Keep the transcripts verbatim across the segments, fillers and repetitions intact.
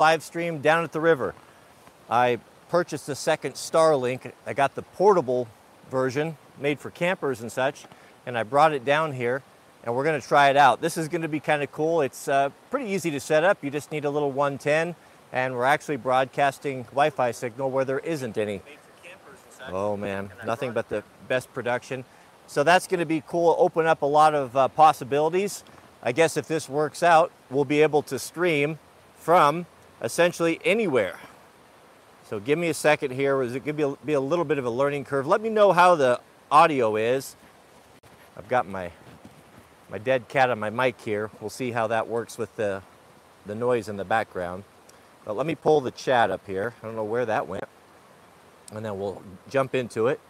live stream down at the river. I purchased a second Starlink. I got the portable version made for campers and such, and I brought it down here, and we're going to try it out. This is going to be kind of cool. It's uh, pretty easy to set up. You just need a little one ten, and we're actually broadcasting Wi-Fi signal where there isn't any. Oh man, nothing but the best production. So that's going to be cool, open up a lot of uh, possibilities. I guess if this works out, we'll be able to stream from essentially anywhere. So give me a second here. Is it going to be a, be a little bit of a learning curve? Let me know how the audio is. I've got my my dead cat on my mic here. We'll see how that works with the the noise in the background. But let me pull the chat up here. I don't know where that went. And then we'll jump into it.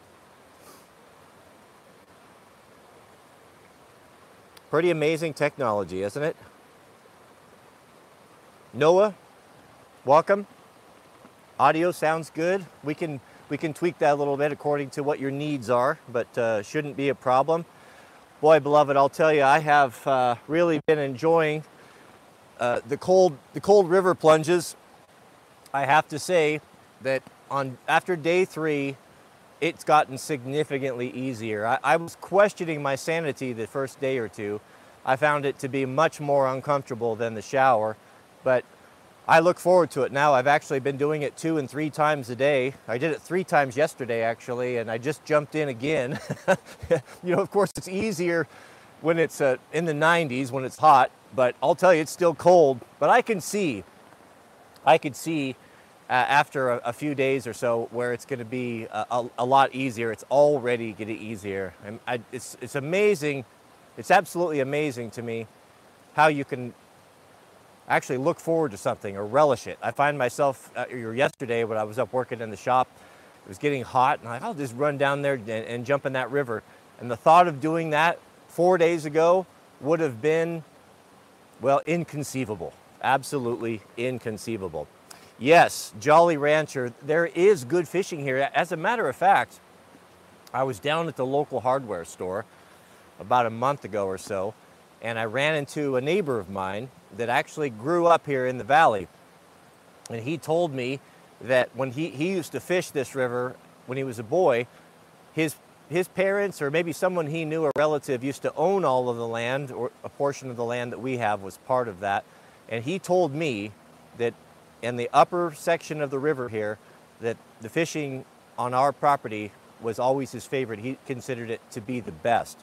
Pretty amazing technology, isn't it? Noah, welcome. Audio sounds good. We can we can tweak that a little bit according to what your needs are, but uh, shouldn't be a problem. Boy, beloved, I'll tell you, I have uh, really been enjoying uh, the cold the cold river plunges. I have to say that on after day three, it's gotten significantly easier. I, I was questioning my sanity the first day or two. I found it to be much more uncomfortable than the shower, but I look forward to it now. I've actually been doing it two and three times a day. I did it three times yesterday, actually, and I just jumped in again. You know, of course, it's easier when it's uh, in the nineties, when it's hot, but I'll tell you, it's still cold. But I can see, I could see uh, after a, a few days or so where it's going to be a, a, a lot easier. It's already getting easier. And I, it's, it's amazing. It's absolutely amazing to me how you can actually look forward to something or relish it. I find myself, uh, yesterday when I was up working in the shop, it was getting hot, and I, I'll just run down there and, and jump in that river. And the thought of doing that four days ago would have been, well, inconceivable. Absolutely inconceivable. Yes, Jolly Rancher, there is good fishing here. As a matter of fact, I was down at the local hardware store about a month ago or so, and I ran into a neighbor of mine that actually grew up here in the valley. And he told me that when he, he used to fish this river when he was a boy, his, his parents, or maybe someone he knew, a relative, used to own all of the land, or a portion of the land that we have was part of that. And he told me that in the upper section of the river here, that the fishing on our property was always his favorite. He considered it to be the best.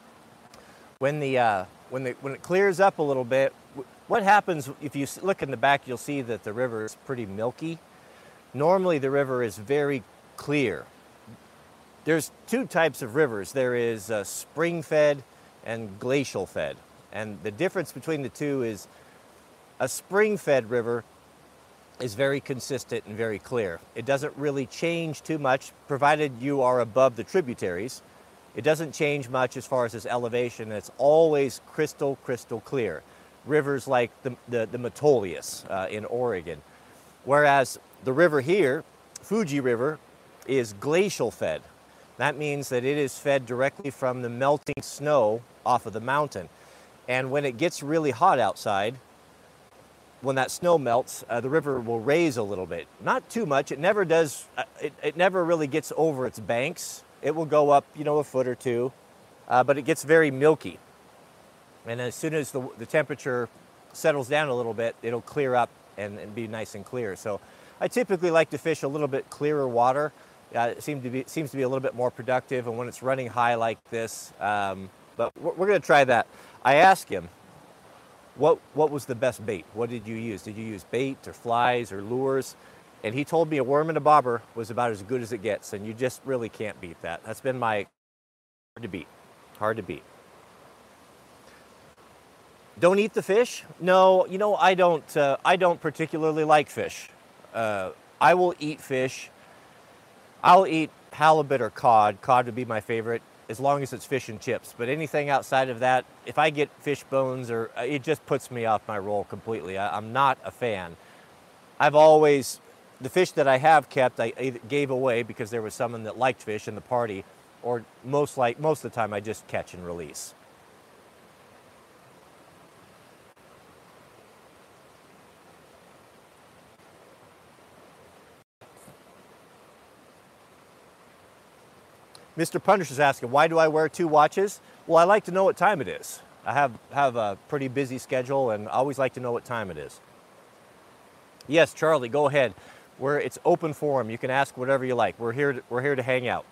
When the uh, when the when it clears up a little bit, what happens if you look in the back? You'll see that the river is pretty milky. Normally, the river is very clear. There's two types of rivers. There is uh, spring-fed and glacial-fed, and the difference between the two is a spring-fed river is very consistent and very clear. It doesn't really change too much, provided you are above the tributaries. It doesn't change much as far as its elevation. It's always crystal, crystal clear. Rivers like the, the, the Metolius uh, in Oregon. Whereas the river here, Fuji River, is glacial fed. That means that it is fed directly from the melting snow off of the mountain. And when it gets really hot outside, when that snow melts, uh, the river will raise a little bit. Not too much. It never does, uh, it, it never really gets over its banks. It will go up, you know, a foot or two, uh, but it gets very milky. And as soon as the, the temperature settles down a little bit, it'll clear up and, and be nice and clear. So I typically like to fish a little bit clearer water. Uh, it seems to be, seems to be a little bit more productive, and when it's running high like this, um, but we're, we're going to try that. I asked him, what, what was the best bait? What did you use? Did you use bait or flies or lures? And he told me a worm and a bobber was about as good as it gets, and you just really can't beat that. That's been my hard to beat, hard to beat. Don't eat the fish? No, you know, I don't, uh, I don't particularly like fish. Uh, I will eat fish. I'll eat halibut or cod. Cod would be my favorite, as long as it's fish and chips. But anything outside of that, if I get fish bones, or uh, it just puts me off my roll completely. I, I'm not a fan. I've always, the fish that I have kept, I either gave away because there was someone that liked fish in the party, or most like most of the time I just catch and release. Mister Punish is asking, why do I wear two watches? Well, I like to know what time it is. I have, have a pretty busy schedule and I always like to know what time it is. Yes, Charlie, go ahead. We're, it's open forum. You can ask whatever you like. We're here to, we're here to hang out.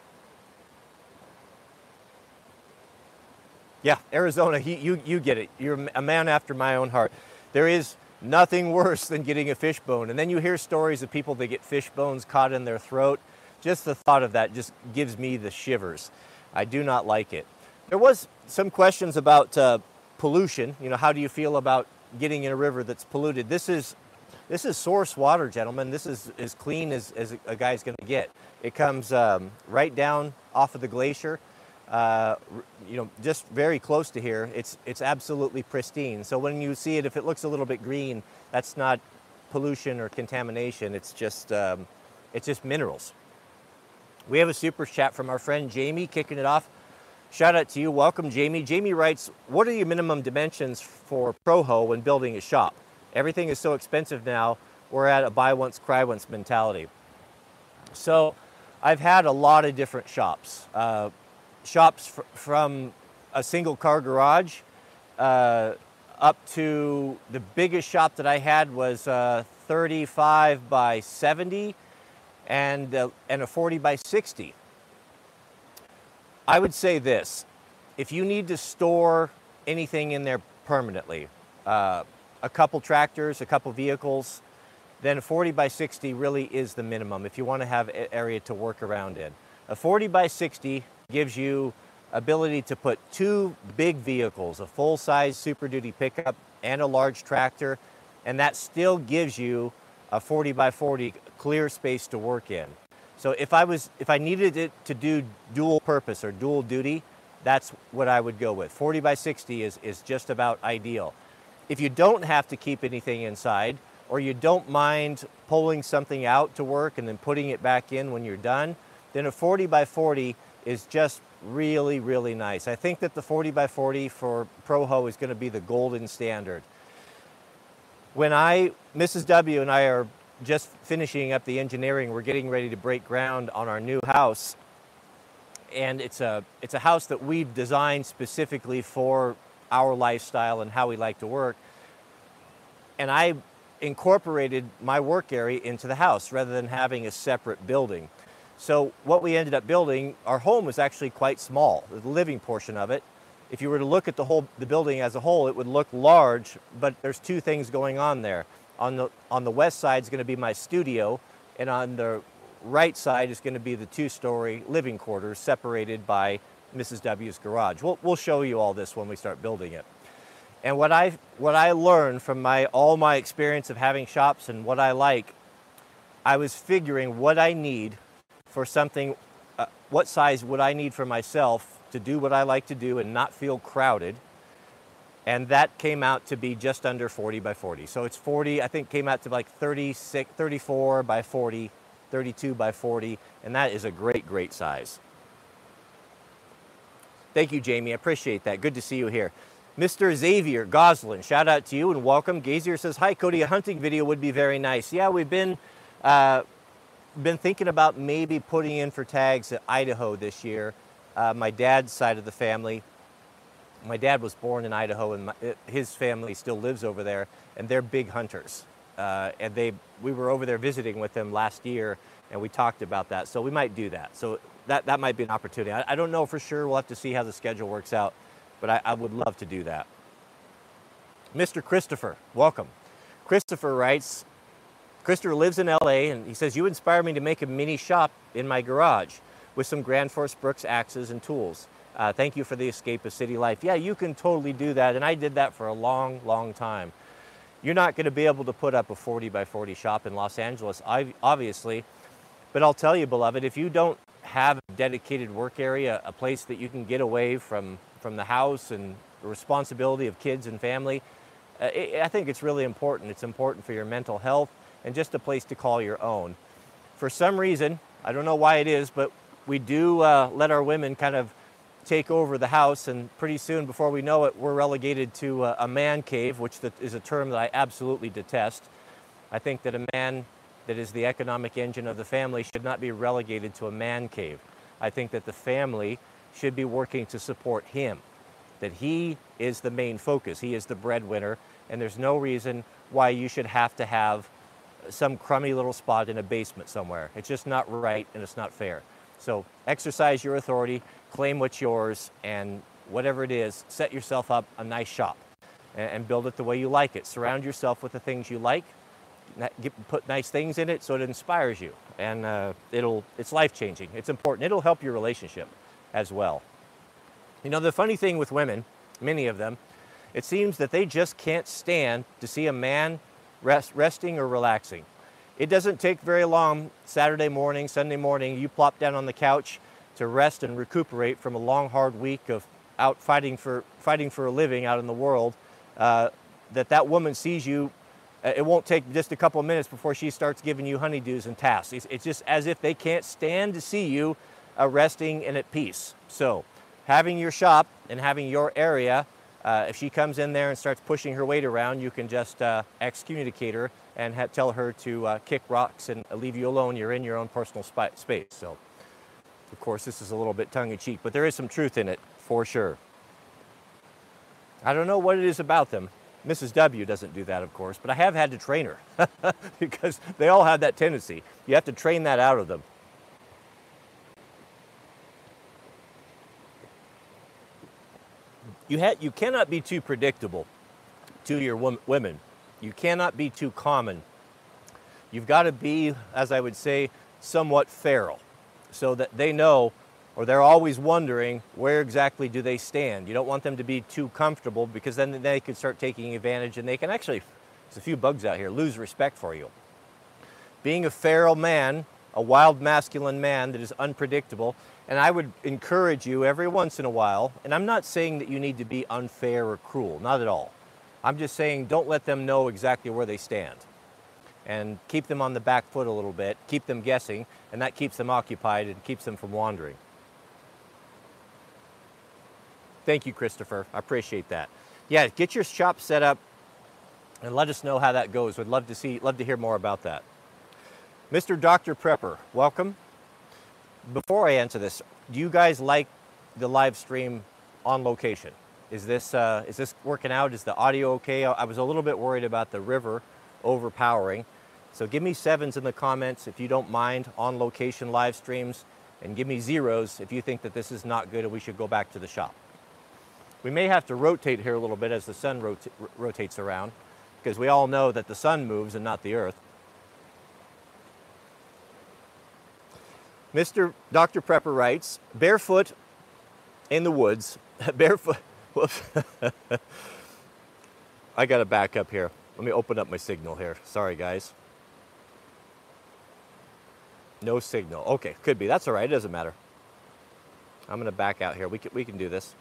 Yeah, Arizona, he, you, you get it. You're a man after my own heart. There is nothing worse than getting a fish bone. And then you hear stories of people that get fish bones caught in their throat. Just the thought of that just gives me the shivers. I do not like it. There was some questions about uh, pollution. You know, how do you feel about getting in a river that's polluted? This is, this is source water, gentlemen. This is as clean as, as a guy's gonna get. It comes um, right down off of the glacier. Uh, you know, just very close to here. It's, it's absolutely pristine. So when you see it, if it looks a little bit green, that's not pollution or contamination. It's just, um, it's just minerals. We have a super chat from our friend Jamie kicking it off. Shout out to you. Welcome, Jamie. Jamie writes, what are your minimum dimensions for ProHo when building a shop? Everything is so expensive now. We're at a buy once, cry once mentality. So I've had a lot of different shops. Uh, shops fr from a single car garage uh, up to the biggest shop that I had was uh, thirty-five by seventy. And, uh, and a forty by sixty. I would say this, if you need to store anything in there permanently, uh, a couple tractors, a couple vehicles, then a forty by sixty really is the minimum if you want to have an area to work around in. A forty by sixty gives you ability to put two big vehicles, a full-size Super Duty pickup and a large tractor, and that still gives you a forty by forty clear space to work in. So if I was, if I needed it to do dual purpose or dual duty, that's what I would go with. forty by sixty is, is just about ideal. If you don't have to keep anything inside, or you don't mind pulling something out to work and then putting it back in when you're done, then a forty by forty is just really, really nice. I think that the forty by forty for ProHo is going to be the golden standard. When I, Missus W and I are just finishing up the engineering, we're getting ready to break ground on our new house. And it's a, it's a house that we've designed specifically for our lifestyle and how we like to work. And I incorporated my work area into the house rather than having a separate building. So what we ended up building, our home was actually quite small, the living portion of it. If you were to look at the whole, the building as a whole, it would look large, but there's two things going on there. On the, on the west side is going to be my studio, and on the right side is going to be the two-story living quarters separated by Missus W's garage. We'll, we'll show you all this when we start building it. And what I, what I learned from my, all my experience of having shops and what I like, I was figuring what I need for something, uh, what size would I need for myself to do what I like to do and not feel crowded. And that came out to be just under forty by forty. So it's forty, I think came out to like thirty-six, thirty-four by forty, thirty-two by forty, and that is a great, great size. Thank you, Jamie, I appreciate that. Good to see you here. Mister Xavier Goslin, shout out to you and welcome. Gazier says, hi Cody, a hunting video would be very nice. Yeah, we've been, uh, been thinking about maybe putting in for tags at Idaho this year. Uh, my dad's side of the family. My dad was born in Idaho, and my, his family still lives over there, and they're big hunters. Uh, and they, we were over there visiting with them last year, and we talked about that. So we might do that. So that, that might be an opportunity. I, I don't know for sure. We'll have to see how the schedule works out, but I, I would love to do that. Mister Christopher, welcome. Christopher writes, Christopher lives in L A, and he says, you inspire me to make a mini shop in my garage with some Grand Force Brooks axes and tools. Uh, thank you for the escape of city life. Yeah, you can totally do that, and I did that for a long, long time. You're not going to be able to put up a forty by forty shop in Los Angeles, obviously, but I'll tell you, beloved, if you don't have a dedicated work area, a place that you can get away from, from the house and the responsibility of kids and family, uh, it, I think it's really important. It's important for your mental health and just a place to call your own. For some reason, I don't know why it is, but we do uh, let our women kind of take over the house, and pretty soon, before we know it, we're relegated to a, a man cave, which is a term that I absolutely detest. I think that a man that is the economic engine of the family should not be relegated to a man cave. I think that the family should be working to support him, that he is the main focus. He is the breadwinner, and there's no reason why you should have to have some crummy little spot in a basement somewhere. It's just not right, and it's not fair. So exercise your authority, claim what's yours, and whatever it is, set yourself up a nice shop and, and build it the way you like it. Surround yourself with the things you like, get, put nice things in it so it inspires you, and uh, it'll, it's life-changing. It's important. It'll help your relationship as well. You know, the funny thing with women, many of them, it seems that they just can't stand to see a man rest, resting or relaxing. It doesn't take very long, Saturday morning, Sunday morning, you plop down on the couch to rest and recuperate from a long, hard week of out fighting for, fighting for a living out in the world, uh, that that woman sees you. It won't take just a couple of minutes before she starts giving you honeydews and tasks. It's, it's just as if they can't stand to see you uh, resting and at peace. So having your shop and having your area, uh, if she comes in there and starts pushing her weight around, you can just uh, excommunicate her and ha tell her to uh, kick rocks and leave you alone. You're in your own personal space. So, of course, this is a little bit tongue-in-cheek, but there is some truth in it for sure. I don't know what it is about them. Missus W doesn't do that, of course, but I have had to train her because they all have that tendency. You have to train that out of them. You, ha you cannot be too predictable to your women. You cannot be too common. You've got to be, as I would say, somewhat feral, so that they know, or they're always wondering, where exactly do they stand. You don't want them to be too comfortable, because then they could start taking advantage, and they can actually, there's a few bugs out here, lose respect for you. Being a feral man, a wild masculine man that is unpredictable, and I would encourage you every once in a while, and I'm not saying that you need to be unfair or cruel, not at all. I'm just saying don't let them know exactly where they stand. And keep them on the back foot a little bit, keep them guessing, and that keeps them occupied and keeps them from wandering. Thank you, Christopher. I appreciate that. Yeah, get your shop set up and let us know how that goes. We'd love to see, love to hear more about that. Mister Doctor Prepper, welcome. Before I answer this, do you guys like the live stream on location? Is this, uh, is this working out? Is the audio okay? I was a little bit worried about the river overpowering. So give me sevens in the comments if you don't mind on location live streams, and give me zeros if you think that this is not good and we should go back to the shop. We may have to rotate here a little bit as the sun rota rotates around, because we all know that the sun moves and not the earth. Mister Doctor Prepper writes, barefoot in the woods, barefoot, whoops. I gotta back up here. Let me open up my signal here. Sorry, guys. No signal. Okay, could be. That's all right. It doesn't matter. I'm gonna back out here. We can, we can do this.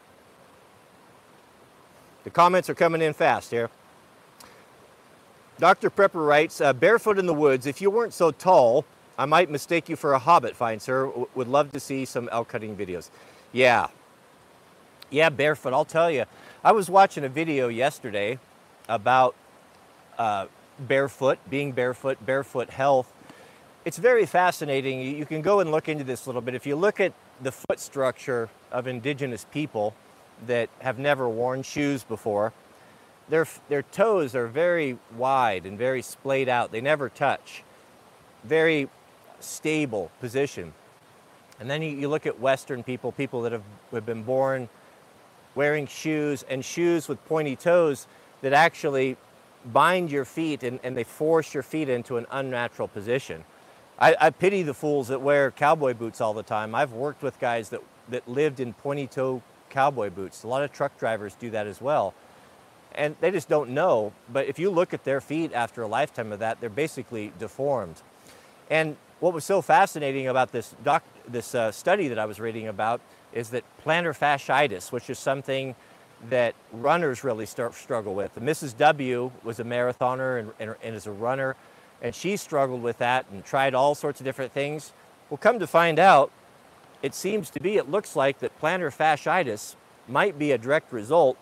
The comments are coming in fast here. Doctor Prepper writes, uh, barefoot in the woods. If you weren't so tall, I might mistake you for a hobbit, fine sir. W would love to see some elk hunting videos. Yeah. Yeah, barefoot. I'll tell you. I was watching a video yesterday about uh, barefoot, being barefoot, barefoot health. It's very fascinating. You can go and look into this a little bit. If you look at the foot structure of indigenous people that have never worn shoes before, their, their toes are very wide and very splayed out. They never touch. Very stable position. And then you, you look at Western people, people that have, have been born wearing shoes, and shoes with pointy toes that actually bind your feet and, and they force your feet into an unnatural position. I, I pity the fools that wear cowboy boots all the time. I've worked with guys that, that lived in pointy toe cowboy boots. A lot of truck drivers do that as well. And they just don't know. But if you look at their feet after a lifetime of that, they're basically deformed. And what was so fascinating about this, doc, this uh, study that I was reading about is that plantar fasciitis, which is something that runners really start, struggle with. Missus W was a marathoner and, and, and is a runner, and she struggled with that and tried all sorts of different things. Well, come to find out, it seems to be, it looks like that plantar fasciitis might be a direct result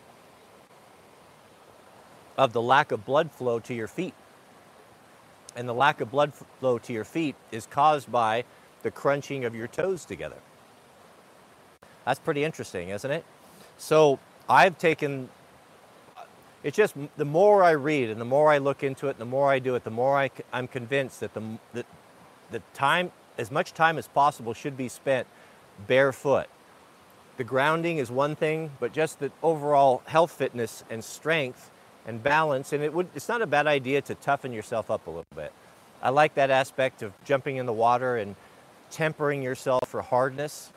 of the lack of blood flow to your feet. And the lack of blood flow to your feet is caused by the crunching of your toes together. That's pretty interesting, isn't it? So I've taken, it's just the more I read and the more I look into it, the more I do it, the more I, I'm convinced that the, that the time, as much time as possible should be spent barefoot. The grounding is one thing, but just the overall health, fitness, and strength and balance. And it would, it's not a bad idea to toughen yourself up a little bit. I like that aspect of jumping in the water and tempering yourself for hardness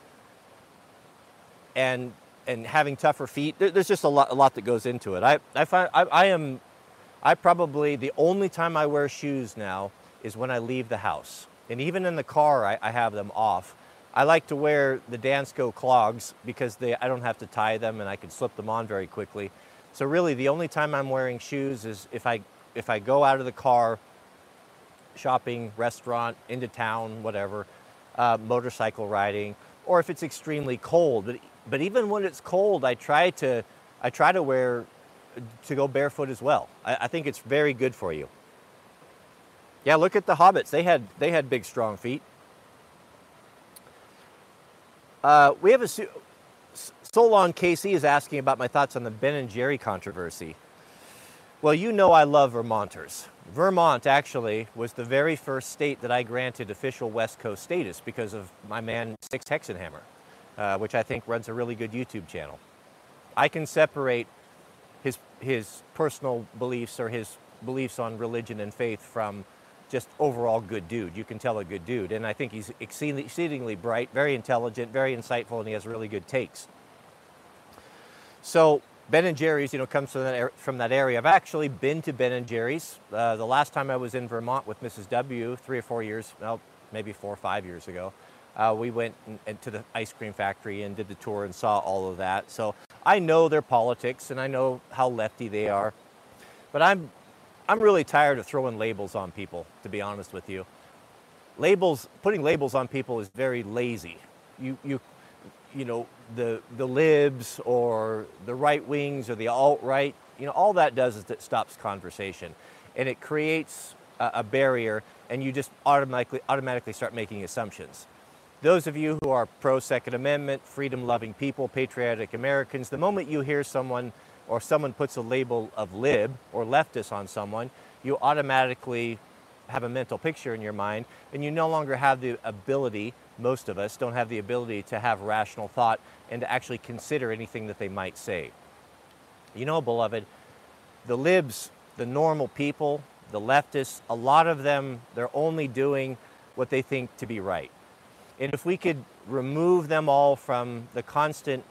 and and having tougher feet. There, there's just a lot, a lot that goes into it. I, I find I, I am, I probably, the only time I wear shoes now is when I leave the house. And even in the car, I, I have them off. I like to wear the Dansko clogs because they, I don't have to tie them and I can slip them on very quickly. So really the only time I'm wearing shoes is if I, if I go out of the car, shopping, restaurant, into town, whatever, uh, motorcycle riding, or if it's extremely cold. But, but even when it's cold, I try to, I try to wear, to go barefoot as well. I, I think it's very good for you. Yeah, look at the hobbits. They had, they had big, strong feet. Uh, we have a, Solon K C is asking about my thoughts on the Ben and Jerry controversy. Well, you know I love Vermonters. Vermont actually was the very first state that I granted official West Coast status because of my man Six Hexenhammer, uh, which I think runs a really good YouTube channel. I can separate his, his personal beliefs or his beliefs on religion and faith from just overall good dude. You can tell a good dude. And I think he's exceedingly bright, very intelligent, very insightful, and he has really good takes. So Ben and Jerry's, you know, comes from that, from that area. I've actually been to Ben and Jerry's. Uh, the last time I was in Vermont with Missus W, three or four years, well, maybe four or five years ago, uh, we went in, in to the ice cream factory and did the tour and saw all of that. So I know their politics and I know how lefty they are. But I'm, I'm really tired of throwing labels on people, to be honest with you. Labels, putting labels on people is very lazy. You, you, you know, the, the libs or the right wings or the alt-right, you know, all that does is it stops conversation. And it creates a, a barrier and you just automatically, automatically start making assumptions. Those of you who are pro-Second Amendment, freedom-loving people, patriotic Americans, the moment you hear someone or someone puts a label of lib or leftist on someone, you automatically have a mental picture in your mind and you no longer have the ability, most of us don't have the ability to have rational thought and to actually consider anything that they might say. You know, beloved, the libs, the normal people, the leftists, a lot of them, they're only doing what they think to be right. And if we could remove them all from the constant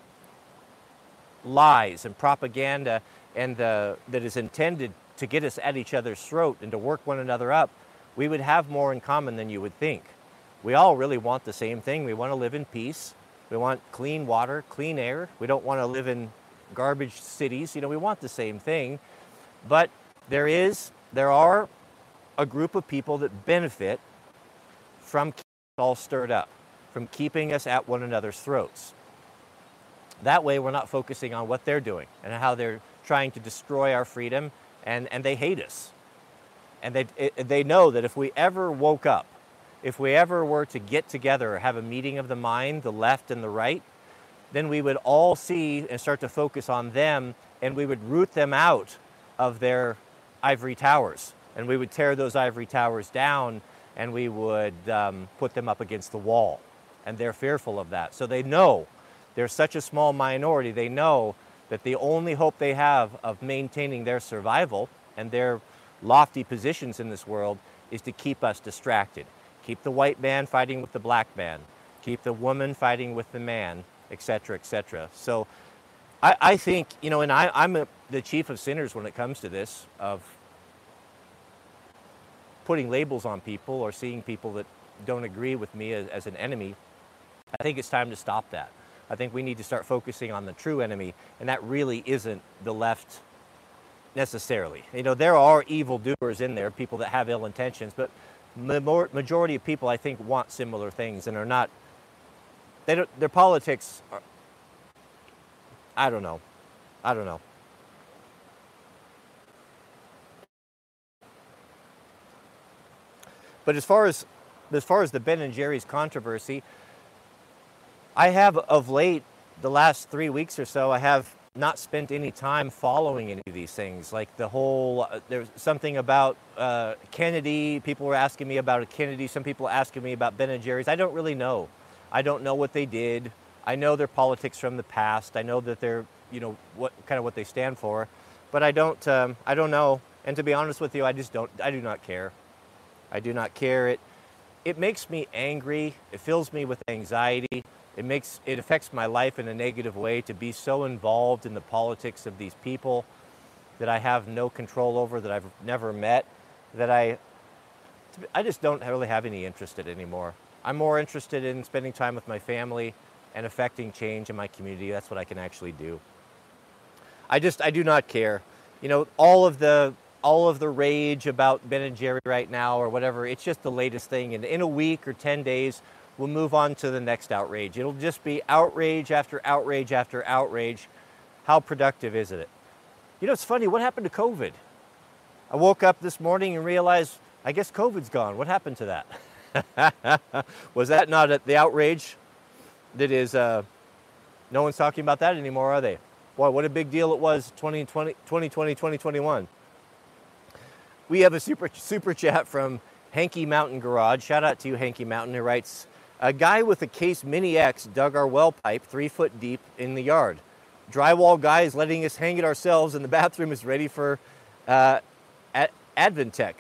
lies and propaganda and the, that is intended to get us at each other's throat and to work one another up, we would have more in common than you would think. We all really want the same thing. We want to live in peace. We want clean water, clean air. We don't want to live in garbage cities. You know, we want the same thing. But there is, there are a group of people that benefit from keeping us all stirred up, from keeping us at one another's throats. That way we're not focusing on what they're doing and how they're trying to destroy our freedom, and, and they hate us. And they, it, they know that if we ever woke up, if we ever were to get together or have a meeting of the mind, the left and the right, then we would all see and start to focus on them, and we would root them out of their ivory towers. And we would tear those ivory towers down and we would um, put them up against the wall. And they're fearful of that. So they know, they're such a small minority, they know that the only hope they have of maintaining their survival and their lofty positions in this world is to keep us distracted. Keep the white man fighting with the black man. Keep the woman fighting with the man, et cetera, et cetera. So I, I think, you know, and I, I'm a, the chief of sinners when it comes to this, of putting labels on people or seeing people that don't agree with me as, as an enemy. I think it's time to stop that. I think we need to start focusing on the true enemy, and that really isn't the left necessarily. You know, there are evildoers in there, people that have ill intentions, but the majority of people, I think, want similar things and are not, they don't, their politics are, I don't know. I don't know. But as far as as far as the Ben and Jerry's controversy, I have of late, the last three weeks or so, I have not spent any time following any of these things. Like the whole, uh, there's something about uh, Kennedy. People were asking me about a Kennedy. Some people asking me about Ben and Jerry's. I don't really know. I don't know what they did. I know their politics from the past. I know that they're, you know, what kind of what they stand for, but I don't, um, I don't know. And to be honest with you, I just don't, I do not care. I do not care. It, it makes me angry. It fills me with anxiety. It makes, it affects my life in a negative way to be so involved in the politics of these people that I have no control over, that I've never met, that I, I just don't really have any interest in it anymore. I'm more interested in spending time with my family and affecting change in my community. That's what I can actually do. I just, I do not care. You know, all of the, all of the rage about Ben and Jerry right now or whatever, it's just the latest thing. And in a week or ten days, we'll move on to the next outrage. It'll just be outrage after outrage after outrage. How productive is it? You know, it's funny, what happened to COVID? I woke up this morning and realized, I guess COVID's gone. What happened to that? Was that not the outrage that is, uh, no one's talking about that anymore, are they? Boy, what a big deal it was twenty twenty, twenty twenty, twenty twenty-one. We have a super, super chat from Hanky Mountain Garage. Shout out to you, Hanky Mountain, who writes, a guy with a Case Mini X dug our well pipe three foot deep in the yard. Drywall guy is letting us hang it ourselves and the bathroom is ready for uh, Ad Adventech.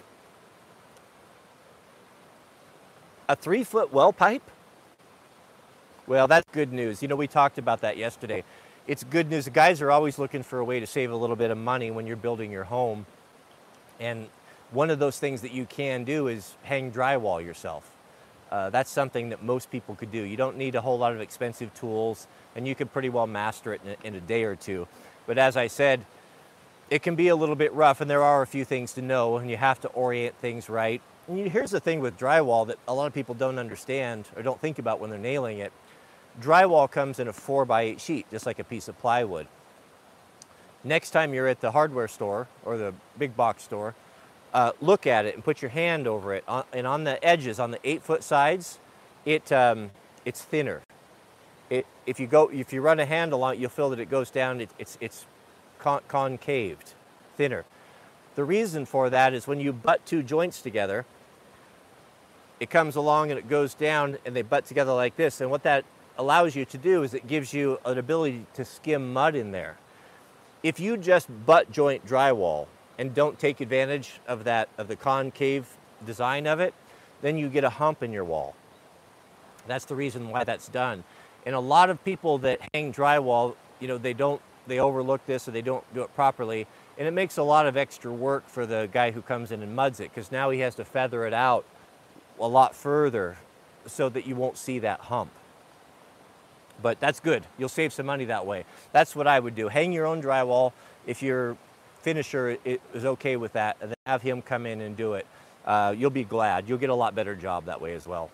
A three foot well pipe? Well, that's good news. You know, we talked about that yesterday. It's good news. The guys are always looking for a way to save a little bit of money when you're building your home. And one of those things that you can do is hang drywall yourself. Uh, that's something that most people could do. You don't need a whole lot of expensive tools, and you can pretty well master it in a, in a day or two. But as I said, it can be a little bit rough, and there are a few things to know, and you have to orient things right. And you, here's the thing with drywall that a lot of people don't understand or don't think about when they're nailing it. Drywall comes in a four by eight sheet, just like a piece of plywood. Next time you're at the hardware store or the big box store, Uh, look at it and put your hand over it, on, and on the edges, on the eight foot sides, it um, it's thinner. It if you go if you run a handle on it, you'll feel that it goes down. It, it's it's con concaved, thinner. The reason for that is when you butt two joints together, it comes along and it goes down, and they butt together like this. And what that allows you to do is it gives you an ability to skim mud in there. If you just butt joint drywall and don't take advantage of that, of the concave design of it, then you get a hump in your wall. That's the reason why that's done. And a lot of people that hang drywall, you know, they don't, they overlook this or they don't do it properly. And it makes a lot of extra work for the guy who comes in and muds it, because now he has to feather it out a lot further so that you won't see that hump. But that's good. You'll save some money that way. That's what I would do. Hang your own drywall if you're finisher is okay with that, and then have him come in and do it. Uh, you'll be glad. You'll get a lot better job that way as well.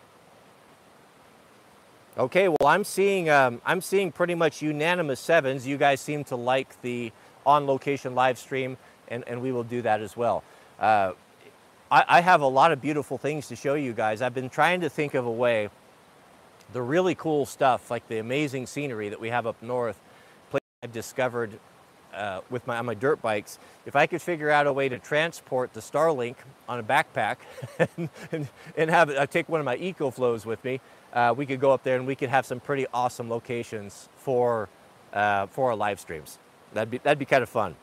Okay, well, I'm seeing um, I'm seeing pretty much unanimous sevens. You guys seem to like the on-location live stream, and, and we will do that as well. Uh, I, I have a lot of beautiful things to show you guys. I've been trying to think of a way, the really cool stuff, like the amazing scenery that we have up north, I've discovered Uh, with my, on my dirt bikes, if I could figure out a way to transport the Starlink on a backpack and, and, and have it, I take one of my EcoFlows with me, uh, we could go up there and we could have some pretty awesome locations for, uh, for our live streams. That'd be, that'd be kind of fun.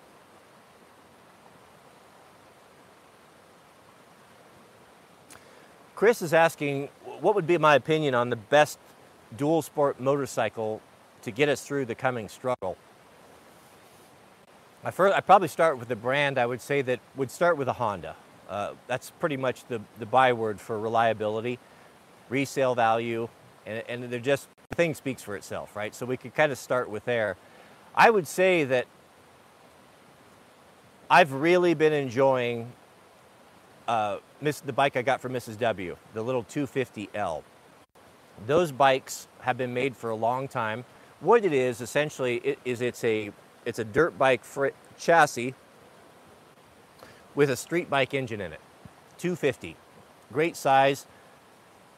Chris is asking, what would be my opinion on the best dual sport motorcycle to get us through the coming struggle? I first, I'd probably start with the brand. I would say that would start with a Honda. Uh, that's pretty much the, the byword for reliability, resale value, and, and they're just, the thing speaks for itself, right? So we could kind of start with there. I would say that I've really been enjoying uh, miss, the bike I got from Missus W, the little two fifty L. Those bikes have been made for a long time. What it is, essentially, it, is it's a It's a dirt bike chassis with a street bike engine in it. two fifty. Great size.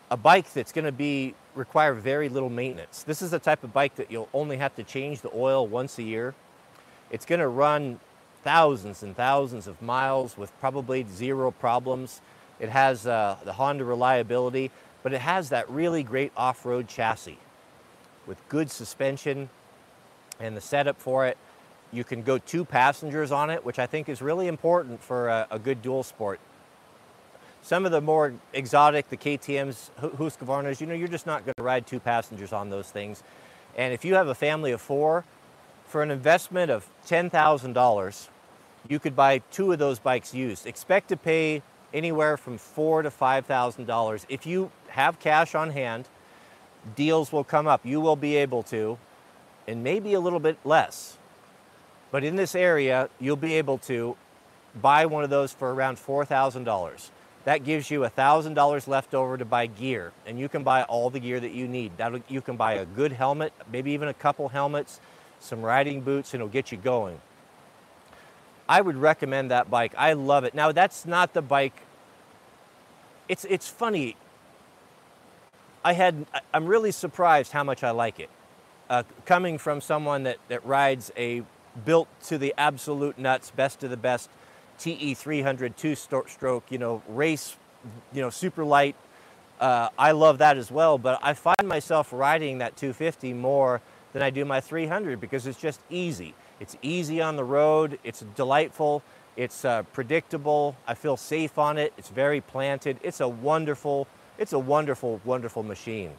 a bike that's going to be require very little maintenance. This is the type of bike that you'll only have to change the oil once a year. It's going to run thousands and thousands of miles with probably zero problems. It has uh, the Honda reliability, but it has that really great off-road chassis with good suspension and the setup for it. You can go two passengers on it, which I think is really important for a, a good dual sport. Some of the more exotic, the K T Ms, Husqvarnas, you know, you're just not going to ride two passengers on those things. And if you have a family of four, for an investment of ten thousand dollars, you could buy two of those bikes used. Expect to pay anywhere from four to five thousand dollars. If you have cash on hand, deals will come up. You will be able to, and maybe a little bit less. But in this area, you'll be able to buy one of those for around four thousand dollars. That gives you one thousand dollars left over to buy gear, and you can buy all the gear that you need. That'll, you can buy a good helmet, maybe even a couple helmets, some riding boots, and it'll get you going. I would recommend that bike. I love it. Now, that's not the bike. It's, it's funny. I had, I'm really surprised how much I like it. Uh, coming from someone that, that rides a built to the absolute nuts, best of the best T E three hundred two-stroke, you know, race, you know, super light. Uh, I love that as well, but I find myself riding that two fifty more than I do my three hundred because it's just easy. It's easy on the road. It's delightful. It's uh, predictable. I feel safe on it. It's very planted. It's a wonderful, it's a wonderful, wonderful machine.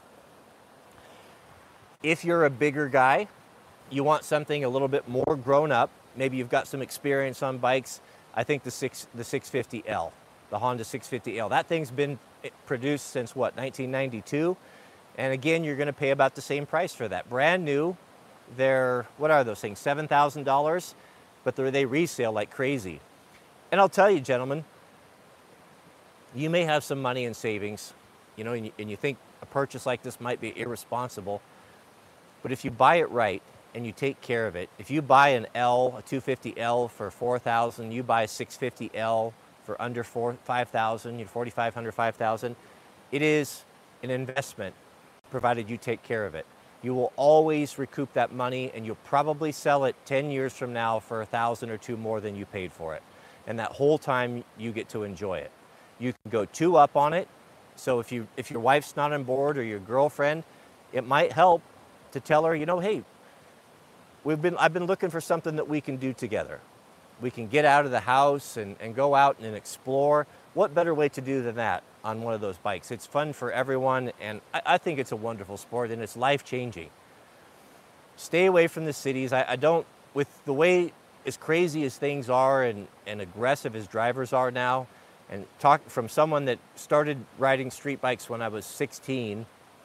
If you're a bigger guy, you want something a little bit more grown up. Maybe you've got some experience on bikes. I think the six the six fifty L, the Honda six fifty L. That thing's been produced since what, nineteen ninety-two? And again, you're going to pay about the same price for that. Brand new. They're, what are those things, seven thousand dollars? But they resale like crazy. And I'll tell you, gentlemen, you may have some money in savings, you know, and you, and you think a purchase like this might be irresponsible. But if you buy it right and you take care of it, if you buy an L, a two fifty L for four thousand dollars, you buy a six fifty L for under four, five thousand dollars, forty-five hundred dollars, five thousand dollars, it is an investment provided you take care of it. You will always recoup that money, and you'll probably sell it ten years from now for a thousand or two more than you paid for it. And that whole time you get to enjoy it. You can go two up on it. So if you if your wife's not on board or your girlfriend, it might help to tell her, you know, hey, we've been I've been looking for something that we can do together. We can get out of the house and, and go out and explore. What better way to do than that on one of those bikes? It's fun for everyone, and I, I think it's a wonderful sport, and it's life-changing. Stay away from the cities. I, I don't, with the way as crazy as things are and, and aggressive as drivers are now, and talk from someone that started riding street bikes when I was sixteen,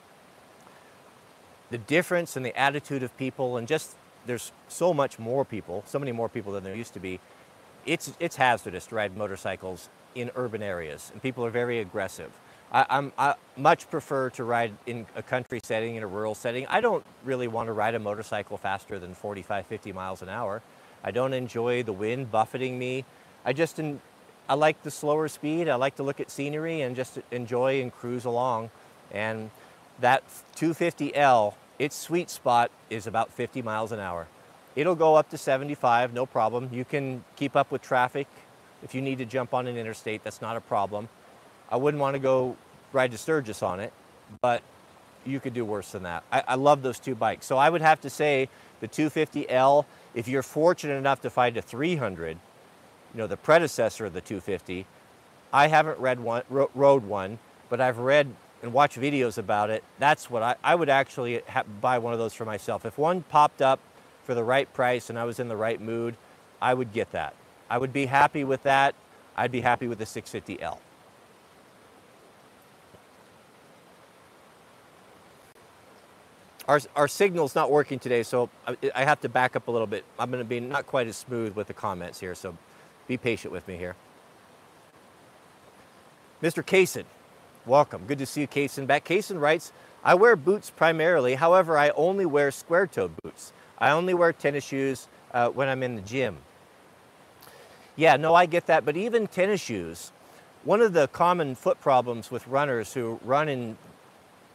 the difference in the attitude of people, and just there's so much more people, so many more people than there used to be. It's, it's hazardous to ride motorcycles in urban areas, and people are very aggressive. I, I'm, I much prefer to ride in a country setting, in a rural setting. I don't really want to ride a motorcycle faster than forty-five, fifty miles an hour. I don't enjoy the wind buffeting me. I just, en I like the slower speed. I like to look at scenery and just enjoy and cruise along. And that two fifty L, its sweet spot is about fifty miles an hour. It'll go up to seventy-five, no problem. You can keep up with traffic. If you need to jump on an interstate, that's not a problem. I wouldn't want to go ride to Sturgis on it, but you could do worse than that. I, I love those two bikes. So I would have to say the two fifty L, if you're fortunate enough to find a three hundred, you know, the predecessor of the two fifty, I haven't read one, ro rode one, but I've read and watched videos about it. That's what I, I would actually ha buy one of those for myself. If one popped up for the right price and I was in the right mood, I would get that. I would be happy with that. I'd be happy with the six fifty L. Our, our signal's not working today, so I, I have to back up a little bit. I'm going to be not quite as smooth with the comments here, so be patient with me here. Mister Kaysen, welcome. Good to see you, Kaysen. Back. Kaysen writes, I wear boots primarily. However, I only wear square-toed boots. I only wear tennis shoes uh, when I'm in the gym. Yeah, no, I get that. But even tennis shoes, one of the common foot problems with runners who run in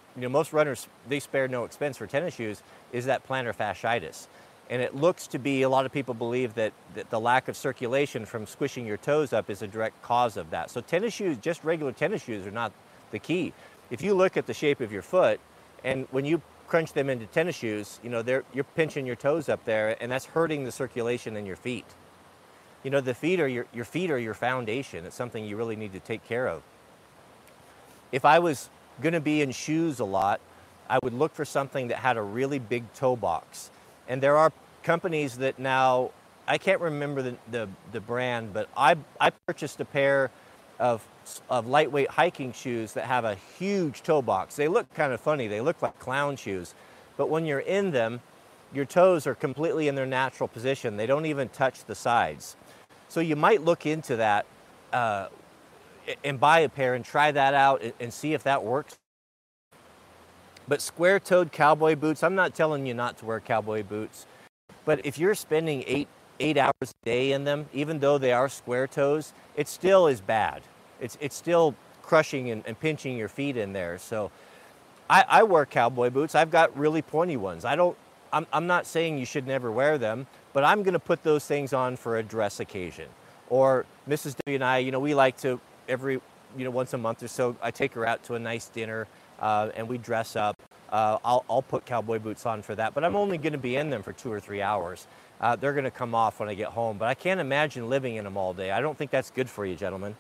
you know, most runners, they spare no expense for tennis shoes, is that plantar fasciitis. And it looks to be, a lot of people believe that, that the lack of circulation from squishing your toes up is a direct cause of that. So tennis shoes, just regular tennis shoes, are not the key. If you look at the shape of your foot, and when you crunch them into tennis shoes, you know, they're, you're pinching your toes up there, and that's hurting the circulation in your feet. You know, the feet are your, your feet are your foundation. It's something you really need to take care of. If I was going to be in shoes a lot, I would look for something that had a really big toe box. And there are companies that now, I can't remember the, the, the brand, but I, I purchased a pair of, of lightweight hiking shoes that have a huge toe box. They look kind of funny. They look like clown shoes. But when you're in them, your toes are completely in their natural position. They don't even touch the sides. So you might look into that uh, and buy a pair and try that out and, and see if that works. But square-toed cowboy boots, I'm not telling you not to wear cowboy boots, but if you're spending eight, eight hours a day in them, even though they are square toes, it still is bad. It's, it's still crushing and, and pinching your feet in there. So I, I wear cowboy boots. I've got really pointy ones. I don't, I'm, I'm not saying you should never wear them, but I'm gonna put those things on for a dress occasion. Or Missus W and I, you know, we like to, every, you know, once a month or so, I take her out to a nice dinner, Uh, and we dress up. Uh, I'll, I'll put cowboy boots on for that, but I'm only going to be in them for two or three hours. Uh, they're going to come off when I get home, but I can't imagine living in them all day. I don't think that's good for you, gentlemen.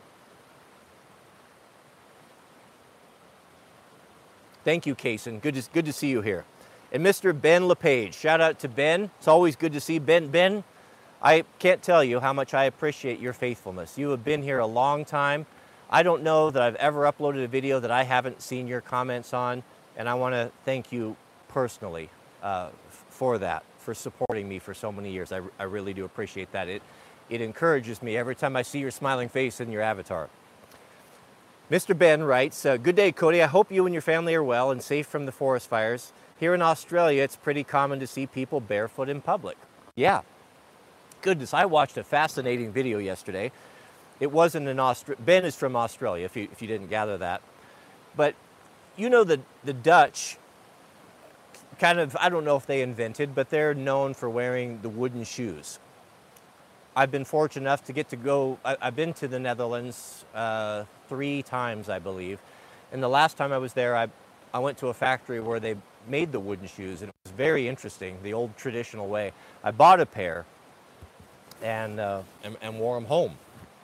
Thank you, Kaysen. Good to, good to see you here. And Mister Ben LePage, shout out to Ben. It's always good to see Ben. Ben, I can't tell you how much I appreciate your faithfulness. You have been here a long time. I don't know that I've ever uploaded a video that I haven't seen your comments on, and I want to thank you personally uh, for that, for supporting me for so many years. I, I really do appreciate that. It, it encourages me every time I see your smiling face in your avatar. Mister Ben writes, uh, good day, Cody. I hope you and your family are well and safe from the forest fires. Here in Australia, it's pretty common to see people barefoot in public. Yeah. Goodness, I watched a fascinating video yesterday. It wasn't in Australia. Ben is from Australia, if you, if you didn't gather that. But you know, the, the Dutch kind of, I don't know if they invented, but they're known for wearing the wooden shoes. I've been fortunate enough to get to go, I, I've been to the Netherlands uh, three times, I believe. And the last time I was there, I, I went to a factory where they made the wooden shoes, and it was very interesting, the old traditional way. I bought a pair and, uh, and, and wore them home.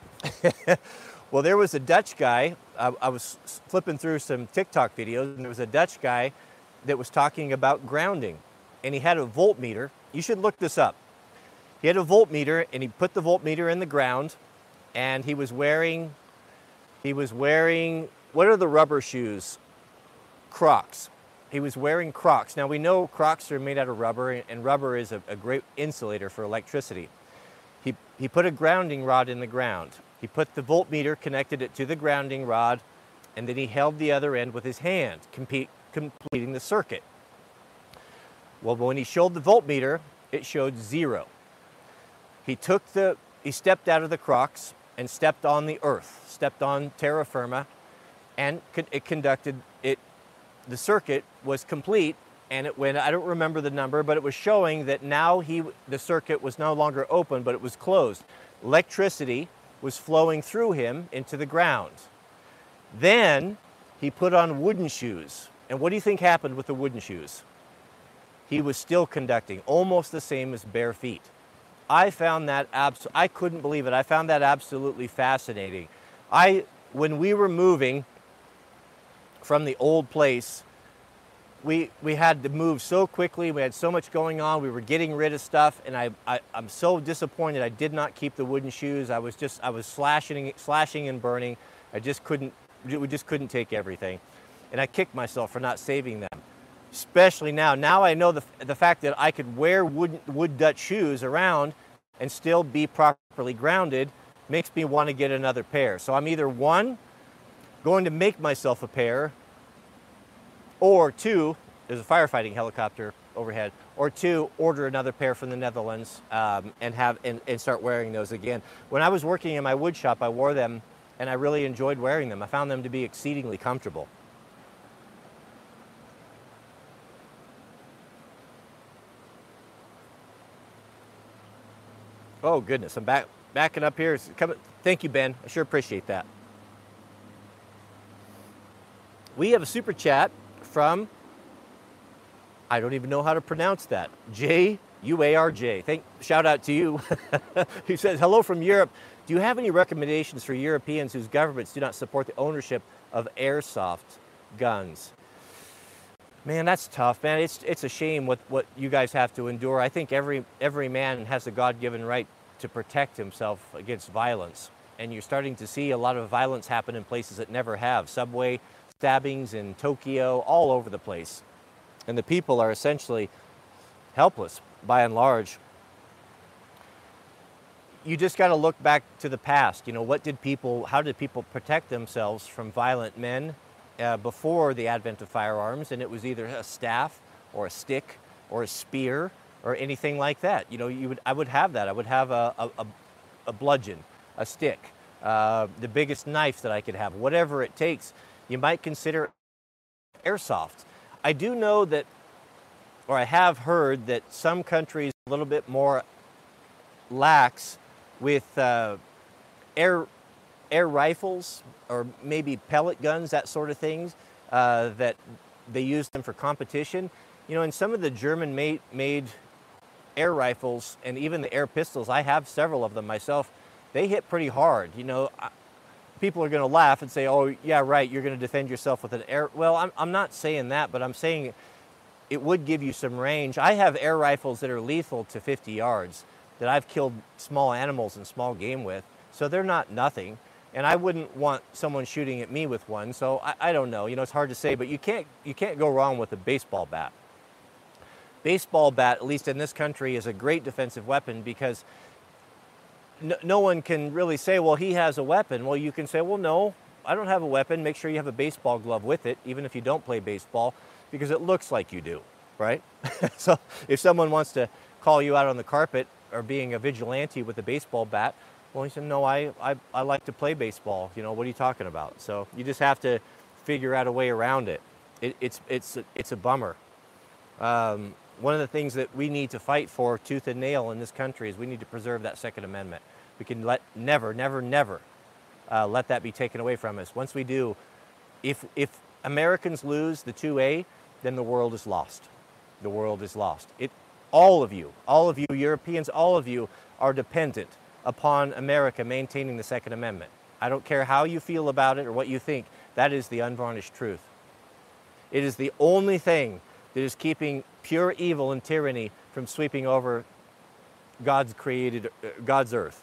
Well, there was a Dutch guy, I, I was flipping through some TikTok videos, and there was a Dutch guy that was talking about grounding, and he had a voltmeter. You should look this up. He had a voltmeter, and he put the voltmeter in the ground, and he was wearing, he was wearing, what are the rubber shoes? Crocs. He was wearing Crocs. Now, we know Crocs are made out of rubber, and rubber is a, a great insulator for electricity. He, he put a grounding rod in the ground. He put the voltmeter, connected it to the grounding rod, and then he held the other end with his hand, compete, completing the circuit. Well, when he showed the voltmeter, it showed zero. He took the, he stepped out of the Crocs and stepped on the earth, stepped on terra firma, and it conducted, it, the circuit was complete, and it went, I don't remember the number, but it was showing that now he, the circuit was no longer open, but it was closed. Electricity was flowing through him into the ground. Then he put on wooden shoes. And what do you think happened with the wooden shoes? He was still conducting, almost the same as bare feet. I found that, abs I couldn't believe it. I found that absolutely fascinating. I, when we were moving from the old place, we, we had to move so quickly. We had so much going on. We were getting rid of stuff, and I, I, I'm so disappointed I did not keep the wooden shoes. I was just, I was slashing, slashing and burning. I just couldn't, we just couldn't take everything. And I kicked myself for not saving them. Especially now. Now I know the, the fact that I could wear wood, wood Dutch shoes around and still be properly grounded makes me want to get another pair. So I'm either one, going to make myself a pair, or two, there's a firefighting helicopter overhead, or two, order another pair from the Netherlands um, and, have, and, and start wearing those again. When I was working in my wood shop, I wore them and I really enjoyed wearing them. I found them to be exceedingly comfortable. Oh goodness, I'm back backing up here. Come, thank you, Ben. I sure appreciate that. We have a super chat from, I don't even know how to pronounce that, J U A R J. Thank, shout out to you. He says, hello from Europe. Do you have any recommendations for Europeans whose governments do not support the ownership of airsoft guns? Man, that's tough, man. It's it's a shame what, what you guys have to endure. I think every every man has a God-given right to protect himself against violence. And you're starting to see a lot of violence happen in places that never have. Subway stabbings in Tokyo, all over the place. And the people are essentially helpless, by and large. You just got to look back to the past. You know, what did people, how did people protect themselves from violent men uh, before the advent of firearms? And it was either a staff or a stick or a spear or anything like that. You know, you would, I would have that. I would have a, a, a bludgeon, a stick, uh, the biggest knife that I could have, whatever it takes. You might consider airsoft. I do know that, or I have heard that some countries are a little bit more lax with uh, air air rifles or maybe pellet guns, that sort of things, uh, that they use them for competition. You know, in some of the German made, made air rifles and even the air pistols, I have several of them myself, they hit pretty hard. You know, people are going to laugh and say, oh, yeah, right, you're going to defend yourself with an air. Well, I'm, I'm not saying that, but I'm saying it would give you some range. I have air rifles that are lethal to fifty yards that I've killed small animals and small game with, so they're not nothing. And I wouldn't want someone shooting at me with one, so I, I don't know. You know, it's hard to say, but you can't, you can't go wrong with a baseball bat. Baseball bat, at least in this country, is a great defensive weapon because no, no one can really say, well, he has a weapon. Well, you can say, well, no, I don't have a weapon. Make sure you have a baseball glove with it, even if you don't play baseball, because it looks like you do, right? So if someone wants to call you out on the carpet or being a vigilante with a baseball bat, well, he said, no, I, I, I like to play baseball. You know, what are you talking about? So you just have to figure out a way around it. it it's, it's, it's a bummer. Um, one of the things that we need to fight for tooth and nail in this country is we need to preserve that Second Amendment. We can let never, never, never uh, let that be taken away from us. Once we do, if, if Americans lose the two A, then the world is lost. The world is lost. It, all of you, all of you Europeans, all of you are dependent upon America maintaining the Second Amendment. I don't care how you feel about it or what you think. That is the unvarnished truth. It is the only thing that is keeping pure evil and tyranny from sweeping over God's created, uh, God's earth.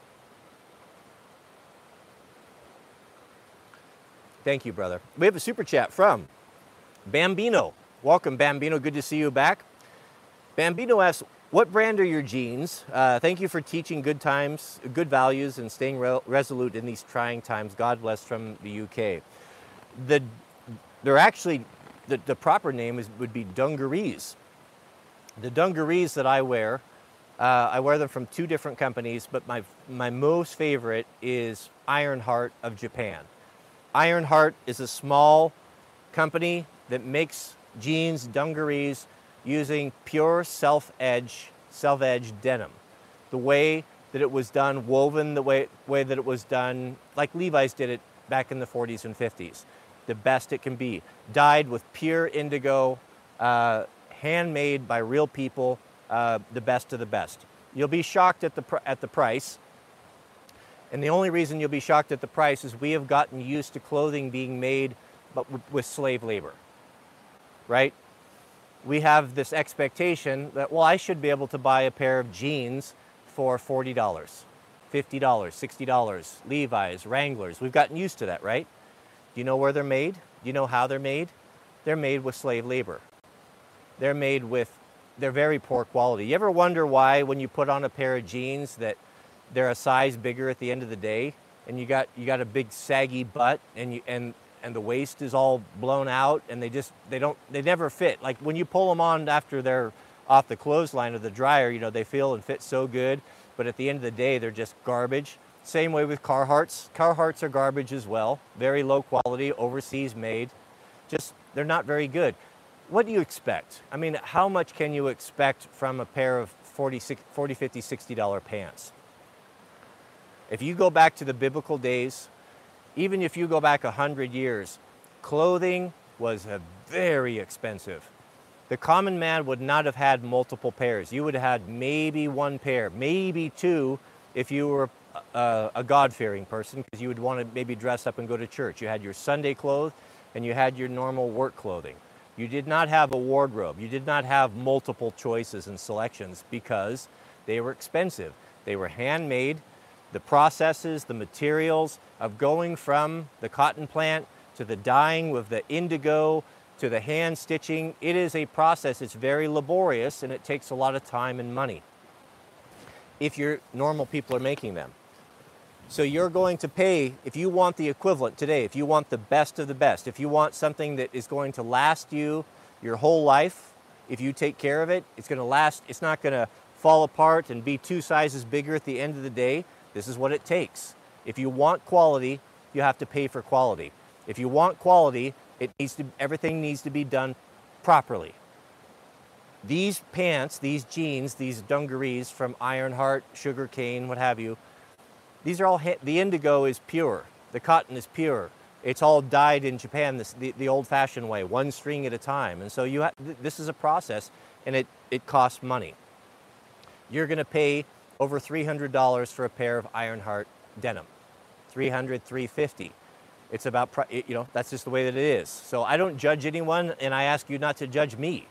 Thank you, brother. We have a super chat from Bambino. Welcome, Bambino. Good to see you back. Bambino asks, what brand are your jeans? Uh, thank you for teaching good times, good values, and staying re resolute in these trying times. God bless, from the U K. The, they're actually, the, the proper name is, would be dungarees. The dungarees that I wear, uh, I wear them from two different companies, but my, my most favorite is Ironheart of Japan. Ironheart is a small company that makes jeans, dungarees, using pure self-edge, self-edge denim. The way that it was done, woven the way, way that it was done, like Levi's did it back in the forties and fifties. The best it can be. Dyed with pure indigo, uh, handmade by real people, uh, the best of the best. You'll be shocked at the, pr at the price. And the only reason you'll be shocked at the price is we have gotten used to clothing being made but with slave labor, right? We have this expectation that, well, I should be able to buy a pair of jeans for forty dollars, fifty dollars, sixty dollars, Levi's, Wranglers. We've gotten used to that, right? Do you know where they're made? Do you know how they're made? They're made with slave labor. They're made with, they're very poor quality. You ever wonder why when you put on a pair of jeans that they're a size bigger at the end of the day, and you got, you got a big saggy butt, and you, and and the waist is all blown out, and they just, they don't, they never fit. Like when you pull them on after they're off the clothesline or the dryer, you know, they feel and fit so good, but at the end of the day, they're just garbage. Same way with Carhartts. Carhartts are garbage as well. Very low quality, overseas made. Just, they're not very good. What do you expect? I mean, how much can you expect from a pair of forty, fifty, sixty dollar pants? If you go back to the biblical days, even if you go back a hundred years, clothing was a very expensive. The common man would not have had multiple pairs. You would have had maybe one pair, maybe two if you were a, a God-fearing person, because you would want to maybe dress up and go to church. You had your Sunday clothes and you had your normal work clothing. You did not have a wardrobe. You did not have multiple choices and selections because they were expensive. They were handmade. The processes, the materials of going from the cotton plant to the dyeing with the indigo to the hand stitching, it is a process. It's very laborious and it takes a lot of time and money if your normal people are making them. So you're going to pay, if you want the equivalent today, if you want the best of the best, if you want something that is going to last you your whole life, if you take care of it, it's going to last, it's not going to fall apart and be two sizes bigger at the end of the day. This is what it takes. If you want quality, you have to pay for quality. If you want quality, it needs to, everything needs to be done properly. These pants, these jeans, these dungarees from Ironheart, Sugarcane, what have you, these are all, the indigo is pure. The cotton is pure. It's all dyed in Japan this, the, the old-fashioned way, one string at a time. And so you ha this is a process, and it, it costs money. You're going to pay over three hundred dollars for a pair of Ironheart denim. three hundred dollars, three hundred fifty dollars. It's about, you know, that's just the way that it is. So I don't judge anyone, and I ask you not to judge me,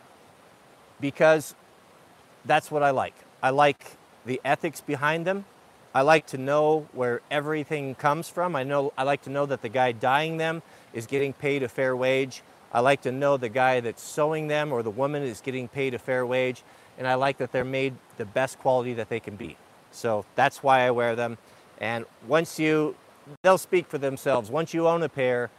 because that's what I like. I like the ethics behind them. I like to know where everything comes from. I know, I like to know that the guy dyeing them is getting paid a fair wage. I like to know the guy that's sewing them or the woman is getting paid a fair wage. And I like that they're made the best quality that they can be. So that's why I wear them. And once you, they'll speak for themselves. Once you own a pair,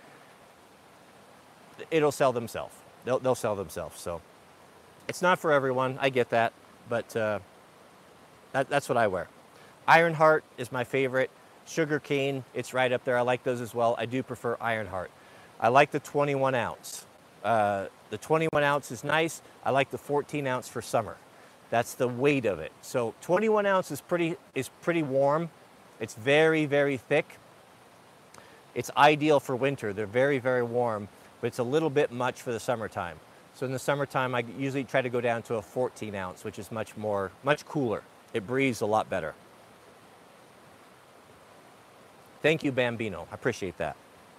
it'll sell themselves. They'll, they'll sell themselves. So it's not for everyone. I get that. But uh, that, that's what I wear. Ironheart is my favorite. Sugarcane, it's right up there. I like those as well. I do prefer Ironheart. I like the twenty-one ounce. Uh, the twenty-one ounce is nice. I like the fourteen ounce for summer. That's the weight of it. So twenty-one ounce is pretty, is pretty warm. It's very, very thick. It's ideal for winter. They're very, very warm, but it's a little bit much for the summertime. So in the summertime, I usually try to go down to a fourteen ounce, which is much more, much cooler. It breathes a lot better. Thank you, Bambino. I appreciate that.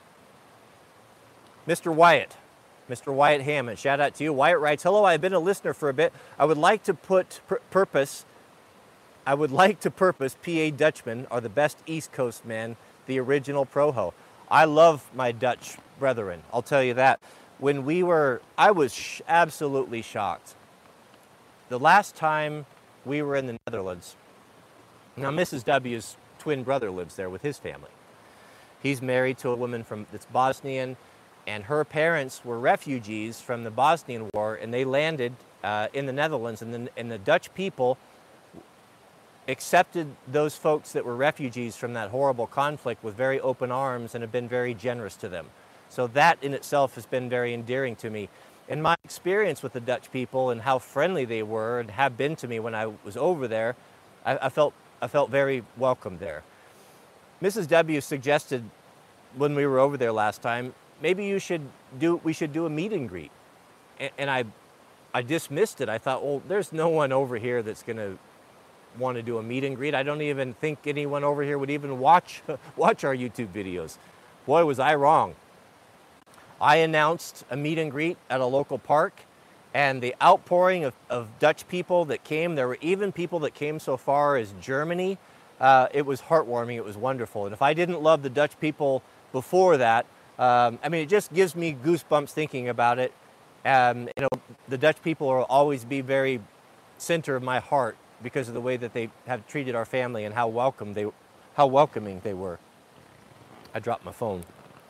Mister Wyatt, Mister Wyatt Hammond, shout out to you. Wyatt writes, hello, I've been a listener for a bit. I would like to put pur purpose, I would like to purpose P A Dutchmen are the best East Coast men, the original Proho. I love my Dutch brethren, I'll tell you that. When we were, I was sh absolutely shocked. The last time we were in the Netherlands, now Missus W's twin brother lives there with his family. He's married to a woman from that's Bosnian, and her parents were refugees from the Bosnian War, and they landed uh, in the Netherlands, and the, and the Dutch people accepted those folks that were refugees from that horrible conflict with very open arms and have been very generous to them. So that in itself has been very endearing to me. And my experience with the Dutch people and how friendly they were and have been to me when I was over there, I, I felt I felt very welcome there. Missus W suggested when we were over there last time, maybe you should do, we should do a meet and greet. And, and I, I dismissed it. I thought, well, there's no one over here that's gonna want to do a meet and greet. I don't even think anyone over here would even watch, watch our YouTube videos. Boy, was I wrong. I announced a meet and greet at a local park, and the outpouring of, of Dutch people that came, there were even people that came so far as Germany. Uh, it was heartwarming, it was wonderful. And if I didn't love the Dutch people before that, um, I mean, it just gives me goosebumps thinking about it. Um, you know, the Dutch people will always be very center of my heart because of the way that they have treated our family and how welcome they, how welcoming they were. I dropped my phone.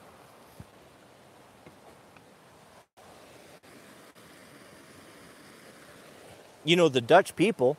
You know, the Dutch people,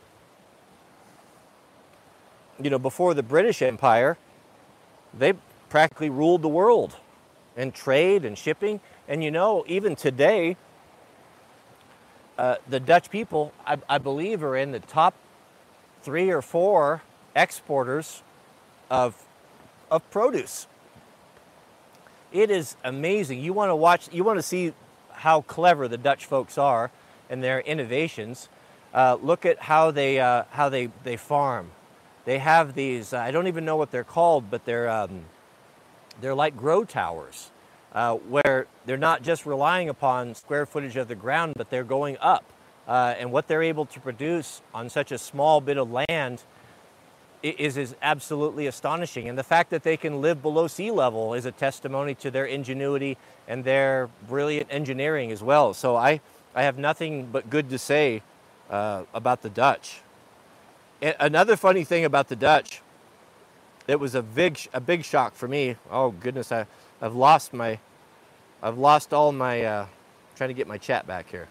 you know, before the British Empire, they practically ruled the world in trade and shipping. And you know, even today, uh, the Dutch people, I, I believe, are in the top three or four exporters of, of produce. It is amazing. You want to watch, you want to see how clever the Dutch folks are and their innovations. Uh, look at how they, uh, how they, they farm. They have these, uh, I don't even know what they're called, but they're, um, they're like grow towers, uh, where they're not just relying upon square footage of the ground, but they're going up. Uh, and what they're able to produce on such a small bit of land is, is absolutely astonishing. And the fact that they can live below sea level is a testimony to their ingenuity and their brilliant engineering as well. So I, I have nothing but good to say uh, about the Dutch. And another funny thing about the Dutch, it was a big, a big shock for me. Oh goodness, I, I've lost my, I've lost all my, uh, trying to get my chat back here.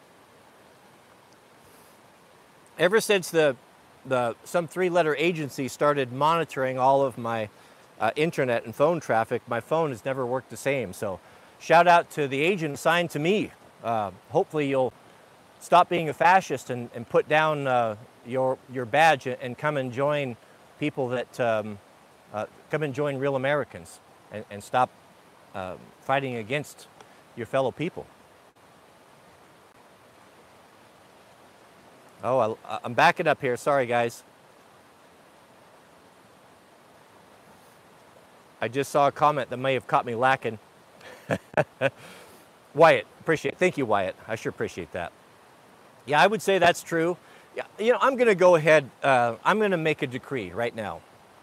Ever since the, the some three-letter agency started monitoring all of my uh, internet and phone traffic, my phone has never worked the same. So shout out to the agent assigned to me. Uh, hopefully you'll stop being a fascist and, and put down uh, your, your badge and come and join people that, um, uh, come and join real Americans and, and stop uh, fighting against your fellow people. Oh, I, I'm backing up here. Sorry, guys. I just saw a comment that may have caught me lacking. Wyatt, appreciate it. Thank you, Wyatt. I sure appreciate that. Yeah, I would say that's true. Yeah, you know, I'm going to go ahead. Uh, I'm going to make a decree right now.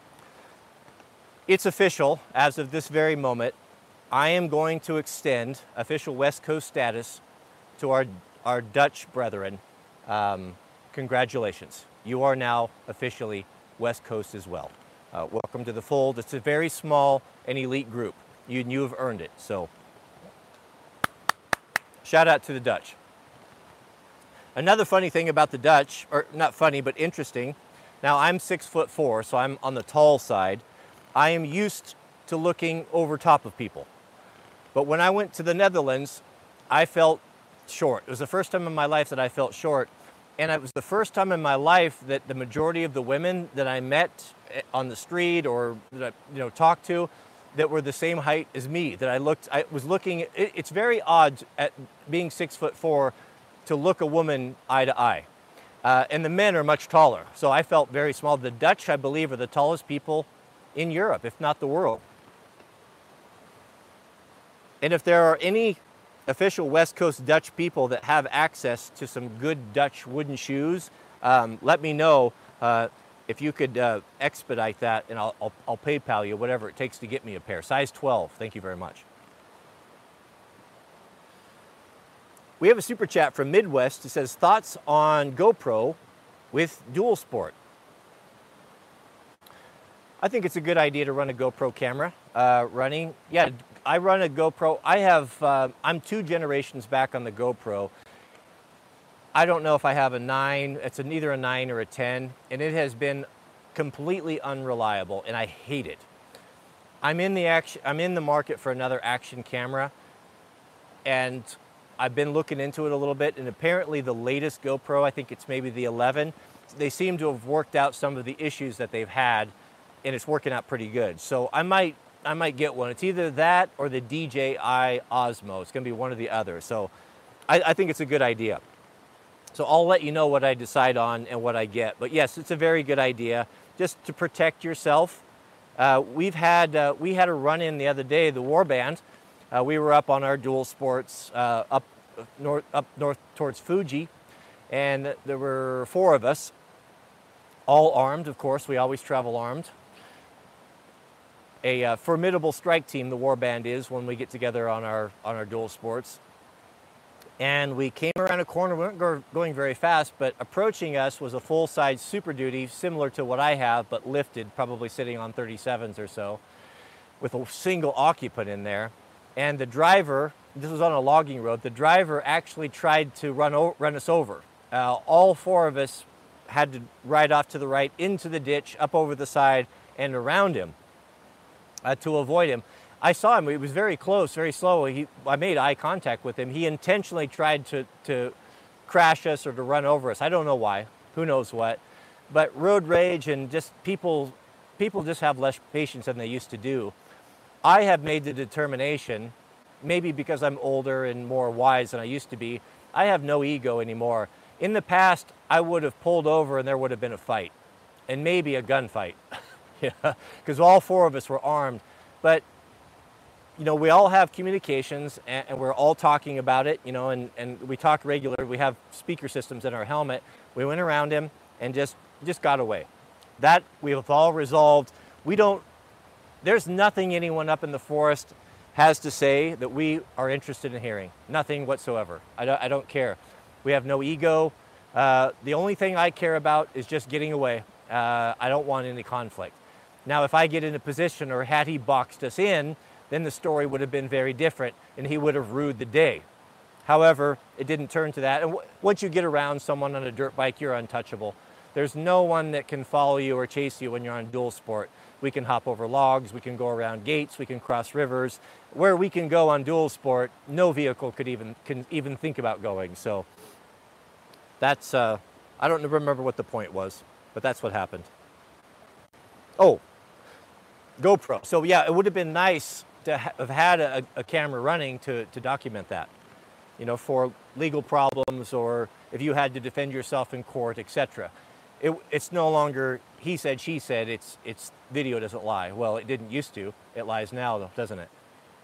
It's official as of this very moment. I am going to extend official West Coast status to our, our Dutch brethren. Um, congratulations. You are now officially West Coast as well. Uh, welcome to the fold. It's a very small and elite group. You, you have earned it. So shout out to the Dutch. Another funny thing about the Dutch, or not funny, but interesting. Now I'm six foot four, so I'm on the tall side. I am used to looking over top of people. But when I went to the Netherlands, I felt short. It was the first time in my life that I felt short. And it was the first time in my life that the majority of the women that I met on the street or that I, you know, talked to, that were the same height as me, that I looked, I was looking, it, it's very odd at being six foot four to look a woman eye to eye. Uh, and the men are much taller. So I felt very small. The Dutch, I believe, are the tallest people in Europe, if not the world. And if there are any official West Coast Dutch people that have access to some good Dutch wooden shoes, um, let me know uh, if you could uh, expedite that, and I'll, I'll, I'll PayPal you whatever it takes to get me a pair. Size twelve, thank you very much. We have a super chat from Midwest. It says, thoughts on GoPro with dual sport? I think it's a good idea to run a GoPro camera uh, running. Yeah, I run a GoPro. I have, uh, I'm two generations back on the GoPro. I don't know if I have a nine, it's a, neither a nine or a ten, and it has been completely unreliable, and I hate it. I'm in the action, I'm in the market for another action camera, and I've been looking into it a little bit, and apparently the latest GoPro, I think it's maybe the eleven, they seem to have worked out some of the issues that they've had, and it's working out pretty good. So I might, I might get one. It's either that or the D J I Osmo. It's gonna be one or the other. So I, I think it's a good idea. So I'll let you know what I decide on and what I get. But yes, it's a very good idea just to protect yourself. Uh, we've had, uh, we had a run-in the other day, the Warband. Uh, we were up on our dual sports uh, up, north, up north towards Fuji, and there were four of us, all armed, of course. We always travel armed. A uh, formidable strike team, the Warband is, when we get together on our, on our dual sports. And we came around a corner, we weren't go going very fast, but approaching us was a full-size Super Duty, similar to what I have, but lifted, probably sitting on thirty-sevens or so, with a single occupant in there. And the driver, this was on a logging road, the driver actually tried to run, o run us over. Uh, all four of us had to ride off to the right, into the ditch, up over the side, and around him uh, to avoid him. I saw him, he was very close, very slow. He, I made eye contact with him. He intentionally tried to, to crash us or to run over us. I don't know why, who knows what. But road rage and just people, people just have less patience than they used to do. I have made the determination, maybe because I'm older and more wise than I used to be, I have no ego anymore. In the past, I would have pulled over and there would have been a fight, and maybe a gunfight, because all four of us were armed. But you know, we all have communications, and, and we're all talking about it, you know, and, and we talk regular. We have speaker systems in our helmet. We went around him and just, just got away. That we have all resolved. We don't, there's nothing anyone up in the forest has to say that we are interested in hearing. Nothing whatsoever. I don't, I don't care. We have no ego. Uh, the only thing I care about is just getting away. Uh, I don't want any conflict. Now, if I get in a position, or had he boxed us in, then the story would have been very different and he would have rued the day. However, it didn't turn to that. And w once you get around someone on a dirt bike, you're untouchable. There's no one that can follow you or chase you when you're on dual sport. We can hop over logs, we can go around gates, we can cross rivers. Where we can go on dual sport, no vehicle could even, can even think about going. So that's, uh, I don't remember what the point was, but that's what happened. Oh, GoPro. So yeah, it would have been nice to ha have had a, a camera running to, to document that, you know, for legal problems, or if you had to defend yourself in court, et cetera. It, it's no longer he said, she said, it's, it's video doesn't lie. Well, it didn't used to. It lies now, though, doesn't it?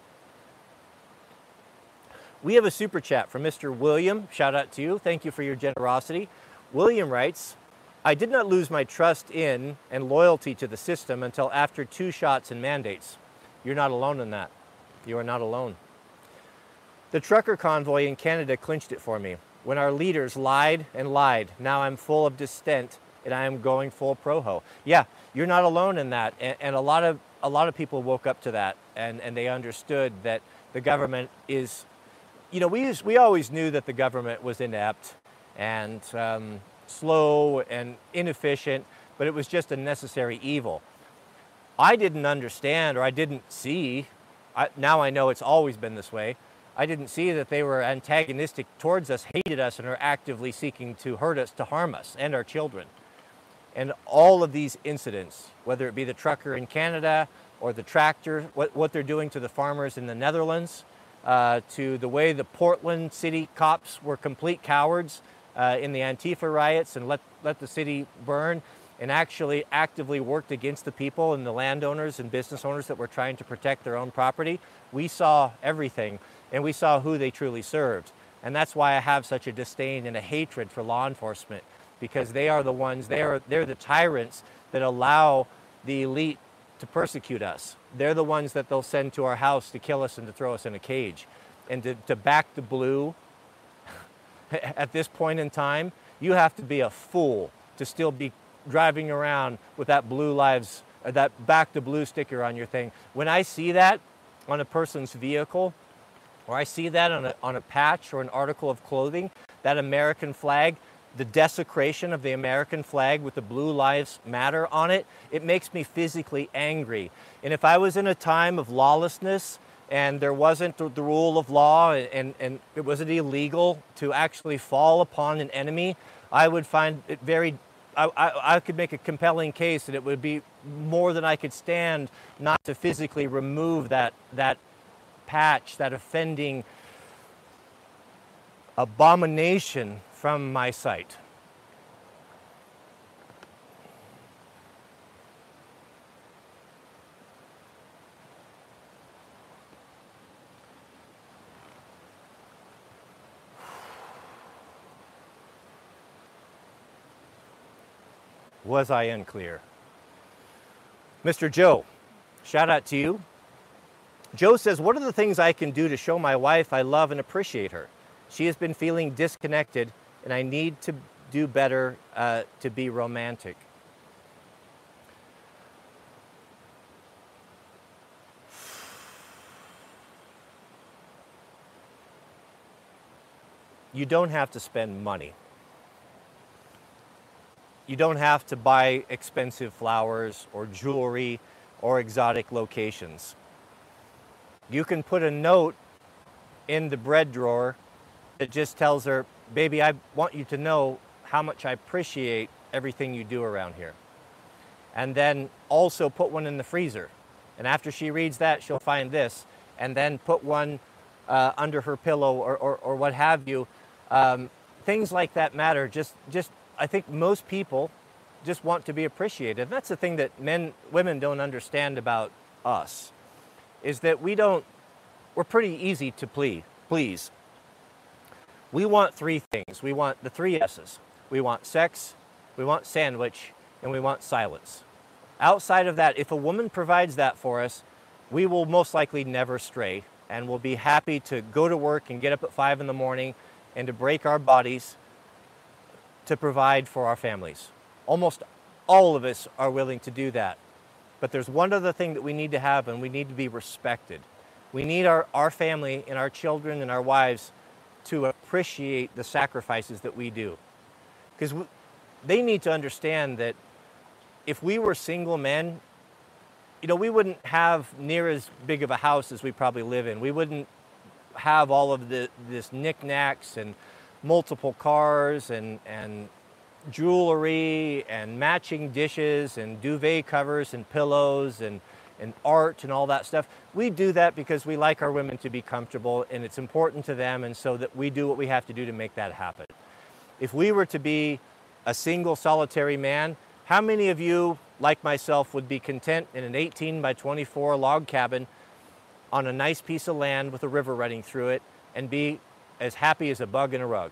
We have a super chat from Mister William. Shout out to you. Thank you for your generosity. William writes, I did not lose my trust in and loyalty to the system until after two shots and mandates. You're not alone in that. You are not alone. The trucker convoy in Canada clinched it for me. When our leaders lied and lied, now I'm full of dissent and I am going full proho. Yeah, you're not alone in that. And, and a lot of a lot of people woke up to that, and, and they understood that the government is, you know, we used, we always knew that the government was inept and um, slow and inefficient, but it was just a necessary evil. I didn't understand, or I didn't see, I, now I know it's always been this way, I didn't see that they were antagonistic towards us, hated us, and are actively seeking to hurt us, to harm us and our children. And all of these incidents, whether it be the trucker in Canada or the tractor, what, what they're doing to the farmers in the Netherlands, uh, to the way the Portland city cops were complete cowards uh, in the Antifa riots and let, let the city burn, and actually actively worked against the people and the landowners and business owners that were trying to protect their own property. We saw everything, and we saw who they truly served. And that's why I have such a disdain and a hatred for law enforcement, because they are the ones, they are, they're the tyrants that allow the elite to persecute us. They're the ones that they'll send to our house to kill us and to throw us in a cage. And to, to back the blue at this point in time, you have to be a fool to still be driving around with that blue lives, uh, that back the blue sticker on your thing. When I see that on a person's vehicle, or I see that on a, on a patch or an article of clothing, that American flag, the desecration of the American flag with the blue lives matter on it, it makes me physically angry. And if I was in a time of lawlessness and there wasn't the rule of law, and, and it wasn't illegal to actually fall upon an enemy, I would find it very I, I, I could make a compelling case that it would be more than I could stand not to physically remove that, that patch, that offending abomination from my sight. Was I unclear? Mister Joe, shout out to you. Joe says, what are the things I can do to show my wife I love and appreciate her? She has been feeling disconnected, and I need to do better uh, to be romantic. You don't have to spend money. You don't have to buy expensive flowers or jewelry or exotic locations. You can put a note in the bread drawer that just tells her, baby, I want you to know how much I appreciate everything you do around here. and then also put one in the freezer. And after she reads that, she'll find this, and then put one uh, under her pillow or, or, or what have you. Um, things like that matter. Just, just, I think most people just want to be appreciated. And that's the thing that men, women don't understand about us, is that we don't, we're pretty easy to please. please. We want three things. We want the three S's. We want sex, we want sandwich, and we want silence. Outside of that, if a woman provides that for us, we will most likely never stray, and we'll be happy to go to work and get up at five in the morning and to break our bodies to provide for our families. Almost all of us are willing to do that. But there's one other thing that we need to have, and we need to be respected. We need our, our family and our children and our wives to appreciate the sacrifices that we do. Because they need to understand that if we were single men, you know, we wouldn't have near as big of a house as we probably live in. We wouldn't have all of the this knickknacks and multiple cars and, and jewelry and matching dishes and duvet covers and pillows and, and art and all that stuff. We do that because we like our women to be comfortable, and it's important to them, and so that we do what we have to do to make that happen. If we were to be a single solitary man, how many of you, like myself, would be content in an eighteen by twenty-four log cabin on a nice piece of land with a river running through it and be as happy as a bug in a rug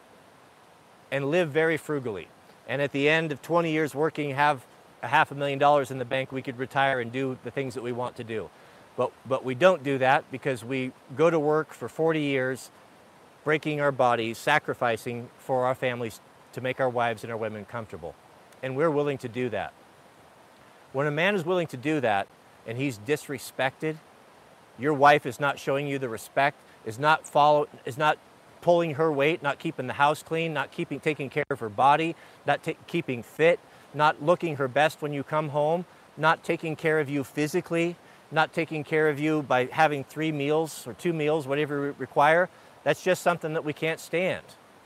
and live very frugally? And at the end of twenty years working, have a half a million dollars in the bank, we could retire and do the things that we want to do. But, but we don't do that because we go to work for forty years, breaking our bodies, sacrificing for our families to make our wives and our women comfortable. And we're willing to do that. When a man is willing to do that and he's disrespected, your wife is not showing you the respect, is not follow, is not pulling her weight, not keeping the house clean, not keeping taking care of her body, not keeping fit, not looking her best when you come home, not taking care of you physically, not taking care of you by having three meals or two meals, whatever you require, that's just something that we can't stand.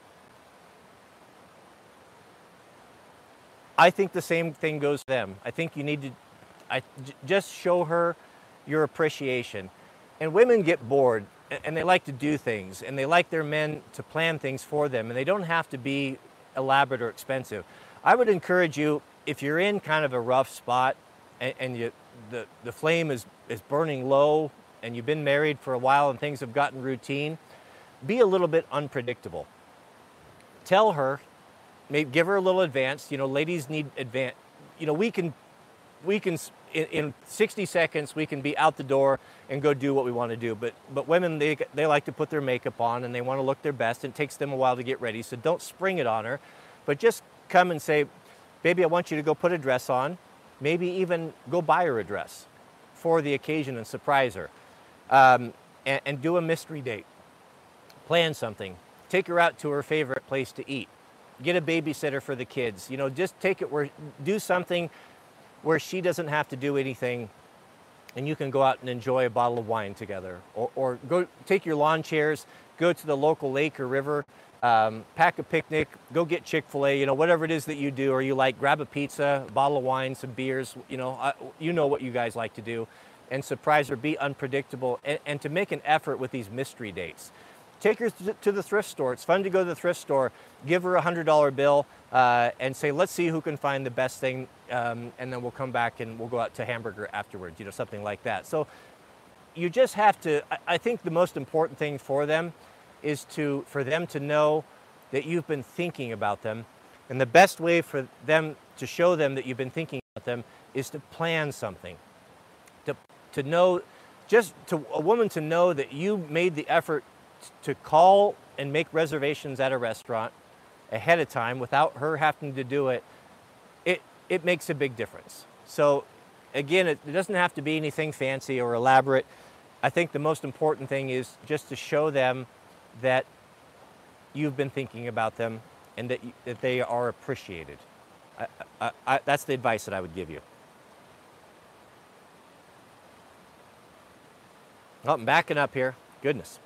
I think the same thing goes to them. I think you need to I, j just show her your appreciation. And women get bored, and they like to do things, and they like their men to plan things for them, and they don't have to be elaborate or expensive. I would encourage you, if you're in kind of a rough spot and, and you, the, the flame is, is burning low and you've been married for a while and things have gotten routine, be a little bit unpredictable. Tell her, maybe give her a little advance. You know, ladies need advance. You know, we can, we can in, in sixty seconds, we can be out the door and go do what we want to do. But, but women, they, they like to put their makeup on and they want to look their best, and it takes them a while to get ready. So don't spring it on her, but just come and say, baby, I want you to go put a dress on. Maybe even go buy her a dress for the occasion and surprise her. Um, and, and do a mystery date. Plan something. Take her out to her favorite place to eat. Get a babysitter for the kids. You know, just take it where, do something where she doesn't have to do anything, and you can go out and enjoy a bottle of wine together. Or, or go take your lawn chairs, go to the local lake or river, um, pack a picnic, go get Chick-fil-A, you know, whatever it is that you do, or you like, grab a pizza, a bottle of wine, some beers, you know, uh, you know what you guys like to do, and surprise her, be unpredictable, and, and to make an effort with these mystery dates. Take her to the thrift store. It's fun to go to the thrift store. Give her a hundred dollar bill uh, and say, let's see who can find the best thing, um, and then we'll come back and we'll go out to hamburger afterwards, you know, something like that. So you just have to, I, I think the most important thing for them is to, for them to know that you've been thinking about them. And the best way for them to show them that you've been thinking about them is to plan something. To, to know, just to a woman to know that you made the effort to call and make reservations at a restaurant ahead of time without her having to do it, it, it makes a big difference. So again, it, it doesn't have to be anything fancy or elaborate. I think the most important thing is just to show them that you've been thinking about them and that, you, that they are appreciated. I, I, I, that's the advice that I would give you. Oh, I'm backing up here. Goodness.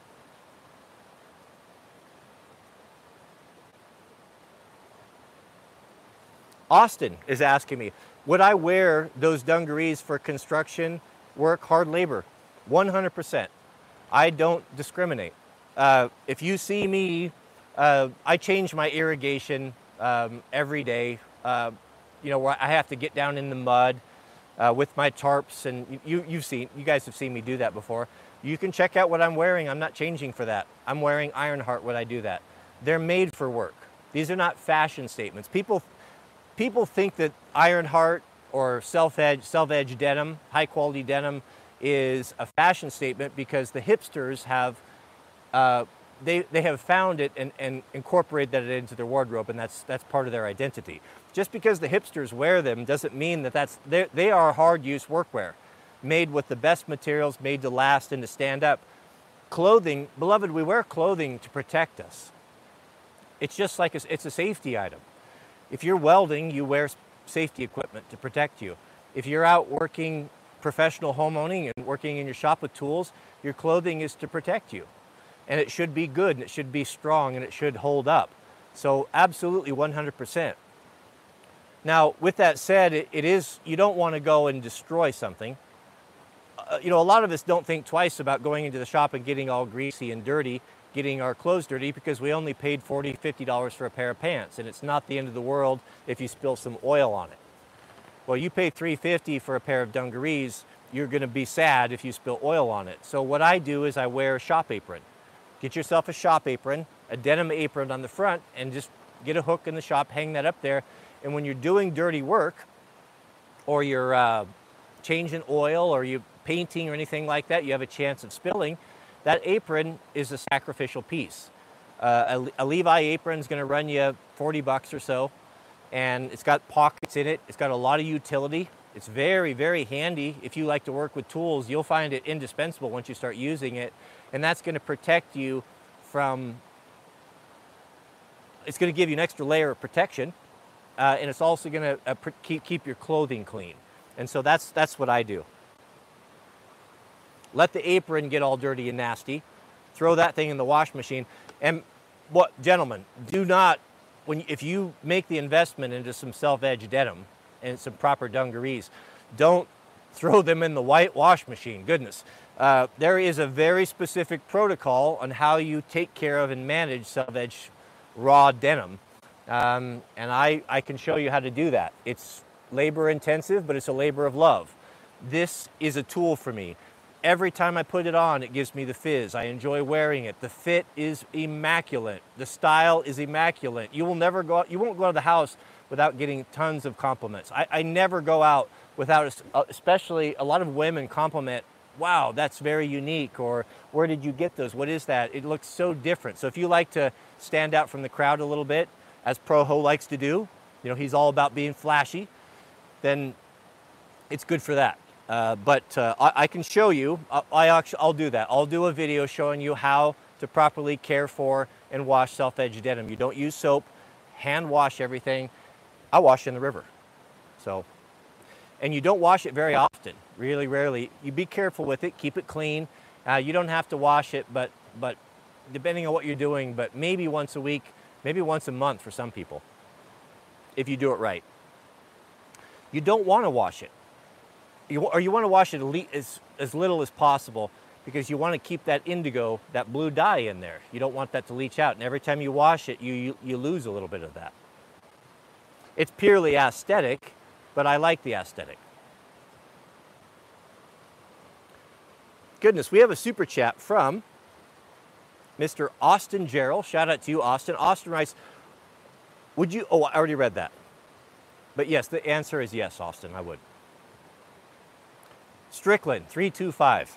Austin is asking me, Would I wear those dungarees for construction work, hard labor? one hundred percent. I don't discriminate. Uh, if you see me, uh, I change my irrigation um, every day. Uh, you know, where I have to get down in the mud uh, with my tarps, and you, you've seen, you guys have seen me do that before. You can check out what I'm wearing. I'm not changing for that. I'm wearing Ironheart when I do that. They're made for work. These are not fashion statements. People, people think that Ironheart or self-edge, self-edge denim, high quality denim, is a fashion statement because the hipsters have, uh, they, they have found it and, and incorporated that into their wardrobe, and that's, that's part of their identity. Just because the hipsters wear them doesn't mean that that's, they are hard use workwear, made with the best materials, made to last and to stand up. Clothing, beloved, we wear clothing to protect us. It's just like a, it's a safety item. If you're welding, you wear safety equipment to protect you. If you're out working professional homeowning and working in your shop with tools, your clothing is to protect you. And it should be good, and it should be strong, and it should hold up. So absolutely one hundred percent. Now, with that said, it, it is, you don't want to go and destroy something. Uh, you know, a lot of us don't think twice about going into the shop and getting all greasy and dirty, getting our clothes dirty, because we only paid forty, fifty dollars for a pair of pants, and it's not the end of the world if you spill some oil on it. Well, you pay three fifty for a pair of dungarees, you're going to be sad if you spill oil on it. So what I do is I wear a shop apron. Get yourself a shop apron, a denim apron on the front, and just get a hook in the shop, hang that up there. And when you're doing dirty work, or you're uh, changing oil, or you're painting or anything like that, you have a chance of spilling, that apron is a sacrificial piece. Uh, a, a Levi apron is going to run you forty bucks or so, and it's got pockets in it. It's got a lot of utility. It's very, very handy. If you like to work with tools, you'll find it indispensable once you start using it. And that's going to protect you from, it's going to give you an extra layer of protection. Uh, and it's also going to uh, keep, keep your clothing clean. And so that's, that's what I do. Let the apron get all dirty and nasty. Throw that thing in the wash machine. And what, gentlemen, do not, when, if you make the investment into some self-edge denim and some proper dungarees, don't throw them in the white wash machine. Goodness. Uh, there is a very specific protocol on how you take care of and manage self-edge raw denim. Um, and I, I can show you how to do that. It's labor intensive, but it's a labor of love. This is a tool for me. Every time I put it on, it gives me the fizz. I enjoy wearing it. The fit is immaculate. The style is immaculate. You will never go out, you won't go out of the house without getting tons of compliments. I, I never go out without, especially a lot of women compliment, wow, that's very unique, or where did you get those? What is that? It looks so different. So if you like to stand out from the crowd a little bit, as Proho likes to do, you know, he's all about being flashy, then it's good for that. Uh, but uh, I, I can show you, I, I actually, I'll do that. I'll do a video showing you how to properly care for and wash self-edge denim. You don't use soap, hand wash everything. I wash in the river. So, and you don't wash it very often, really rarely. You be careful with it, keep it clean. Uh, you don't have to wash it, but, but depending on what you're doing, but maybe once a week, maybe once a month for some people, if you do it right. You don't want to wash it. You, or you want to wash it as, as little as possible, because you want to keep that indigo, that blue dye in there. You don't want that to leach out. And every time you wash it, you, you, you lose a little bit of that. It's purely aesthetic, but I like the aesthetic. Goodness, we have a super chat from Mister Austin Gerald. Shout out to you, Austin. Austin writes, would you, oh, I already read that. But yes, the answer is yes, Austin, I would. Strickland, three two five.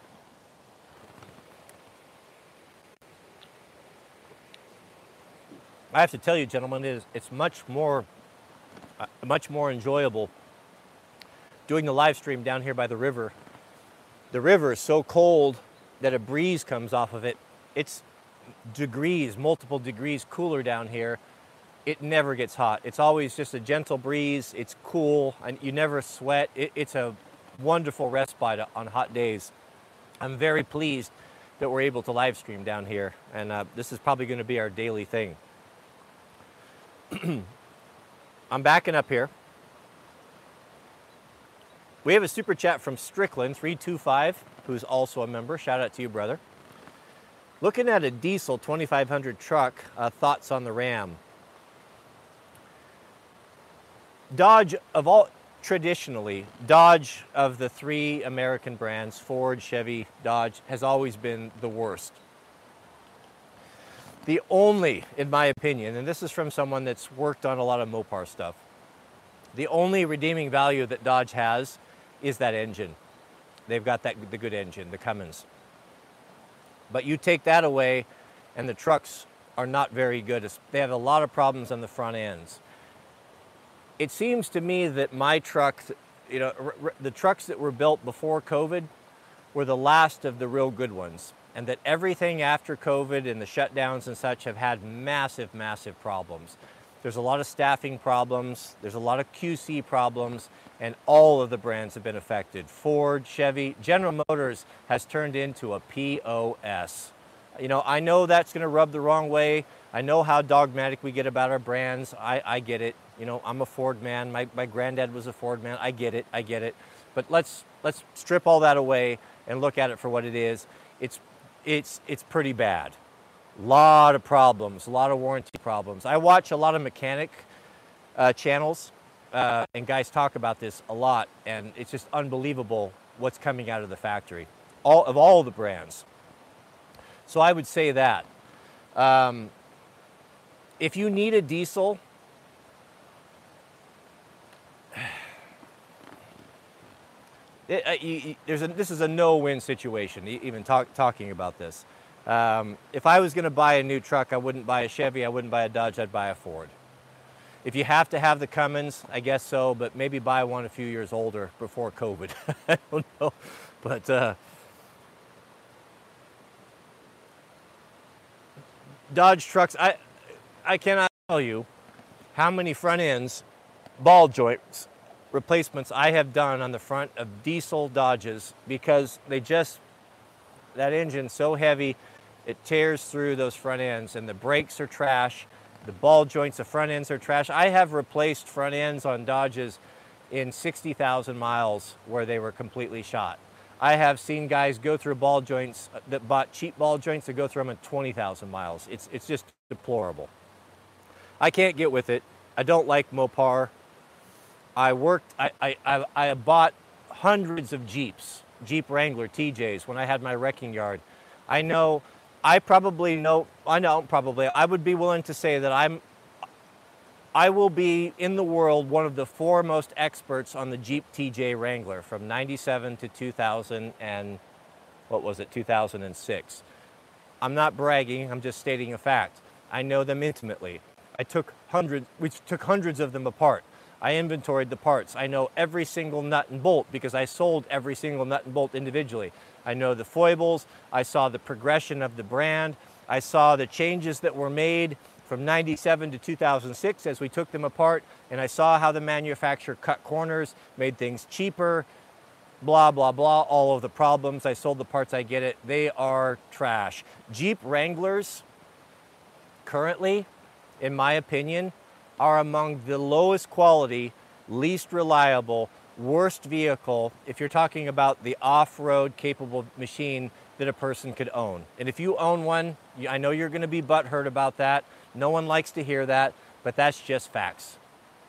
I have to tell you, gentlemen, it is, it's much more, uh, much more enjoyable doing the live stream down here by the river. The river is so cold that a breeze comes off of it. It's degrees, multiple degrees cooler down here. It never gets hot. It's always just a gentle breeze. It's cool, and you never sweat. It, it's a wonderful respite on hot days. I'm very pleased that we're able to live stream down here, and uh, this is probably going to be our daily thing. I'm backing up here. We have a super chat from Strickland three two five, who's also a member. Shout out to you, brother. Looking at a diesel twenty-five hundred truck, uh, thoughts on the Ram? Dodge, of all, traditionally, Dodge of the three American brands, Ford, Chevy, Dodge, has always been the worst. The only, in my opinion, and this is from someone that's worked on a lot of Mopar stuff, the only redeeming value that Dodge has is that engine. They've got that the good engine, the Cummins. But you take that away, and the trucks are not very good. They have a lot of problems on the front ends. It seems to me that my trucks, you know, the trucks that were built before COVID were the last of the real good ones, and that everything after COVID and the shutdowns and such have had massive, massive problems. There's a lot of staffing problems, there's a lot of Q C problems, and all of the brands have been affected. Ford, Chevy, General Motors has turned into a P O S. You know, I know that's gonna rub the wrong way. I know how dogmatic we get about our brands. I, I get it. You know, I'm a Ford man. My, my granddad was a Ford man. I get it, I get it. But let's, let's strip all that away and look at it for what it is. It's, it's, it's pretty bad. A lot of problems, a lot of warranty problems. I watch a lot of mechanic uh, channels, uh, and guys talk about this a lot, and it's just unbelievable what's coming out of the factory, all of all the brands. So I would say that. Um, if you need a diesel, it, uh, you, there's a, this is a no-win situation, even talk, talking about this. Um, if I was going to buy a new truck, I wouldn't buy a Chevy, I wouldn't buy a Dodge, I'd buy a Ford. If you have to have the Cummins, I guess so, but maybe buy one a few years older before COVID. I don't know, but uh, Dodge trucks, I, I cannot tell you how many front ends, ball joints, replacements I have done on the front of diesel Dodges because they just, that engine's so heavy, it tears through those front ends, and the brakes are trash. The ball joints, the front ends are trash. I have replaced front ends on Dodges in sixty thousand miles where they were completely shot. I have seen guys go through ball joints that bought cheap ball joints that go through them at twenty thousand miles. It's, it's just deplorable. I can't get with it. I don't like Mopar. I worked, I, I, I, I bought hundreds of Jeeps, Jeep Wrangler T Js when I had my wrecking yard. I know, I probably know, I know probably, I would be willing to say that I'm, I will be in the world one of the foremost experts on the Jeep T J Wrangler from ninety-seven to two thousand and, what was it, two thousand six. I'm not bragging, I'm just stating a fact. I know them intimately. I took hundreds, we took hundreds of them apart. I inventoried the parts. I know every single nut and bolt because I sold every single nut and bolt individually. I know the foibles. I saw the progression of the brand. I saw the changes that were made from ninety-seven to two thousand six as we took them apart, and I saw how the manufacturer cut corners, made things cheaper, blah, blah, blah, all of the problems. I sold the parts, I get it. They are trash. Jeep Wranglers, currently, in my opinion, are among the lowest quality, least reliable, worst vehicle, if you're talking about the off-road capable machine that a person could own. And if you own one, I know you're gonna be butthurt about that. No one likes to hear that, but that's just facts.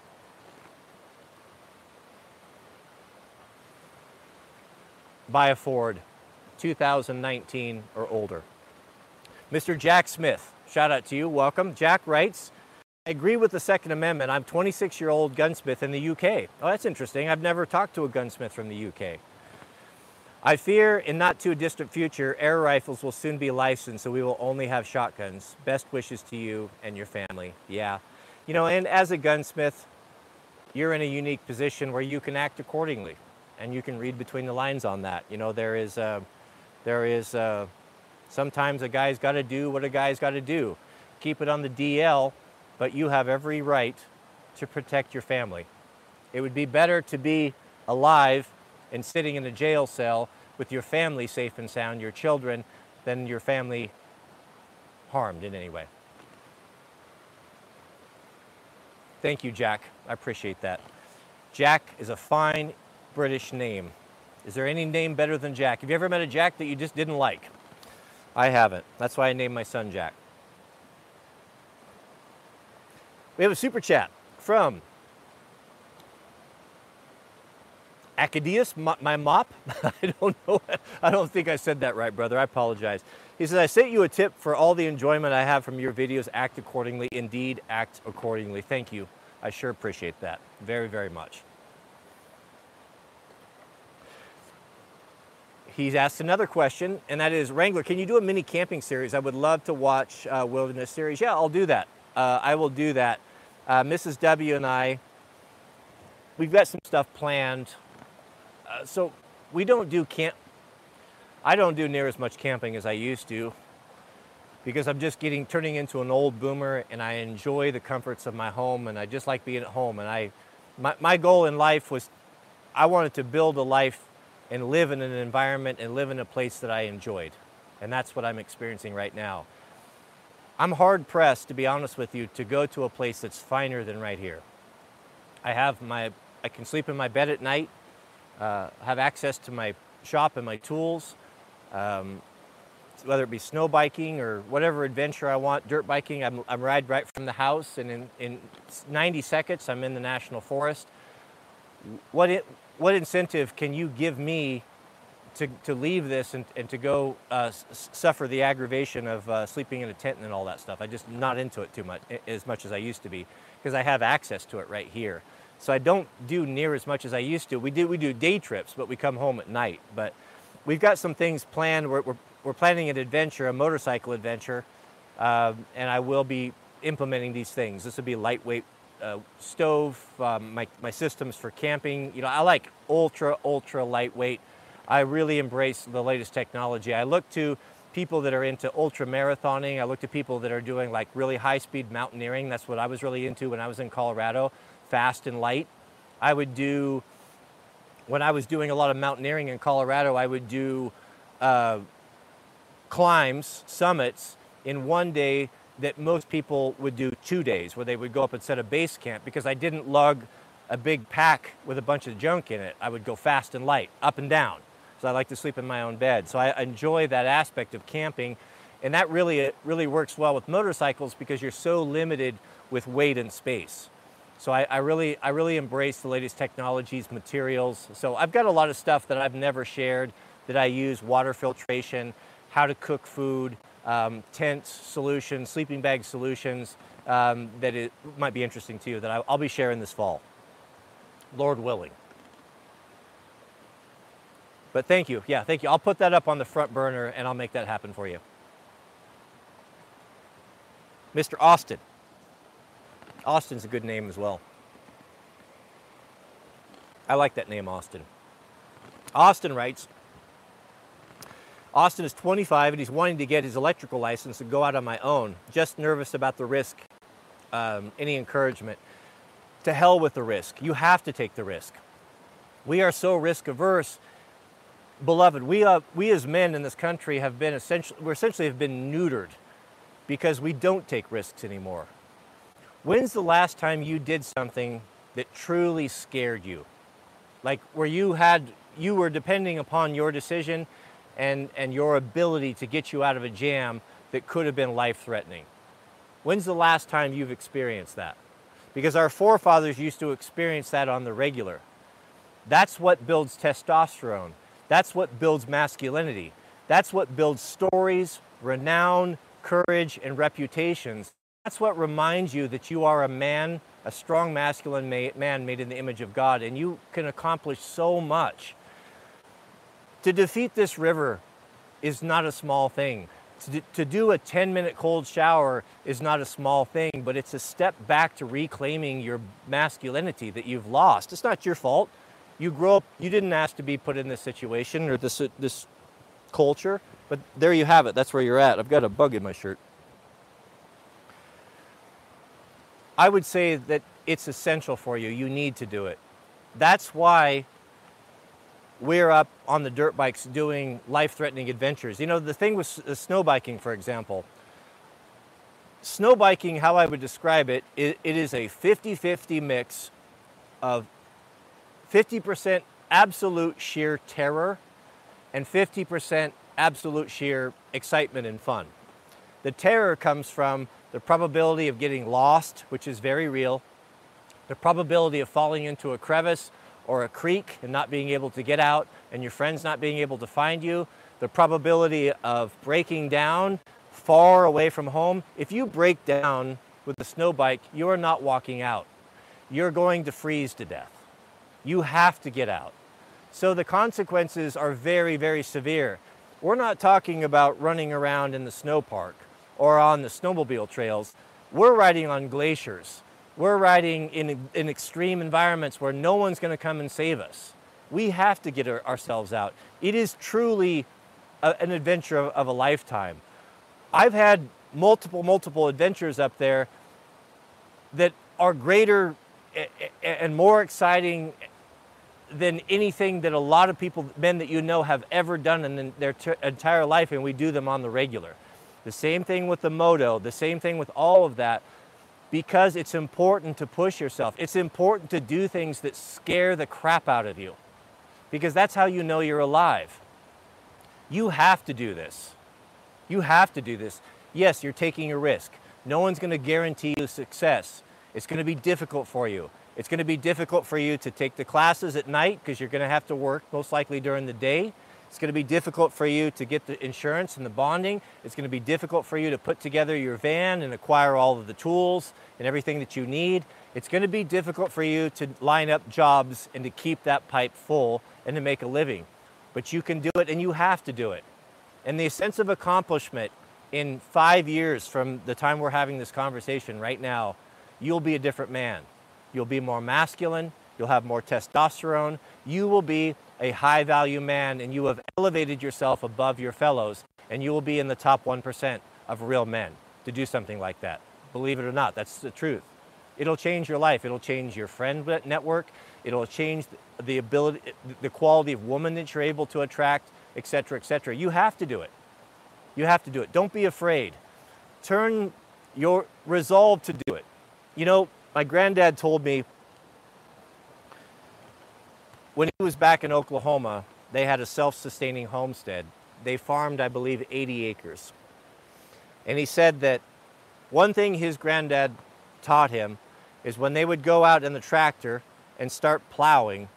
Buy a Ford, two thousand nineteen or older. Mister Jack Smith, shout out to you, welcome. Jack writes, I agree with the Second Amendment. I'm a twenty-six-year-old gunsmith in the U K. Oh, that's interesting. I've never talked to a gunsmith from the U K. I fear in not too distant future, air rifles will soon be licensed, so we will only have shotguns. Best wishes to you and your family. Yeah. You know, and as a gunsmith, you're in a unique position where you can act accordingly, and you can read between the lines on that. You know, there is, uh, there is, uh, sometimes a guy's got to do what a guy's got to do. Keep it on the D L, but you have every right to protect your family. It would be better to be alive and sitting in a jail cell with your family safe and sound, your children, than your family harmed in any way. Thank you, Jack. I appreciate that. Jack is a fine, British name. Is there any name better than Jack? Have you ever met a Jack that you just didn't like? I haven't. That's why I named my son Jack. We have a super chat from Acadius, my mop. I don't know. I don't think I said that right, brother. I apologize. He says, I sent you a tip for all the enjoyment I have from your videos. Act accordingly. Indeed, act accordingly. Thank you. I sure appreciate that very, very much. He's asked another question, and that is, Wrangler, can you do a mini camping series? I would love to watch uh, Wilderness Series. Yeah, I'll do that. Uh, I will do that. Uh, Missus W and I, we've got some stuff planned. Uh, so we don't do camp. I don't do near as much camping as I used to because I'm just getting, turning into an old boomer, and I enjoy the comforts of my home, and I just like being at home. And I, my, my goal in life was, I wanted to build a life and live in an environment and live in a place that I enjoyed. And that's what I'm experiencing right now. I'm hard pressed, to be honest with you, to go to a place that's finer than right here. I have my, I can sleep in my bed at night, uh, have access to my shop and my tools, um, whether it be snow biking or whatever adventure I want, dirt biking. I'm, I'm ride right from the house, and in, in ninety seconds, I'm in the National Forest. What it, What incentive can you give me to, to leave this and, and to go uh, suffer the aggravation of uh, sleeping in a tent and all that stuff? I'm just not into it too much, as much as I used to be, because I have access to it right here. So I don't do near as much as I used to. We do, we do day trips, but we come home at night. But we've got some things planned. We're, we're, we're planning an adventure, a motorcycle adventure, uh, and I will be implementing these things. This will be lightweight Uh, stove, um, my, my systems for camping. You know, I like ultra, ultra lightweight. I really embrace the latest technology. I look to people that are into ultra marathoning. I look to people that are doing like really high speed mountaineering. That's what I was really into when I was in Colorado, fast and light. I would do, when I was doing a lot of mountaineering in Colorado, I would do uh, climbs, summits in one day that most people would do two days, where they would go up and set a base camp, because I didn't lug a big pack with a bunch of junk in it. I would go fast and light, up and down. So I like to sleep in my own bed. So I enjoy that aspect of camping. And that really, it really works well with motorcycles, because you're so limited with weight and space. So I, I really, I really embrace the latest technologies, materials. So I've got a lot of stuff that I've never shared that I use: water filtration, how to cook food, Um, tents solutions, sleeping bag solutions, um, that it might be interesting to you, that I, I'll be sharing this fall, Lord willing. But thank you. Yeah, thank you. I'll put that up on the front burner, and I'll make that happen for you. Mister Austin. Austin's a good name as well. I like that name, Austin. Austin writes, Austin is twenty-five, and he's wanting to get his electrical license and go out on my own. Just nervous about the risk. Um, any encouragement? To hell with the risk. You have to take the risk. We are so risk averse, beloved. We uh, we as men in this country have been essentially, we're essentially have been neutered, because we don't take risks anymore. When's the last time you did something that truly scared you? Like where you had, you were depending upon your decision and, and your ability to get you out of a jam that could have been life-threatening. When's the last time you've experienced that? Because our forefathers used to experience that on the regular. That's what builds testosterone. That's what builds masculinity. That's what builds stories, renown, courage, and reputations. That's what reminds you that you are a man, a strong masculine man made in the image of God, and you can accomplish so much. To defeat this river is not a small thing. To, to do a ten minute cold shower is not a small thing, but it's a step back to reclaiming your masculinity that you've lost. It's not your fault. You grow up, you didn't ask to be put in this situation or this, this culture, but there you have it. That's where you're at. I've got a bug in my shirt. I would say that it's essential for you. You need to do it. That's why we're up on the dirt bikes doing life-threatening adventures. You know, the thing with uh, snow biking, for example, snow biking, how I would describe it, it, it is a fifty fifty mix of fifty percent absolute sheer terror and fifty percent absolute sheer excitement and fun. The terror comes from the probability of getting lost, which is very real, the probability of falling into a crevice or a creek and not being able to get out and your friends not being able to find you, the probability of breaking down far away from home. If you break down with a snow bike, you are not walking out. You're going to freeze to death. You have to get out. So the consequences are very, very severe. We're not talking about running around in the snow park or on the snowmobile trails. We're riding on glaciers. We're riding in, in extreme environments where no one's going to come and save us. We have to get our, ourselves out. It is truly a, an adventure of, of a lifetime. I've had multiple, multiple adventures up there that are greater and more exciting than anything that a lot of people, men that you know, have ever done in their entire life, and we do them on the regular. The same thing with the moto, the same thing with all of that, because it's important to push yourself. It's important to do things that scare the crap out of you, because that's how you know you're alive. You have to do this. You have to do this. Yes, you're taking a risk. No one's going to guarantee you success. It's going to be difficult for you. It's going to be difficult for you to take the classes at night because you're going to have to work most likely during the day. It's going to be difficult for you to get the insurance and the bonding. It's going to be difficult for you to put together your van and acquire all of the tools and everything that you need. It's going to be difficult for you to line up jobs and to keep that pipe full and to make a living. But you can do it, and you have to do it. And the sense of accomplishment in five years from the time we're having this conversation right now, you'll be a different man. You'll be more masculine, you'll have more testosterone, you will be a high value man, and you have elevated yourself above your fellows, and you will be in the top one percent of real men to do something like that. Believe it or not, that's the truth. It'll change your life, it'll change your friend network, it'll change the ability, the quality of woman that you're able to attract, et cetera, et cetera. You have to do it. You have to do it. Don't be afraid. Turn your resolve to do it. You know, my granddad told me when he was back in Oklahoma, they had a self-sustaining homestead. They farmed, I believe, eighty acres. And he said that one thing his granddad taught him is when they would go out in the tractor and start plowing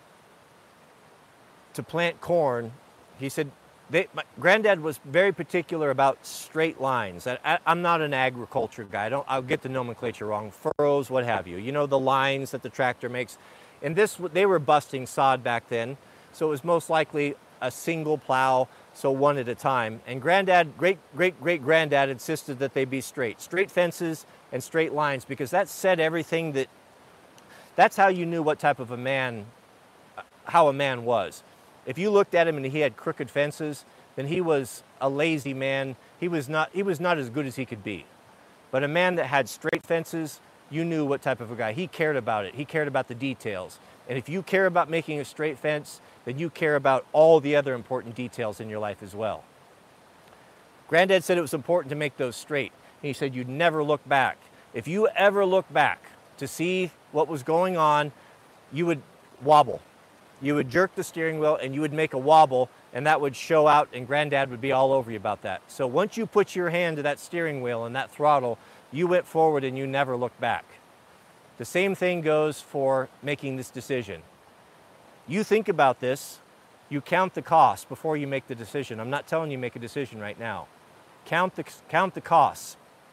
to plant corn, he said, They, my granddad was very particular about straight lines. I, I, I'm not an agriculture guy. I don't, I'll get the nomenclature wrong. Furrows, what have you. You know, the lines that the tractor makes. And this, they were busting sod back then, so it was most likely a single plow, so one at a time. And granddad, great, great, great granddad insisted that they be straight. Straight fences and straight lines, because that said everything that, that's how you knew what type of a man, how a man was. If you looked at him and he had crooked fences, then he was a lazy man. He was not, he was not as good as he could be. But a man that had straight fences, you knew what type of a guy. He cared about it. He cared about the details. And if you care about making a straight fence, then you care about all the other important details in your life as well. Granddad said it was important to make those straight. And he said you'd never look back. If you ever look back to see what was going on, you would wobble. You would jerk the steering wheel and you would make a wobble, and that would show out, and Granddad would be all over you about that. So once you put your hand to that steering wheel and that throttle, you went forward and you never looked back. The same thing goes for making this decision. You think about this, you count the cost before you make the decision. I'm not telling you make a decision right now. Count the, count the costs.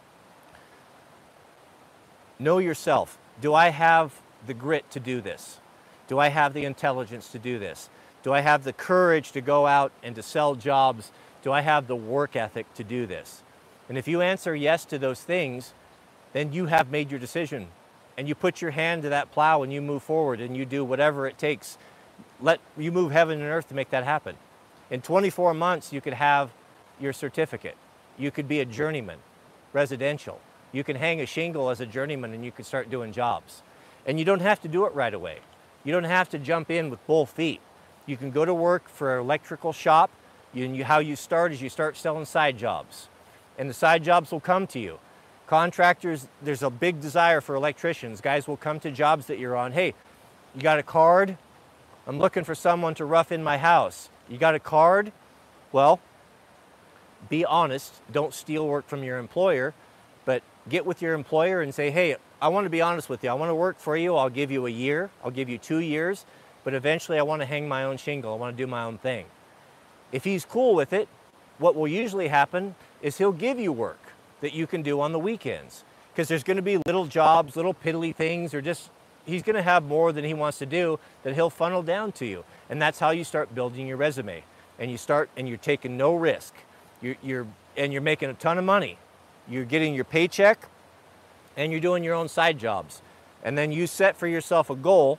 Know yourself. Do I have the grit to do this? Do I have the intelligence to do this? Do I have the courage to go out and to sell jobs? Do I have the work ethic to do this? And if you answer yes to those things, then you have made your decision. And you put your hand to that plow and you move forward and you do whatever it takes. Let you move heaven and earth to make that happen. In twenty-four months, you could have your certificate. You could be a journeyman, residential. You can hang a shingle as a journeyman and you could start doing jobs. And you don't have to do it right away. You don't have to jump in with both feet. You can go to work for an electrical shop. You, and you, how you start is you start selling side jobs. And the side jobs will come to you. Contractors, there's a big desire for electricians. Guys will come to jobs that you're on. Hey, you got a card? I'm looking for someone to rough in my house. You got a card? Well, be honest. Don't steal work from your employer, but get with your employer and say, hey, I want to be honest with you. I want to work for you. I'll give you a year. I'll give you two years, but eventually I want to hang my own shingle. I want to do my own thing. If he's cool with it, what will usually happen is he'll give you work that you can do on the weekends, because there's going to be little jobs, little piddly things, or just he's going to have more than he wants to do that he'll funnel down to you. And that's how you start building your resume. And you start, and you're taking no risk. You're, you're, and you're making a ton of money. You're getting your paycheck, and you're doing your own side jobs. And then you set for yourself a goal.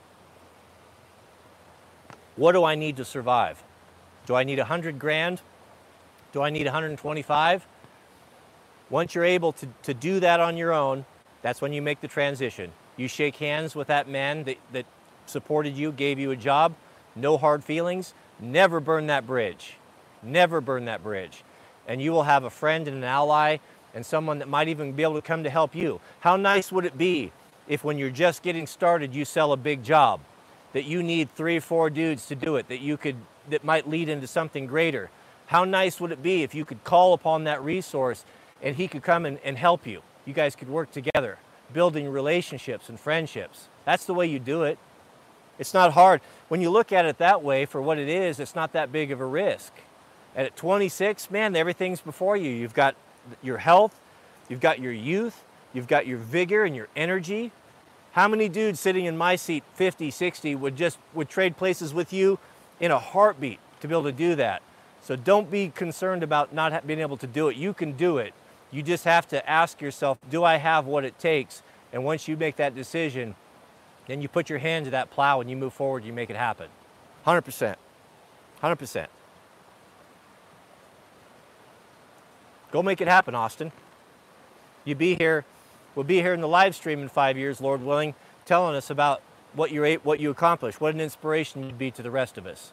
What do I need to survive? Do I need a hundred grand? Do I need one hundred twenty-five? Once you're able to, to do that on your own, that's when you make the transition. You shake hands with that man that, that supported you, gave you a job, no hard feelings, never burn that bridge. Never burn that bridge. And you will have a friend and an ally and someone that might even be able to come to help you. How nice would it be if when you're just getting started, you sell a big job, that you need three or four dudes to do it, that you could, that might lead into something greater? How nice would it be if you could call upon that resource and he could come and, and help you? You guys could work together, building relationships and friendships. That's the way you do it. It's not hard. When you look at it that way, for what it is, it's not that big of a risk. And at twenty-six, man, everything's before you. You've got your health, you've got your youth, you've got your vigor and your energy. How many dudes sitting in my seat, fifty, sixty, would just would trade places with you in a heartbeat to be able to do that? So don't be concerned about not being able to do it. You can do it. You just have to ask yourself, do I have what it takes? And once you make that decision, then you put your hand to that plow and you move forward, you make it happen. one hundred percent. one hundred percent. Go make it happen, Austin. You be here, we'll be here in the live stream in five years, Lord willing, telling us about what you what you accomplished, what an inspiration you'd be to the rest of us.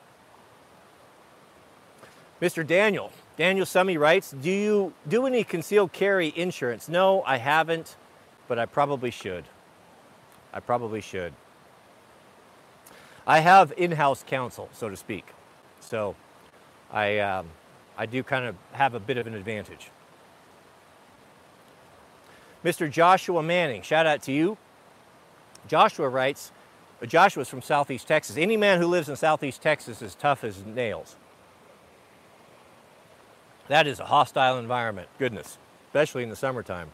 Mister Daniel, Daniel Summy writes, do you do any concealed carry insurance? No, I haven't, but I probably should. I probably should. I have in-house counsel, so to speak. So I, um, I do kind of have a bit of an advantage. Mister Joshua Manning, shout out to you. Joshua writes, Joshua's from Southeast Texas. Any man who lives in Southeast Texas is tough as nails. That is a hostile environment, goodness, especially in the summertime.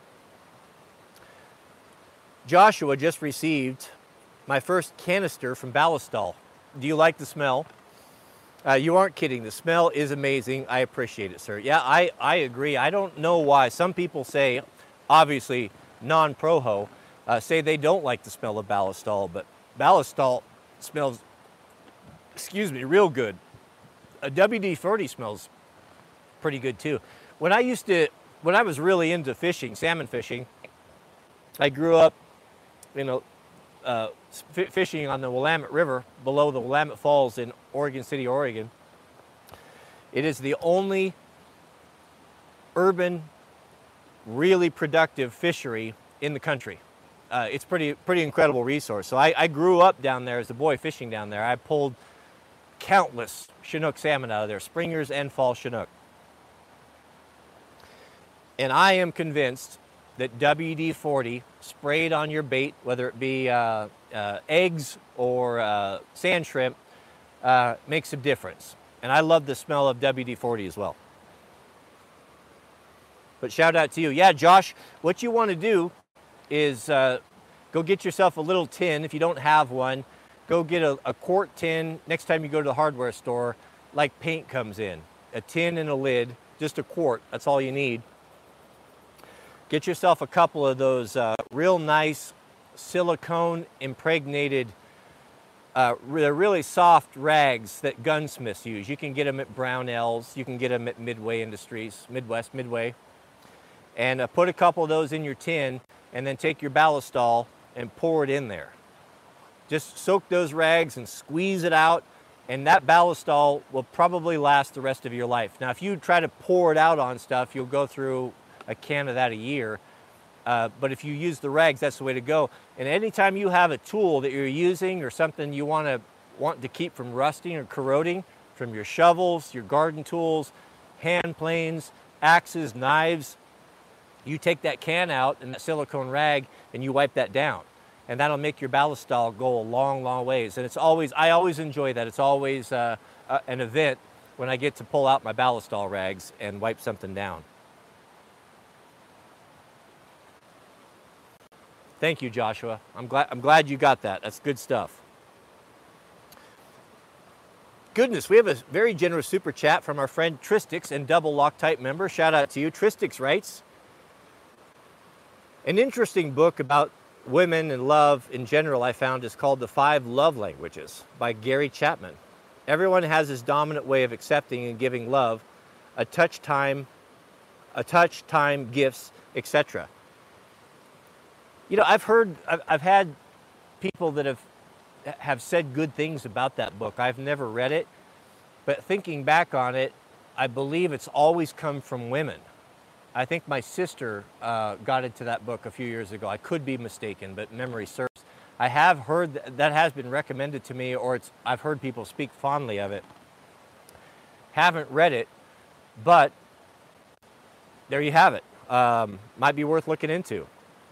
Joshua just received my first canister from Ballistol. Do you like the smell? Uh, you aren't kidding. The smell is amazing. I appreciate it, sir. Yeah, I, I agree. I don't know why. Some people say, obviously non-proho, uh, say they don't like the smell of Ballistol, but Ballistol smells, excuse me, real good. A W D forty smells pretty good too. When I used to, when I was really into fishing, salmon fishing, I grew up, you know, uh, fishing on the Willamette River below the Willamette Falls in Oregon City, Oregon. It is the only urban, really productive fishery in the country. Uh, it's pretty, pretty incredible resource. So I, I grew up down there as a boy fishing down there. I pulled countless Chinook salmon out of there, springers and fall Chinook. And I am convinced that W D forty sprayed on your bait, whether it be uh, uh, eggs or uh, sand shrimp, uh, makes a difference. And I love the smell of W D forty as well. But shout out to you. Yeah, Josh, what you want to do is uh, go get yourself a little tin. If you don't have one, go get a, a quart tin next time you go to the hardware store, like paint comes in. A tin and a lid, just a quart, that's all you need. Get yourself a couple of those uh, real nice silicone impregnated, uh, they're really soft rags that gunsmiths use. You can get them at Brownells, you can get them at Midway Industries, Midwest, Midway. And uh, put a couple of those in your tin and then take your Ballistol and pour it in there. Just soak those rags and squeeze it out, and that Ballistol will probably last the rest of your life. Now, if you try to pour it out on stuff, you'll go through a can of that a year. Uh, but if you use the rags, that's the way to go. And anytime you have a tool that you're using or something you want to want to keep from rusting or corroding, from your shovels, your garden tools, hand planes, axes, knives, you take that can out and that silicone rag and you wipe that down. And that'll make your ballistol go a long, long ways. And it's always, I always enjoy that. It's always uh, uh, an event when I get to pull out my ballistol rags and wipe something down. Thank you, Joshua. I'm glad, I'm glad you got that. That's good stuff. Goodness, we have a very generous super chat from our friend Tristix and double Loctite member. Shout out to you. Tristix writes, an interesting book about women and love in general I found is called The Five Love Languages by Gary Chapman. Everyone has his dominant way of accepting and giving love, a touch time, a touch time, gifts, et cetera. You know, I've heard, I've, I've had people that have have said good things about that book. I've never read it, but thinking back on it, I believe it's always come from women. I think my sister uh, got into that book a few years ago. I could be mistaken, but memory serves. I have heard that, that has been recommended to me, or it's, I've heard people speak fondly of it. Haven't read it, but there you have it. Um, might be worth looking into.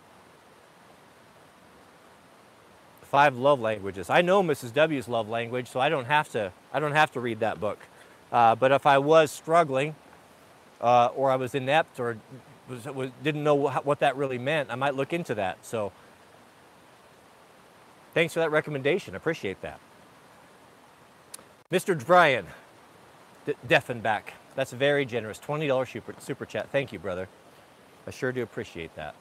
Five love languages. I know Missus W's love language, so I don't have to. I don't have to read that book. Uh, but if I was struggling, uh, or I was inept, or was, was, didn't know what, what that really meant, I might look into that. So, thanks for that recommendation. I appreciate that. Mister Brian Deffenbach. That's very generous. twenty dollar super, super chat. Thank you, brother. I sure do appreciate that.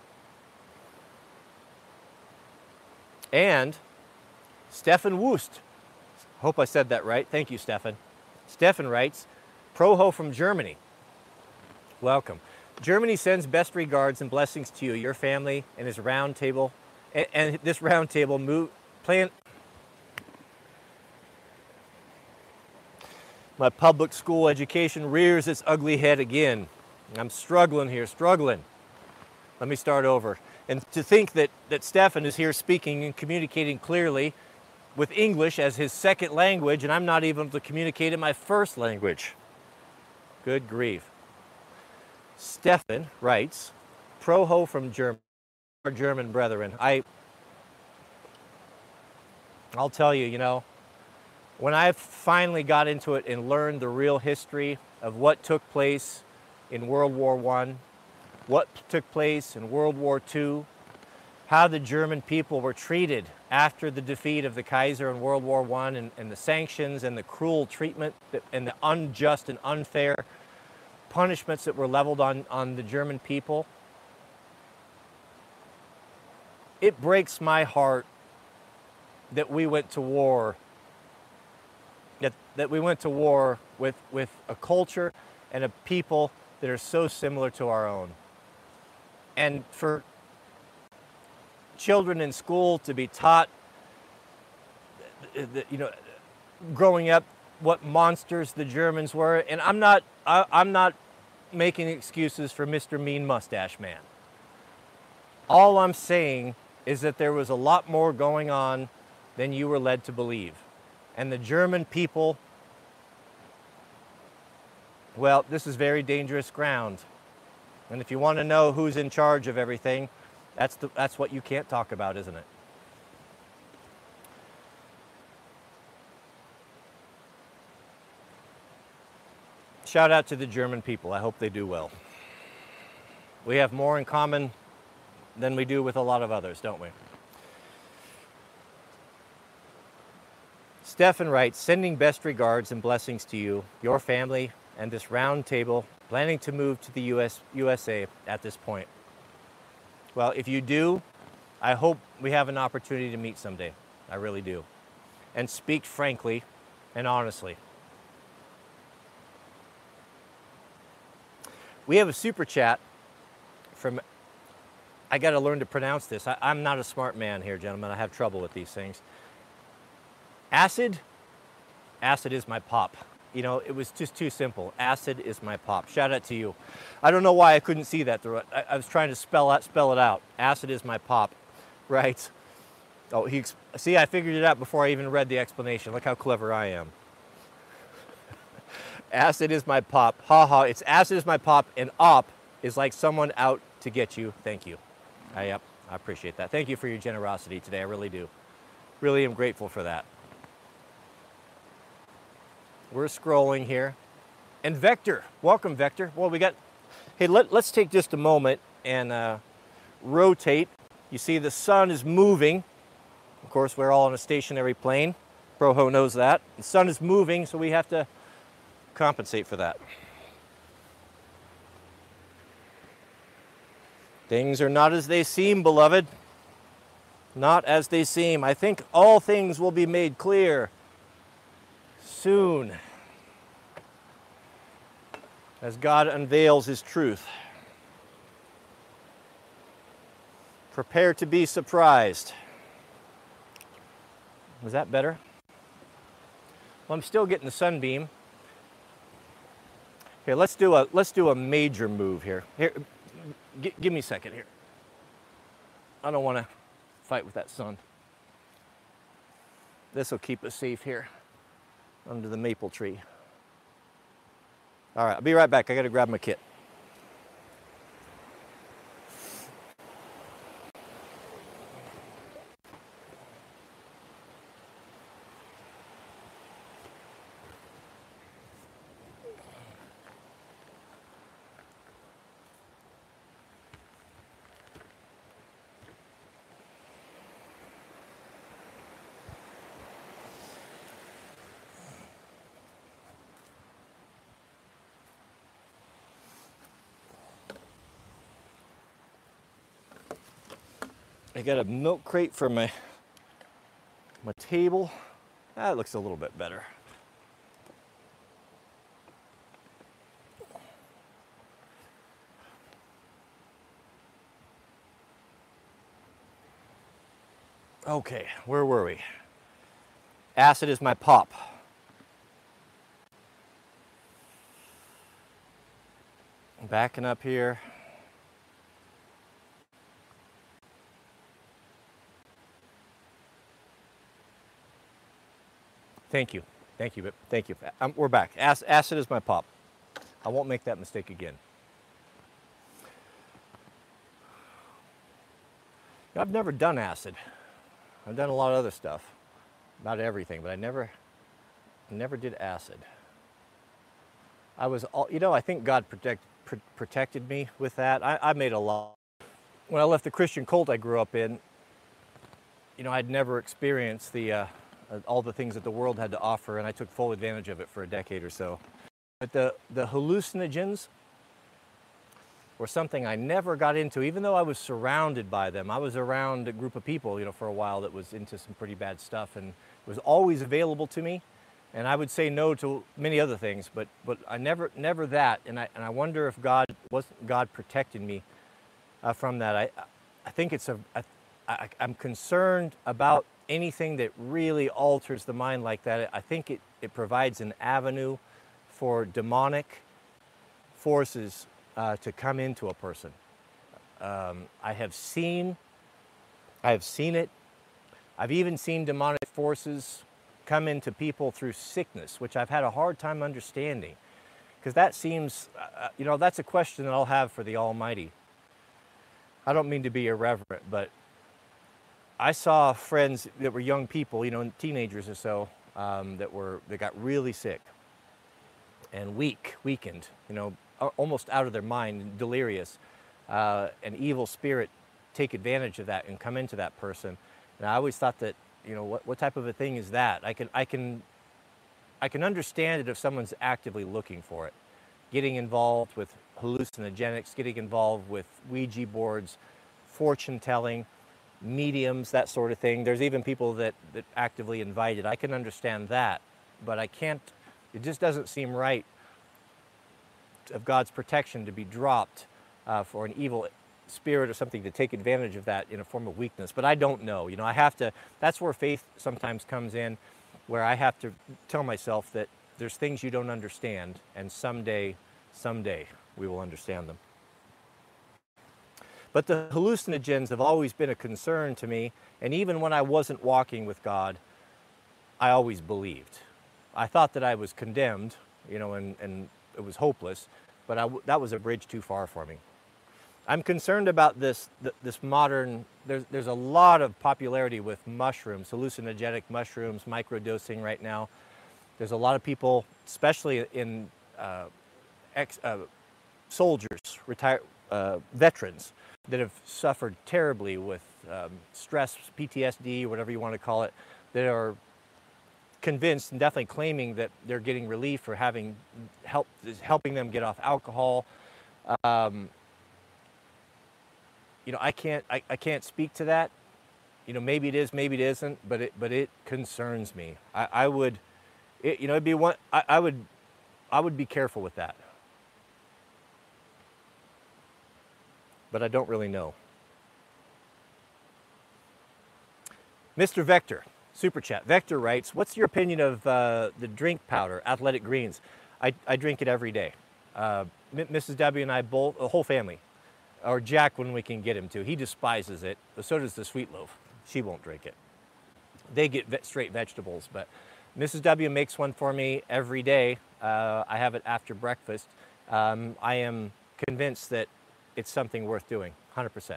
And Stefan Wust, hope I said that right. Thank you, Stefan. Stefan writes, Proho from Germany. Welcome. Germany sends best regards and blessings to you, your family, and his round table, and, and this round table move, plan. My public school education rears its ugly head again. I'm struggling here, struggling. Let me start over. And to think that, that Stefan is here speaking and communicating clearly with English as his second language, and I'm not even able to communicate in my first language. Good grief. Stefan writes, Proho from Germany, our German brethren. I, I'll tell you, you know, when I finally got into it and learned the real history of what took place in World War One, what took place in World War Two, how the German people were treated after the defeat of the Kaiser in World War One, and, and the sanctions and the cruel treatment that, and the unjust and unfair punishments that were leveled on, on the German people. It breaks my heart that we went to war, that, that we went to war with, with a culture and a people that are so similar to our own. And for children in school to be taught, you know, growing up, what monsters the Germans were. And I'm not, I, I'm not making excuses for Mister Mean Mustache Man. All I'm saying is that there was a lot more going on than you were led to believe. And the German people, well, this is very dangerous ground. And if you want to know who's in charge of everything, that's, the, that's what you can't talk about, isn't it? Shout out to the German people. I hope they do well. We have more in common than we do with a lot of others, don't we? Stefan writes, sending best regards and blessings to you, your family, and this round table, planning to move to the U S, U S A at this point. Well, if you do, I hope we have an opportunity to meet someday. I really do. And speak frankly and honestly. We have a super chat from, I got to learn to pronounce this. I, I'm not a smart man here, gentlemen. I have trouble with these things. Acid, acid is my pop. You know, it was just too simple. Acid is my pop. Shout out to you. I don't know why I couldn't see that through it. I, I was trying to spell out, spell it out. Acid is my pop, right? Oh, he, see, I figured it out before I even read the explanation. Look how clever I am. Acid is my pop. Ha ha, it's acid is my pop, and op is like someone out to get you. Thank you. I, yep, I appreciate that. Thank you for your generosity today. I really do. Really am grateful for that. We're scrolling here. And Vector, welcome Vector. Well, we got, hey, let, let's take just a moment and uh, rotate. You see the sun is moving. Of course, we're all on a stationary plane. Proho knows that. The sun is moving, so we have to compensate for that. Things are not as they seem, beloved. Not as they seem. I think all things will be made clear soon as God unveils His truth. Prepare to be surprised. Was that better? Well, I'm still getting the sunbeam. Here, let's do a let's do a major move here. Here, g give me a second here. I don't want to fight with that sun. This will keep us safe here under the maple tree. All right, I'll be right back. I got to grab my kit. I got a milk crate for my my table. That looks a little bit better. Okay, where were we? Acid is my pop. Backing up here. Thank you. Thank you. Thank you. Um, we're back. Ac acid is my pop. I won't make that mistake again. I've never done acid. I've done a lot of other stuff, about everything, but I never, never did acid. I was, all, you know, I think God protect, pr protected me with that. I, I made a lot. When I left the Christian cult I grew up in, you know, I'd never experienced the, uh, all the things that the world had to offer, and I took full advantage of it for a decade or so. But the, the hallucinogens were something I never got into, even though I was surrounded by them. I was around a group of people, you know, for a while that was into some pretty bad stuff, and it was always available to me. And I would say no to many other things, but but I never never that. And I and I wonder if God wasn't God protecting me uh, from that. I I think it's a I, I, I'm concerned about anything that really alters the mind like that. I think it, it provides an avenue for demonic forces uh, to come into a person. Um, I have seen, I have seen it. I've even seen demonic forces come into people through sickness, which I've had a hard time understanding. Because that seems, uh, you know, that's a question that I'll have for the Almighty. I don't mean to be irreverent, but I saw friends that were young people, you know, teenagers or so, um, that were that got really sick and weak, weakened, you know, almost out of their mind, delirious. Uh, an evil spirit take advantage of that and come into that person. And I always thought that, you know, what what type of a thing is that? I can I can I can understand it if someone's actively looking for it, getting involved with hallucinogenics, getting involved with Ouija boards, fortune telling, mediums, that sort of thing. There's even people that, that actively invite it. I can understand that, but I can't, it just doesn't seem right of God's protection to be dropped uh, for an evil spirit or something to take advantage of that in a form of weakness. But I don't know. You know, I have to, that's where faith sometimes comes in, where I have to tell myself that there's things you don't understand, and someday, someday we will understand them. But the hallucinogens have always been a concern to me, and even when I wasn't walking with God, I always believed. I thought that I was condemned, you know, and, and it was hopeless, but I, that was a bridge too far for me. I'm concerned about this, this modern, there's, there's a lot of popularity with mushrooms, hallucinogenic mushrooms, microdosing right now. There's a lot of people, especially in uh, ex, uh, soldiers, retired uh, veterans, that have suffered terribly with um, stress, P T S D, whatever you want to call it, that are convinced and definitely claiming that they're getting relief or having help, helping them get off alcohol. Um, you know, I can't, I, I can't speak to that. You know, maybe it is, maybe it isn't, but it, but it concerns me. I, I would, it, you know, it'd be one, I, I would, I would be careful with that. But I don't really know. Mister Vector, Super Chat. Vector writes, what's your opinion of uh, the drink powder, Athletic Greens? I, I drink it every day. Uh, Missus W and I both, the whole family, or Jack when we can get him to. He despises it, but so does the Sweet Loaf. She won't drink it. They get ve straight vegetables, but Missus W makes one for me every day. Uh, I have it after breakfast. Um, I am convinced that it's something worth doing, one hundred percent.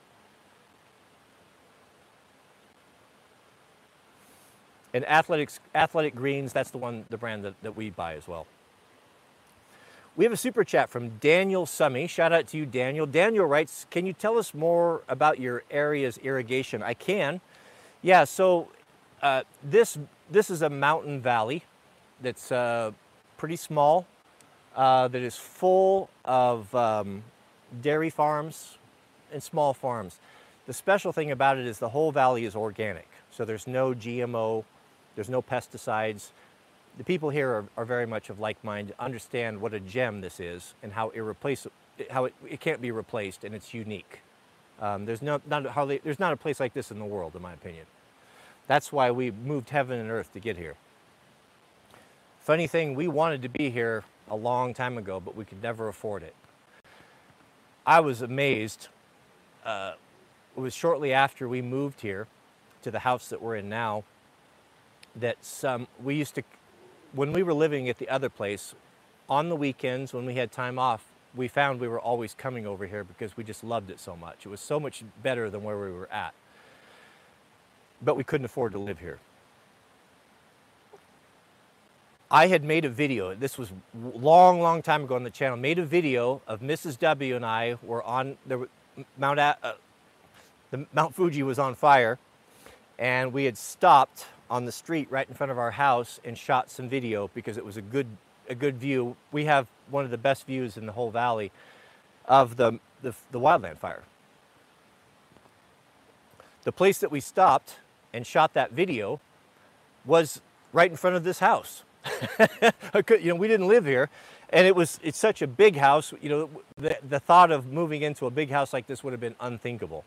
And Athletics, Athletic Greens, that's the one, the brand that, that we buy as well. We have a super chat from Daniel Summy. Shout out to you, Daniel. Daniel writes, can you tell us more about your area's irrigation? I can. Yeah, so uh, this, this is a mountain valley that's uh, pretty small, uh, that is full of um, dairy farms and small farms. The special thing about it is the whole valley is organic. So there's no G M O, there's no pesticides. The people here are, are very much of like mind, understand what a gem this is and how irreplaceable, how it, it can't be replaced, and it's unique. Um, there's, no, not, hardly, there's not a place like this in the world, in my opinion. That's why we moved heaven and earth to get here. Funny thing, we wanted to be here a long time ago, but we could never afford it. I was amazed. Uh, it was shortly after we moved here to the house that we're in now that some, we used to, when we were living at the other place, on the weekends when we had time off, we found we were always coming over here because we just loved it so much. It was so much better than where we were at. But we couldn't afford to live here. I had made a video, this was long, long time ago on the channel, made a video of Missus W and I were on, there were, Mount, uh, the Mount Fuji was on fire, and we had stopped on the street right in front of our house and shot some video because it was a good, a good view. We have one of the best views in the whole valley of the, the, the wildland fire. The place that we stopped and shot that video was right in front of this house. You know, we didn't live here, and it was, it's such a big house, you know, the, the thought of moving into a big house like this would have been unthinkable.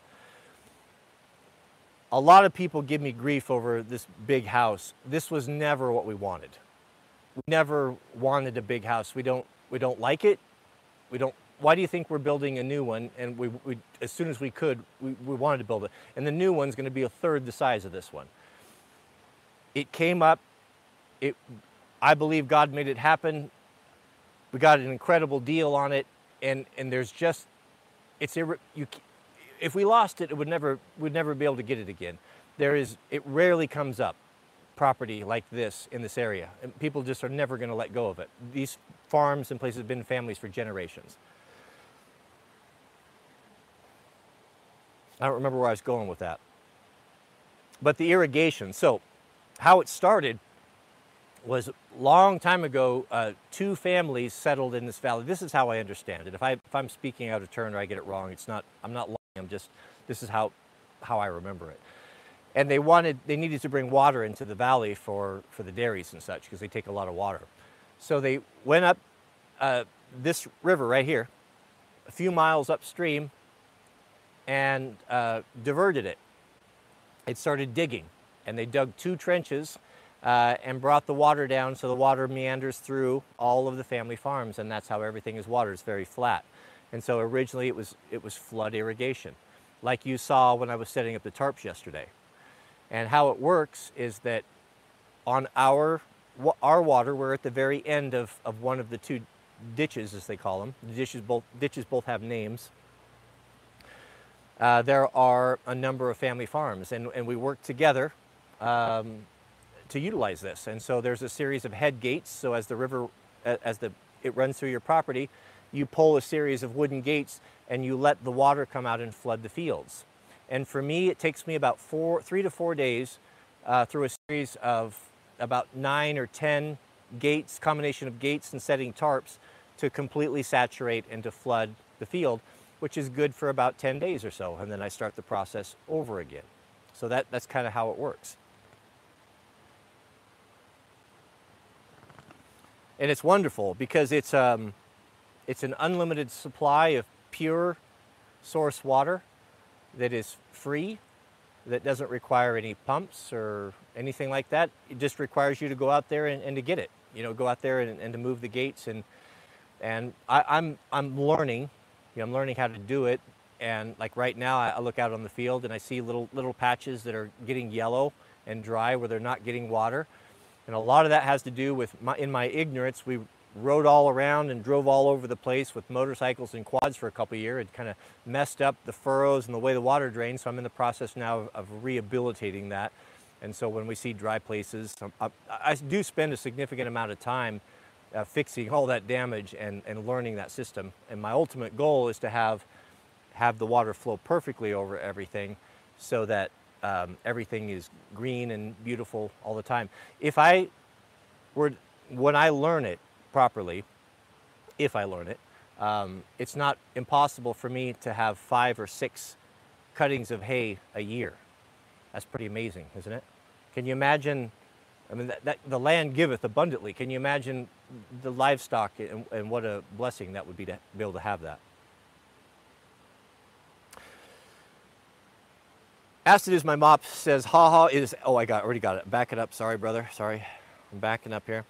A lot of people give me grief over this big house. This was never what we wanted. We never wanted a big house. We don't, we don't like it. We don't, why do you think we're building a new one? And we, we as soon as we could, we, we wanted to build it. And the new one's gonna be a third the size of this one. It came up, it, I believe God made it happen. We got an incredible deal on it. And, and there's just, it's, you, if we lost it, it would never, we'd never be able to get it again. There is, it rarely comes up, property like this in this area. And people just are never gonna let go of it. These farms and places have been families for generations. I don't remember where I was going with that. But the irrigation, so how it started was a long time ago, uh, two families settled in this valley. This is how I understand it. If, I, if I'm speaking out of turn or I get it wrong, it's not, I'm not lying, I'm just, this is how, how I remember it. And they wanted, they needed to bring water into the valley for, for the dairies and such, because they take a lot of water. So they went up uh, this river right here, a few miles upstream, and uh, diverted it. It started digging, and they dug two trenches uh, and brought the water down so the water meanders through all of the family farms, and that's how everything is watered. It's very flat. And so originally it was, it was flood irrigation, like you saw when I was setting up the tarps yesterday. And how it works is that on our, our water, we're at the very end of, of one of the two ditches, as they call them. The ditches both, ditches both have names. Uh, there are a number of family farms, and, and we work together um, to utilize this. And so there's a series of head gates. So as the river, as the, it runs through your property, you pull a series of wooden gates and you let the water come out and flood the fields. And for me, it takes me about four, three to four days uh, through a series of about nine or ten gates, combination of gates and setting tarps, to completely saturate and to flood the field, which is good for about ten days or so. And then I start the process over again. So that, that's kind of how it works. And it's wonderful because it's, um, it's an unlimited supply of pure source water that is free, that doesn't require any pumps or anything like that. It just requires you to go out there and, and to get it. You know, go out there and, and to move the gates. And, and I, I'm, I'm learning, you know, I'm learning how to do it. And like right now, I look out on the field and I see little, little patches that are getting yellow and dry where they're not getting water. And a lot of that has to do with, my, in my ignorance, we rode all around and drove all over the place with motorcycles and quads for a couple of years. It kind of messed up the furrows and the way the water drains. So I'm in the process now of, of rehabilitating that. And so when we see dry places, I, I do spend a significant amount of time uh, fixing all that damage and, and learning that system. And my ultimate goal is to have, have the water flow perfectly over everything so that um, everything is green and beautiful all the time. If I were, when I learn it properly, if I learn it, um, it's not impossible for me to have five or six cuttings of hay a year. That's pretty amazing, isn't it? Can you imagine, I mean, that, that, the land giveth abundantly. Can you imagine the livestock and, and what a blessing that would be to be able to have that? Acid is my mop says, ha ha is, oh, I got, already got it. Back it up, sorry, brother, sorry. I'm backing up here.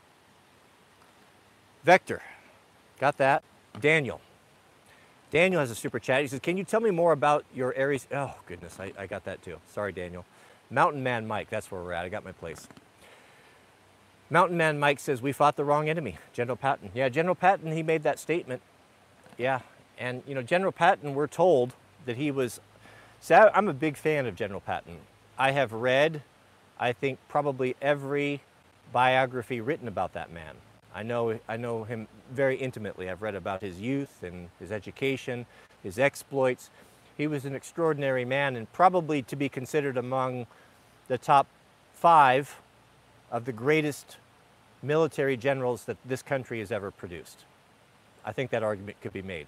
Vector, got that. Daniel. Daniel has a super chat. He says, can you tell me more about your Aries? Oh, goodness, I, I got that too. Sorry, Daniel. Mountain Man Mike, that's where we're at. I got my place. Mountain Man Mike says, we fought the wrong enemy, General Patton. Yeah, General Patton, he made that statement. Yeah, and you know, General Patton, we're told that he was, see, I'm a big fan of General Patton. I have read, I think, probably every biography written about that man. I know, I know him very intimately. I've read about his youth and his education, his exploits. He was an extraordinary man and probably to be considered among the top five of the greatest military generals that this country has ever produced. I think that argument could be made.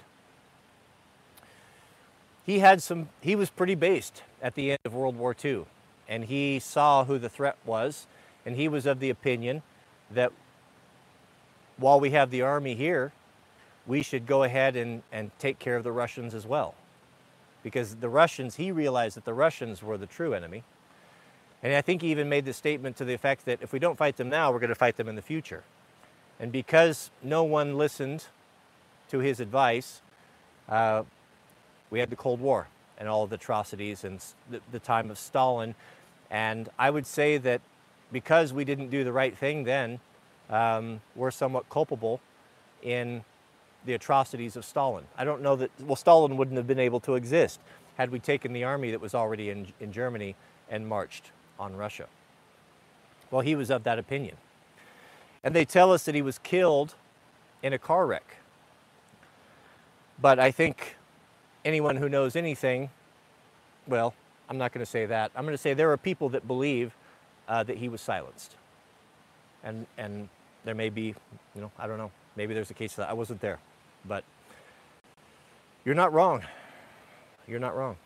He had some, he was pretty based at the end of World War Two, and he saw who the threat was, and he was of the opinion that while we have the army here, we should go ahead and, and take care of the Russians as well. Because the Russians, he realized that the Russians were the true enemy. And I think he even made the statement to the effect that if we don't fight them now, we're going to fight them in the future. And because no one listened to his advice, uh, we had the Cold War and all of the atrocities and the, the time of Stalin. And I would say that because we didn't do the right thing then, um, we're somewhat culpable in the atrocities of Stalin. I don't know that, well, Stalin wouldn't have been able to exist had we taken the army that was already in, in Germany and marched on Russia. Well, he was of that opinion. And they tell us that he was killed in a car wreck. But I think anyone who knows anything, well, I'm not going to say that. I'm going to say there are people that believe uh, that he was silenced. And, and there may be, you know, I don't know, maybe there's a case for that. I wasn't there, but you're not wrong. You're not wrong.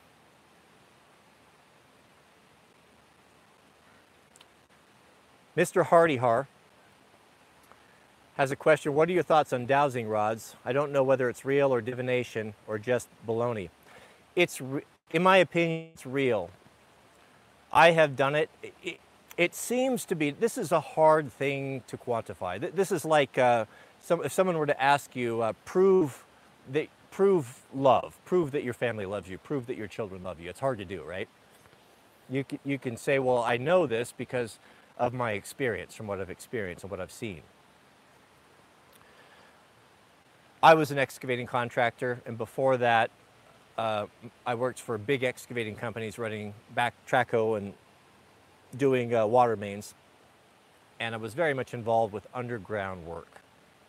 Mister Hardyhar has a question. What are your thoughts on dowsing rods? I don't know whether it's real or divination or just baloney. It's, in my opinion, it's real. I have done it. It, it seems to be, this is a hard thing to quantify. This is like uh, some, if someone were to ask you, uh, prove, that, prove love, prove that your family loves you, prove that your children love you. It's hard to do, right? You can, you can say, well, I know this because of my experience, from what I've experienced and what I've seen. I was an excavating contractor, and before that, uh, I worked for big excavating companies running back trackhoe and doing uh, water mains, and I was very much involved with underground work.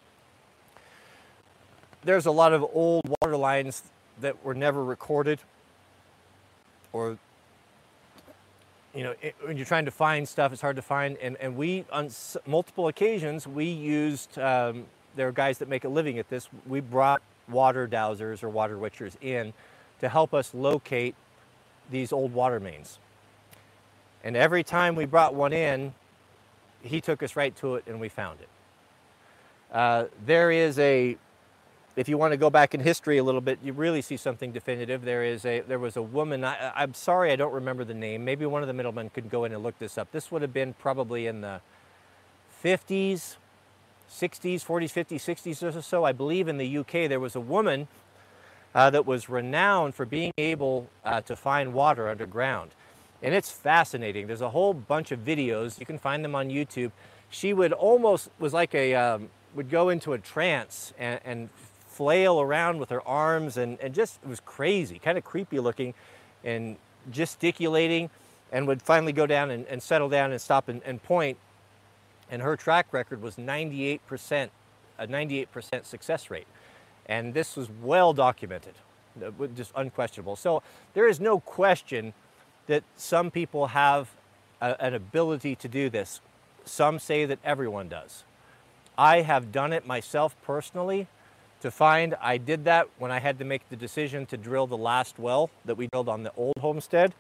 There's a lot of old water lines that were never recorded, or, you know, it, when you're trying to find stuff, it's hard to find, and, and we, on s multiple occasions, we used, um, there are guys that make a living at this, we brought water dowsers or water witchers in to help us locate these old water mains. And every time we brought one in, he took us right to it and we found it. Uh, there is a, if you want to go back in history a little bit, you really see something definitive. There is a, there was a woman, I, I'm sorry I don't remember the name, maybe one of the middlemen could go in and look this up. This would have been probably in the fifties, sixties, forties, fifties, sixties or so. I believe in the U K there was a woman uh, that was renowned for being able uh, to find water underground. And it's fascinating. There's a whole bunch of videos. You can find them on YouTube. She would almost, was like a, um, would go into a trance and, and flail around with her arms and, and just, it was crazy, kind of creepy looking and gesticulating, and would finally go down and, and settle down and stop and, and point. And her track record was ninety-eight percent, a ninety-eight percent success rate. And this was well documented, just unquestionable. So there is no question that some people have a, an ability to do this. Some say that everyone does. I have done it myself personally to find, I did that when I had to make the decision to drill the last well that we drilled on the old homestead.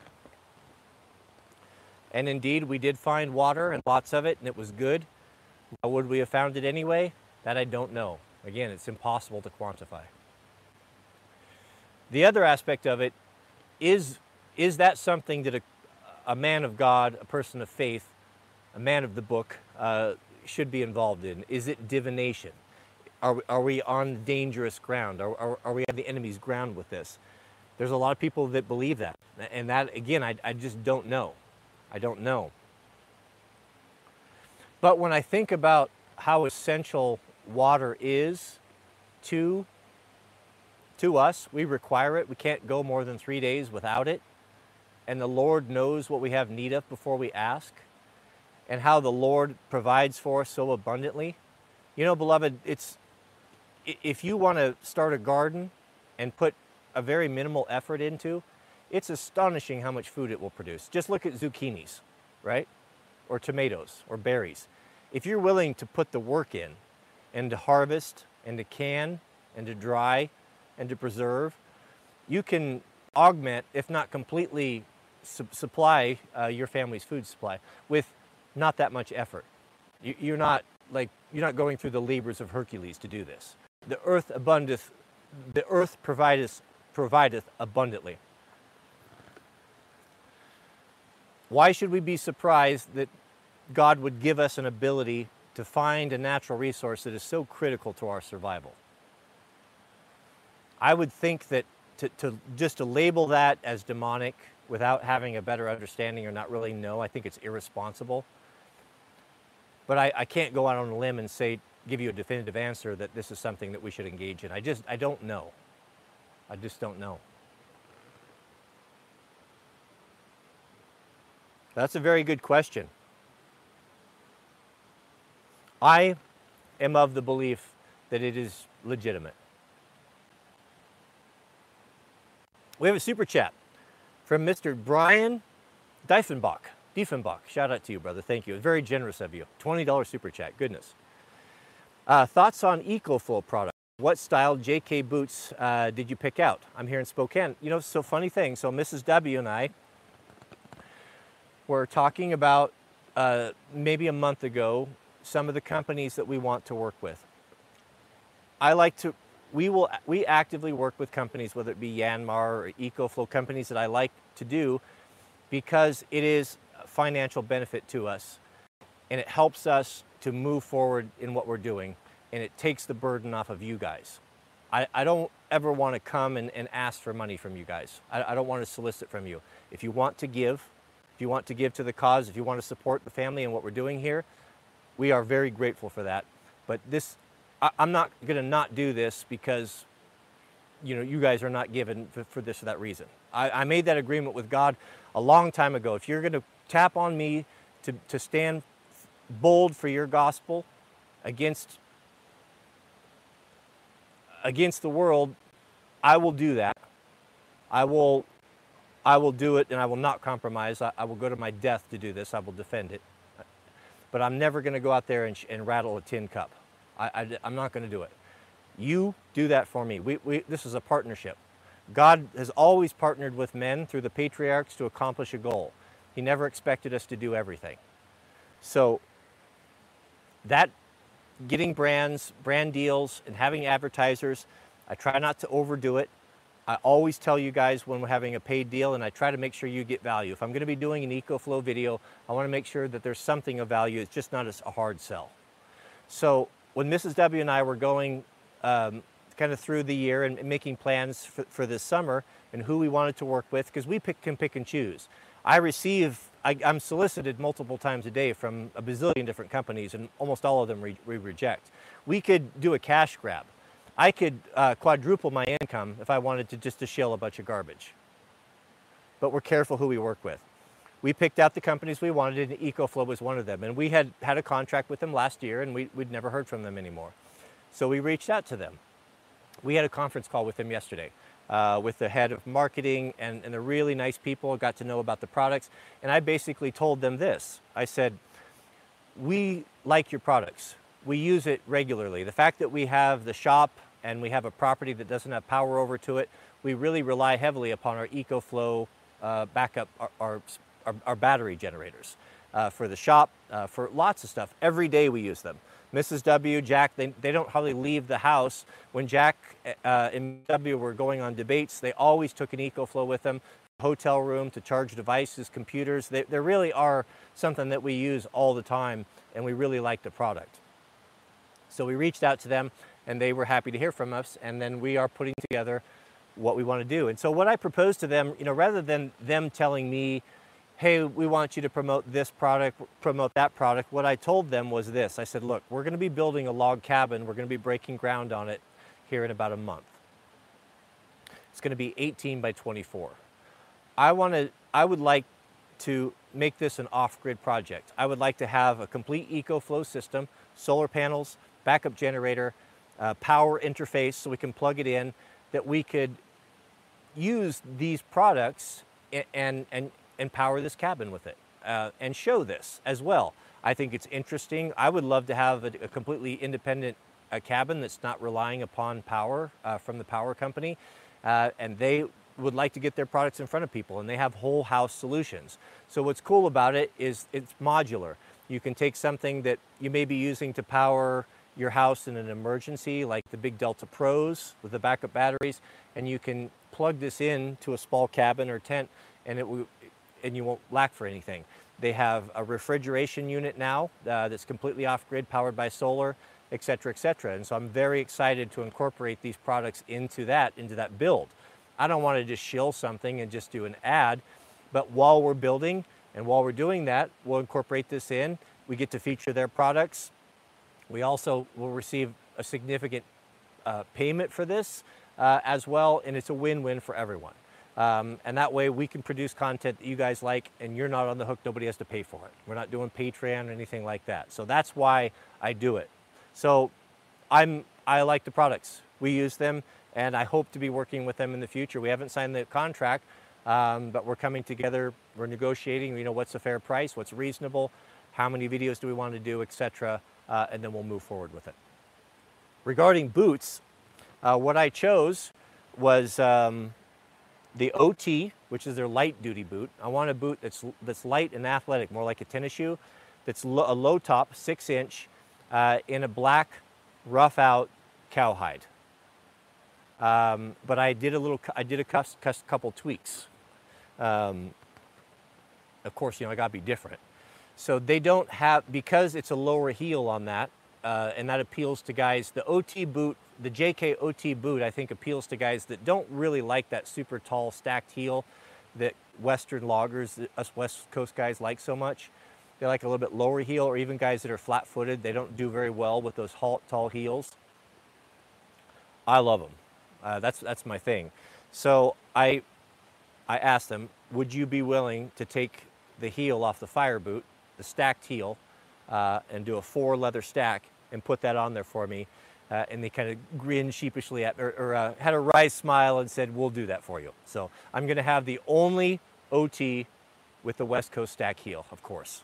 And indeed, we did find water, and lots of it, and it was good. Now, would we have found it anyway? That I don't know. Again, it's impossible to quantify. The other aspect of it is, is that something that a, a man of God, a person of faith, a man of the book, uh, should be involved in? Is it divination? Are we, are we on dangerous ground? Are, are, are we on the enemy's ground with this? There's a lot of people that believe that. And that, again, I, I just don't know. I don't know. But when I think about how essential water is to, to us, we require it. We can't go more than three days without it. And the Lord knows what we have need of before we ask, and how the Lord provides for us so abundantly. You know, beloved, it's, if you want to start a garden and put a very minimal effort into, it's astonishing how much food it will produce. Just look at zucchinis, right? Or tomatoes or berries. If you're willing to put the work in and to harvest and to can and to dry and to preserve, you can augment, if not completely su supply uh, your family's food supply with not that much effort. You, you're not like, you're not going through the labors of Hercules to do this. The earth abundeth, the earth provideth, provideth abundantly. Why should we be surprised that God would give us an ability to find a natural resource that is so critical to our survival? I would think that to, to just to label that as demonic without having a better understanding or not really know, I think it's irresponsible. But I, I can't go out on a limb and say, give you a definitive answer that this is something that we should engage in. I just, I don't know. I just don't know. That's a very good question. I am of the belief that it is legitimate. We have a super chat from Mister Brian Diefenbach. Diefenbach, shout out to you, brother. Thank you. Very generous of you. twenty dollar super chat. Goodness. Uh, thoughts on EcoFlow product? What style J K boots uh, did you pick out? I'm here in Spokane. You know, so funny thing. So Missus W and I were talking about uh, maybe a month ago some of the companies that we want to work with. I like to, we will, we actively work with companies, whether it be Yanmar or EcoFlow, companies that I like to do because it is a financial benefit to us and it helps us to move forward in what we're doing, and it takes the burden off of you guys. I, I don't ever want to come and, and ask for money from you guys. I, I don't want to solicit from you. If you want to give, if you want to give to the cause, if you want to support the family and what we're doing here, we are very grateful for that. But this, I, I'm not going to not do this because, you know, you guys are not given for, for this or that reason. I, I made that agreement with God a long time ago. If you're going to tap on me to, to stand bold for your gospel against against the world, I will do that. I will, I will do it, and I will not compromise. I, I will go to my death to do this. I will defend it. But I'm never going to go out there and, and rattle a tin cup. I, I, I'm not going to do it. You do that for me. We, we, this is a partnership. God has always partnered with men through the patriarchs to accomplish a goal. He never expected us to do everything. So that getting brands, brand deals, and having advertisers, I try not to overdo it. I always tell you guys when we're having a paid deal, and I try to make sure you get value. If I'm going to be doing an EcoFlow video, I want to make sure that there's something of value. It's just not a hard sell. So when Missus W and I were going um, kind of through the year and making plans for, for this summer and who we wanted to work with, because we pick, can pick and choose. I receive, I, I'm solicited multiple times a day from a bazillion different companies, and almost all of them we re reject. We could do a cash grab. I could uh, quadruple my income if I wanted to just to shill a bunch of garbage. But we're careful who we work with. We picked out the companies we wanted, and EcoFlow was one of them. And we had had a contract with them last year, and we, we'd never heard from them anymore. So we reached out to them. We had a conference call with them yesterday. Uh, with the head of marketing, and, and they're really nice people. I got to know about the products, and I basically told them this. I said, we like your products. We use it regularly. The fact that we have the shop and we have a property that doesn't have power over to it, we really rely heavily upon our EcoFlow uh, backup, our, our, our, our battery generators uh, for the shop, uh, for lots of stuff. Every day we use them. Missus W, Jack, they, they don't hardly leave the house. When Jack uh, and W were going on debates, they always took an EcoFlow with them, hotel room to charge devices, computers. They, they really are something that we use all the time, and we really like the product. So we reached out to them, and they were happy to hear from us, and then we are putting together what we want to do. And so what I proposed to them, you know, rather than them telling me, hey, we want you to promote this product, promote that product, what I told them was this. I said, look, we're going to be building a log cabin. We're going to be breaking ground on it here in about a month. It's going to be eighteen by twenty-four. I want to, I would like to make this an off-grid project. I would like to have a complete EcoFlow system, solar panels, backup generator, uh, power interface so we can plug it in, that we could use these products and, and, and and power this cabin with it uh, and show this as well. I think it's interesting. I would love to have a, a completely independent uh, cabin that's not relying upon power uh, from the power company, uh, and they would like to get their products in front of people, and they have whole house solutions. So what's cool about it is it's modular. You can take something that you may be using to power your house in an emergency, like the big Delta Pros with the backup batteries, and you can plug this in to a small cabin or tent, and it will and you won't lack for anything. They have a refrigeration unit now uh, that's completely off-grid, powered by solar, et cetera, et cetera. And so I'm very excited to incorporate these products into that, into that build. I don't want to just shill something and just do an ad, but while we're building and while we're doing that, we'll incorporate this in. We get to feature their products. We also will receive a significant uh, payment for this uh, as well, and it's a win-win for everyone. Um, and that way we can produce content that you guys like, and you're not on the hook. Nobody has to pay for it. We're not doing Patreon or anything like that. So that's why I do it. So I'm, I like the products. We use them, and I hope to be working with them in the future. We haven't signed the contract, um, but we're coming together. We're negotiating, you know, what's a fair price, what's reasonable, how many videos do we want to do, et cetera, uh, and then we'll move forward with it. Regarding boots, uh, what I chose was um, the O T, which is their light duty boot. I want a boot that's, that's light and athletic, more like a tennis shoe, that's lo a low top, six inch, uh, in a black rough out cowhide. Um, but I did a little, I did a cus, cus, couple tweaks. Um, of course, you know, I gotta be different. So they don't have, because it's a lower heel on that, uh, and that appeals to guys. The O T boot, the J K O T boot, I think appeals to guys that don't really like that super tall stacked heel that Western loggers, us West Coast guys, like so much. They like a little bit lower heel, or even guys that are flat-footed. They don't do very well with those tall heels. I love them. Uh, that's that's my thing. So I I asked them, would you be willing to take the heel off the fire boot, the stacked heel, uh, and do a four leather stack and put that on there for me? Uh, and they kind of grinned sheepishly at, or, or uh, had a wry smile and said, we'll do that for you. So I'm going to have the only O T with the West Coast stack heel, of course.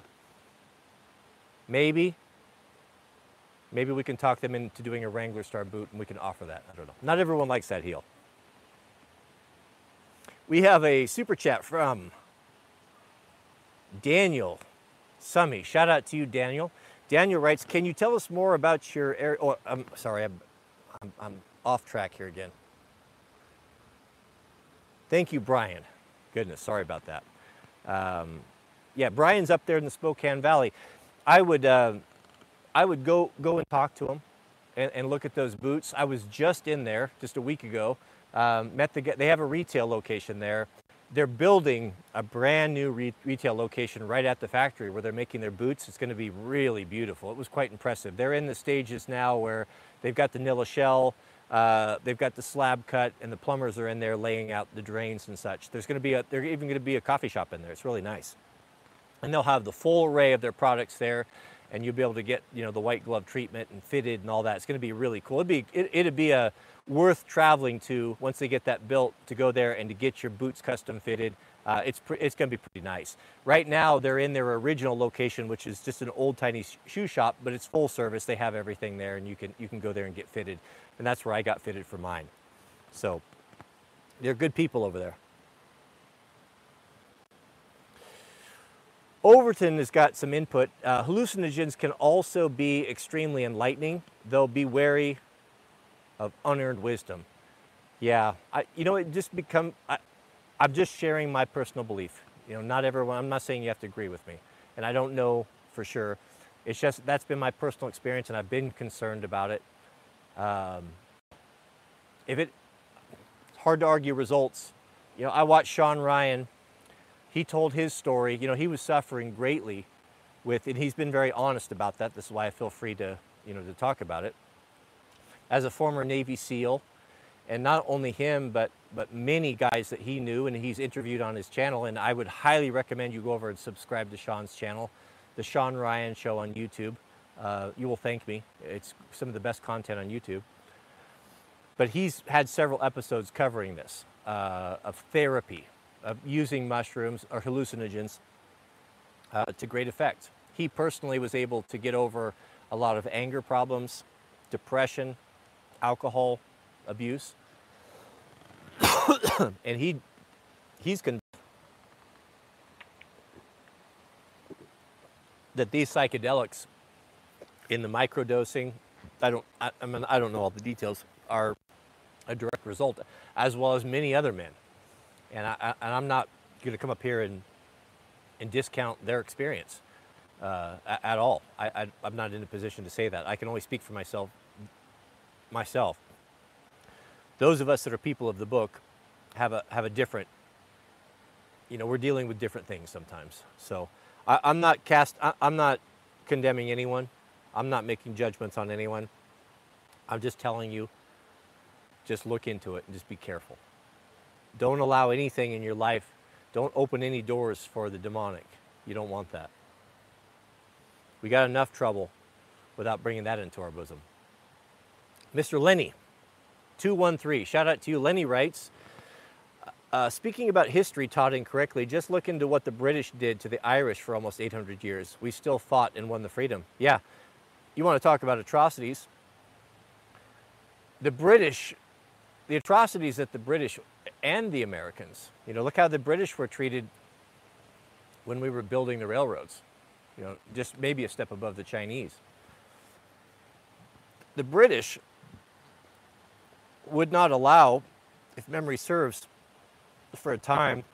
Maybe, maybe we can talk them into doing a Wrangler Star boot and we can offer that. I don't know. Not everyone likes that heel. We have a super chat from Daniel Summy. Shout out to you, Daniel. Daniel writes, can you tell us more about your air? Oh, I'm sorry, I'm, I'm, I'm off track here again. Thank you, Brian. Goodness, sorry about that. Um, yeah, Brian's up there in the Spokane Valley. I would, uh, I would go go and talk to him and, and look at those boots. I was just in there just a week ago. Um, met the they have a retail location there. They're building a brand new re retail location right at the factory where they're making their boots. It's going to be really beautiful. It was quite impressive. They're in the stages now where they've got the nilla shell, uh, they've got the slab cut, and the plumbers are in there laying out the drains and such. There's going to be a, there's even going to be a coffee shop in there. It's really nice. And they'll have the full array of their products there, and you'll be able to get, you know, the white glove treatment and fitted and all that. It's going to be really cool. It'd be, it, it'd be a worth traveling to once they get that built, to go there and to get your boots custom fitted. Uh, it's it's going to be pretty nice. Right now, they're in their original location, which is just an old tiny shoe shop, but it's full service. They have everything there, and you can you can go there and get fitted. And that's where I got fitted for mine. So they're good people over there. Overton has got some input. Uh, hallucinogens can also be extremely enlightening, though be wary of unearned wisdom. Yeah, I, you know, it just become, I, I'm just sharing my personal belief. You know, not everyone, I'm not saying you have to agree with me, and I don't know for sure. It's just, that's been my personal experience, and I've been concerned about it. Um, if it, it's hard to argue results. You know, I watched Sean Ryan. He told his story. You know, he was suffering greatly with, and he's been very honest about that. This is why I feel free to, you know, to talk about it. As a former Navy SEAL, and not only him, but but many guys that he knew and he's interviewed on his channel. And I would highly recommend you go over and subscribe to Sean's channel, the Sean Ryan Show on YouTube. Uh, you will thank me. It's some of the best content on YouTube. But he's had several episodes covering this, uh, of therapy, of using mushrooms or hallucinogens uh, to great effect. He personally was able to get over a lot of anger problems, depression, alcohol abuse, and he he's convinced that these psychedelics in the microdosing, I don't I, I mean I don't know all the details, are a direct result, as well as many other men. And, I, I, and I'm not going to come up here and, and discount their experience uh, at all. I, I, I'm not in a position to say that. I can only speak for myself. Myself. Those of us that are people of the book have a have a different. You know, we're dealing with different things sometimes. So I, I'm not cast. I, I'm not condemning anyone. I'm not making judgments on anyone. I'm just telling you. Just look into it and just be careful. Don't allow anything in your life. Don't open any doors for the demonic. You don't want that. We got enough trouble without bringing that into our bosom. Mister Lenny, two one three, shout out to you. Lenny writes, uh, speaking about history taught incorrectly, just look into what the British did to the Irish for almost eight hundred years. We still fought and won the freedom. Yeah, you want to talk about atrocities. The British, the atrocities that the British and the Americans, you know, look how the British were treated when we were building the railroads. You know, just maybe a step above the Chinese. The British would not allow, if memory serves, for a time,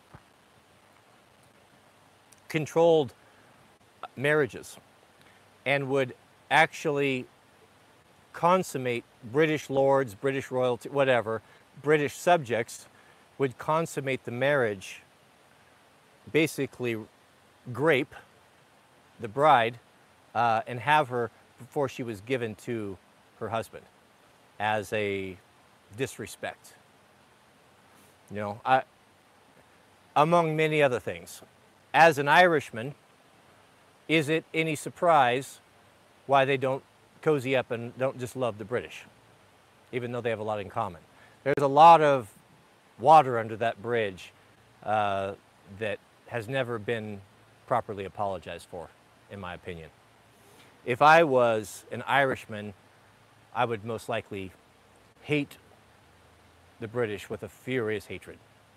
controlled marriages and would actually consummate British lords, British royalty, whatever, British subjects would consummate the marriage, basically grape the bride uh, and have her before she was given to her husband as a disrespect. You know, I, among many other things. As an Irishman, is it any surprise why they don't cozy up and don't just love the British, even though they have a lot in common? There's a lot of water under that bridge uh, that has never been properly apologized for, in my opinion. If I was an Irishman, I would most likely hate the British with a furious hatred.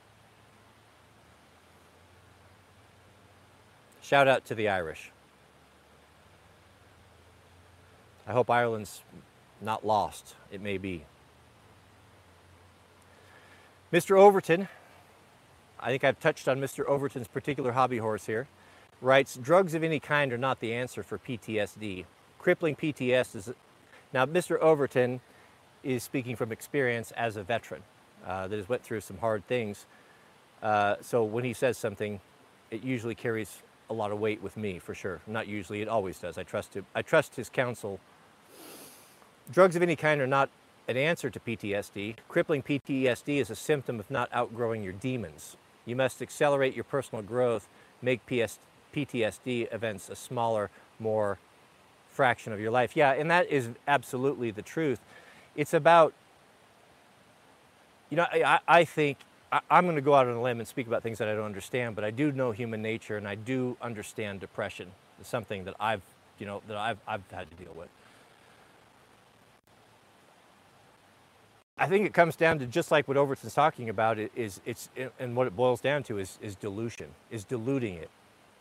Shout out to the Irish. I hope Ireland's not lost. It may be. Mister Overton, I think I've touched on Mister Overton's particular hobby horse here, writes, drugs of any kind are not the answer for P T S D. Crippling P T S D is... Now, Mister Overton is speaking from experience as a veteran uh, that has went through some hard things. Uh, so when he says something, it usually carries a lot of weight with me, for sure. Not usually, it always does. I trust him. I trust his counsel. Drugs of any kind are not an answer to P T S D. Crippling P T S D is a symptom of not outgrowing your demons. You must accelerate your personal growth, make P T S D events a smaller, more fraction of your life. Yeah, and that is absolutely the truth. It's about, you know, I, I think, I, I'm going to go out on a limb and speak about things that I don't understand, but I do know human nature, and I do understand depression. It's something that I've, you know, that I've, I've had to deal with. I think it comes down to just like what Overton's talking about, it is it's and what it boils down to is is dilution, is diluting it,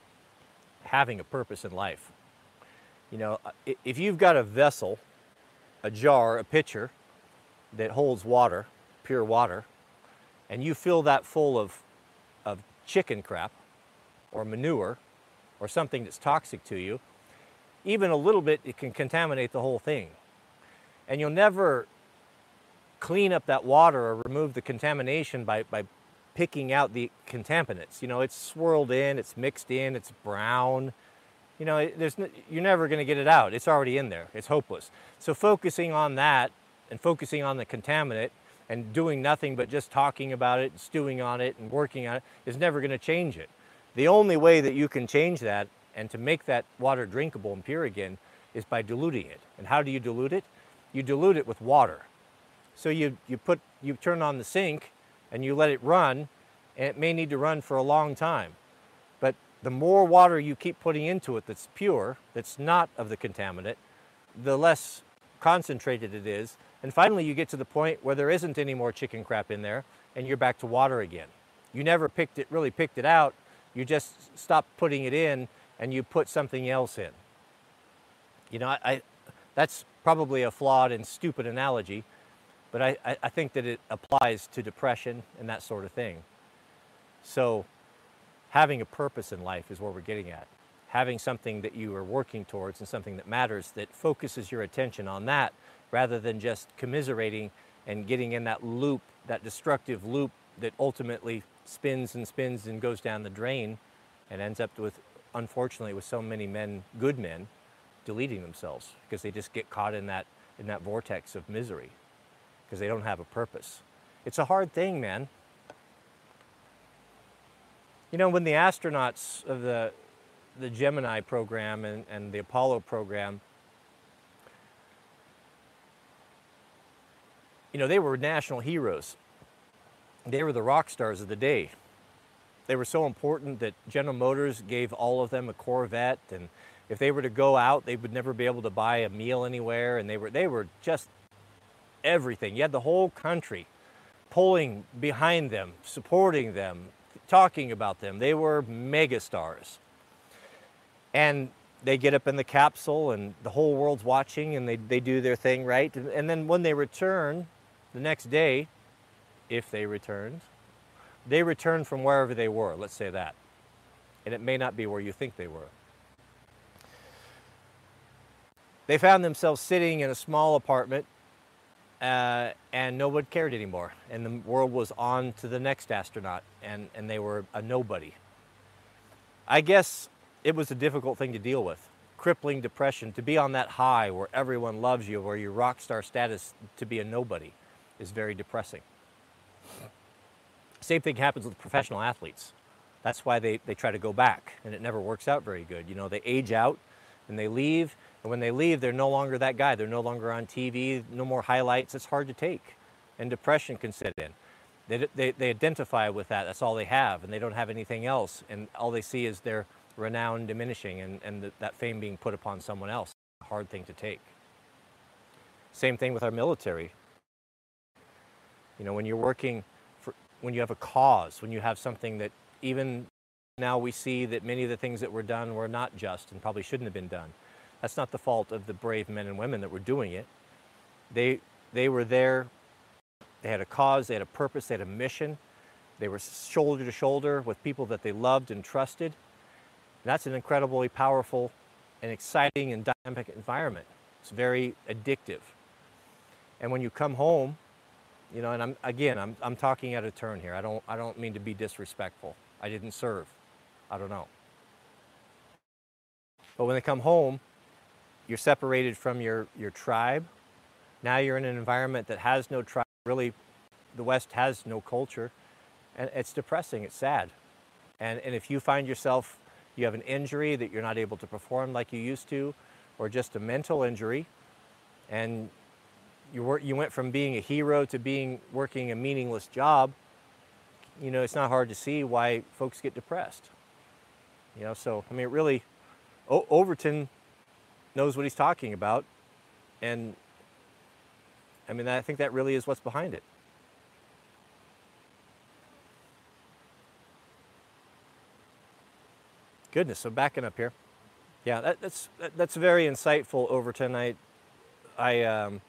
having a purpose in life. You know, if you've got a vessel, a jar, a pitcher that holds water, pure water, and you fill that full of of chicken crap or manure or something that's toxic to you, even a little bit, it can contaminate the whole thing. And you'll never clean up that water or remove the contamination by, by picking out the contaminants. You know, it's swirled in, it's mixed in, it's brown. You know, there's no, you're never going to get it out. It's already in there. It's hopeless. So focusing on that and focusing on the contaminant and doing nothing but just talking about it, stewing on it, and working on it is never going to change it. The only way that you can change that and to make that water drinkable and pure again is by diluting it. And how do you dilute it? You dilute it with water. So you, you, put, you turn on the sink and you let it run, and it may need to run for a long time. But the more water you keep putting into it that's pure, that's not of the contaminant, the less concentrated it is. And finally you get to the point where there isn't any more chicken crap in there and you're back to water again. You never picked it, really picked it out. You just stopped putting it in and you put something else in. You know, I, I, that's probably a flawed and stupid analogy, but I, I think that it applies to depression and that sort of thing. So having a purpose in life is what we're getting at. Having something that you are working towards and something that matters, that focuses your attention on that rather than just commiserating and getting in that loop, that destructive loop that ultimately spins and spins and goes down the drain and ends up with, unfortunately, with so many men, good men, deleting themselves because they just get caught in that, in that vortex of misery, because they don't have a purpose. It's a hard thing, man. You know, when the astronauts of the, the Gemini program and, and the Apollo program, you know, they were national heroes. They were the rock stars of the day. They were so important that General Motors gave all of them a Corvette, and if they were to go out, they would never be able to buy a meal anywhere, and they were, they were just everything. You had the whole country pulling behind them, supporting them, talking about them. They were megastars. And they get up in the capsule and the whole world's watching and they, they do their thing, right? And, and then when they return the next day, if they returned, they return from wherever they were, let's say that. And it may not be where you think they were. They found themselves sitting in a small apartment uh, and no one cared anymore. And the world was on to the next astronaut, and, and they were a nobody. I guess it was a difficult thing to deal with. Crippling depression, to be on that high where everyone loves you, where your rock star status, to be a nobody is very depressing. Same thing happens with professional athletes. That's why they, they try to go back, and it never works out very good. You know, they age out and they leave, and when they leave, they're no longer that guy. They're no longer on T V, no more highlights. It's hard to take, and depression can set in. They, they, they identify with that. That's all they have, and they don't have anything else, and all they see is their renown diminishing and, and the, that fame being put upon someone else. A hard thing to take. Same thing with our military. You know, when you're working, for, when you have a cause, when you have something that even now we see that many of the things that were done were not just and probably shouldn't have been done. That's not the fault of the brave men and women that were doing it. They, they were there, they had a cause, they had a purpose, they had a mission. They were shoulder to shoulder with people that they loved and trusted. And that's an incredibly powerful and exciting and dynamic environment. It's very addictive. And when you come home, you know, and I'm, again, I'm, I'm talking out of turn here. I don't, I don't mean to be disrespectful. I didn't serve. I don't know. But when they come home, you're separated from your, your tribe. Now you're in an environment that has no tribe. Really, the West has no culture. And it's depressing. It's sad. And, and if you find yourself, you have an injury that you're not able to perform like you used to, or just a mental injury, and you, were, you went from being a hero to being working a meaningless job, you know, it's not hard to see why folks get depressed. You know, so, I mean, really, o Overton knows what he's talking about, and I mean, I think that really is what's behind it. Goodness, so backing up here. Yeah, that, that's that, that's very insightful, Overton. I, I, um,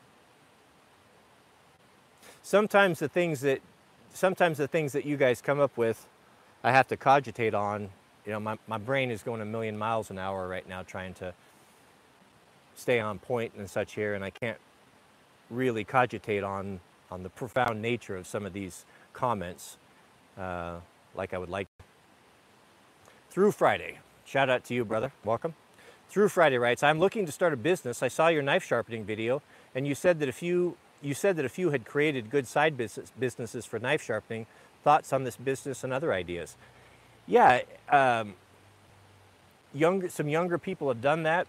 sometimes the things that, sometimes the things that you guys come up with, I have to cogitate on. You know, my, my brain is going a million miles an hour right now trying to stay on point and such here, and I can't really cogitate on, on the profound nature of some of these comments uh, like I would like. Through Friday, shout out to you, brother, welcome. Through Friday writes, I'm looking to start a business. I saw your knife sharpening video, and you said that a few, you said that a few had created good side business, businesses for knife sharpening. Thoughts on this business and other ideas? Yeah, um, younger, some younger people have done that.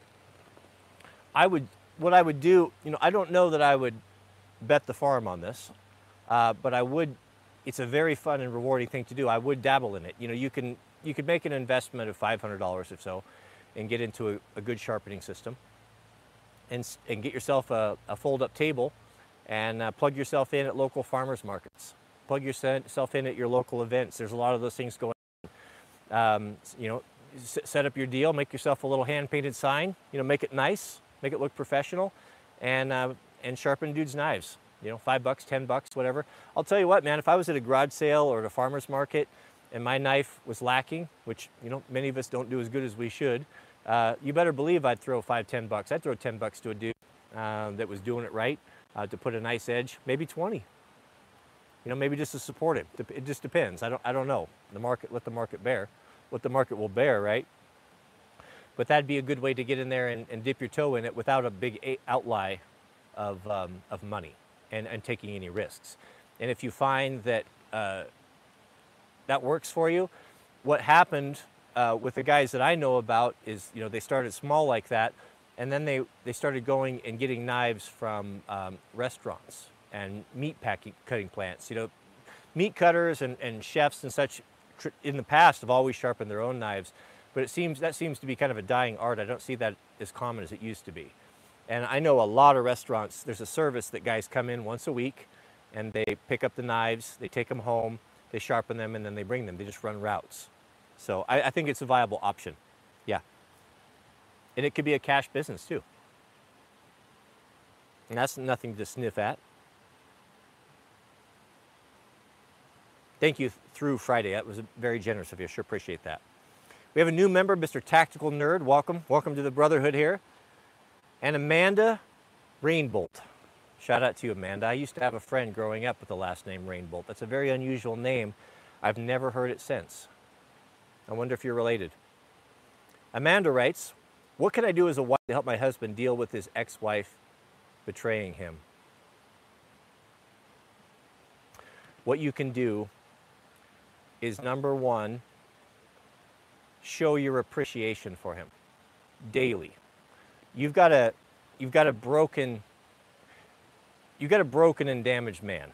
I would, what I would do, you know, I don't know that I would bet the farm on this, uh, but I would, it's a very fun and rewarding thing to do. I would dabble in it. You know, you can, you could make an investment of five hundred dollars or so and get into a, a good sharpening system and, and get yourself a, a fold-up table and uh, plug yourself in at local farmers markets. Plug yourself in at your local events. There's a lot of those things going on. Um, you know, set up your deal, make yourself a little hand-painted sign, you know, make it nice, make it look professional, and, uh, and sharpen dudes' knives. You know, five bucks, ten bucks, whatever. I'll tell you what, man, if I was at a garage sale or at a farmer's market and my knife was lacking, which, you know, many of us don't do as good as we should, uh, you better believe I'd throw five, ten bucks. I'd throw ten bucks to a dude uh, that was doing it right, uh, to put a nice edge, maybe twenty. You know, maybe just to support it. It just depends. I don't, I don't know. The market, let the market bear what the market will bear, right? But that'd be a good way to get in there and, and dip your toe in it without a big outlay of, um, of money and, and taking any risks. And if you find that uh, that works for you, what happened uh, with the guys that I know about is, you know, they started small like that, and then they, they started going and getting knives from um, restaurants and meat packing, cutting plants. You know, meat cutters and, and chefs and such in the past have always sharpened their own knives, but it seems that seems to be kind of a dying art. I don't see that as common as it used to be. And I know a lot of restaurants, there's a service that guys come in once a week and they pick up the knives, they take them home, they sharpen them, and then they bring them. They just run routes. So I, I think it's a viable option. Yeah. And it could be a cash business too. And that's nothing to sniff at. Thank you, Through Friday. That was very generous of you. I sure appreciate that. We have a new member, Mister Tactical Nerd. Welcome. Welcome to the Brotherhood here. And Amanda Rainbolt. Shout out to you, Amanda. I used to have a friend growing up with the last name Rainbolt. That's a very unusual name. I've never heard it since. I wonder if you're related. Amanda writes, what can I do as a wife to help my husband deal with his ex-wife betraying him? What you can do is, number one, show your appreciation for him daily. You've got a, you've got a broken, you've got a broken and damaged man.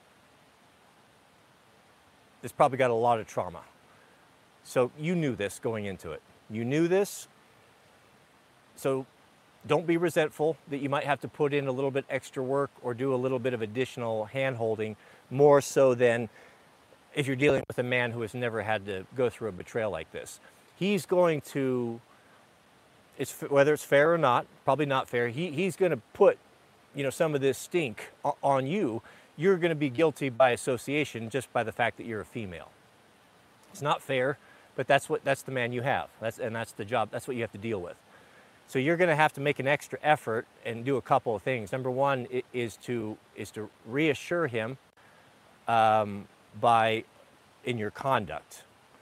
That's probably got a lot of trauma. So you knew this going into it. You knew this. So don't be resentful that you might have to put in a little bit extra work or do a little bit of additional hand-holding, more so than if you're dealing with a man who has never had to go through a betrayal like this. He's going to, it's, whether it's fair or not, probably not fair, he, he's going to put, you know, some of this stink on you. You're going to be guilty by association just by the fact that you're a female. It's not fair, but that's what, that's the man you have. That's, and that's the job, that's what you have to deal with. So you're going to have to make an extra effort and do a couple of things. Number one is to, is to reassure him um, by, in your conduct.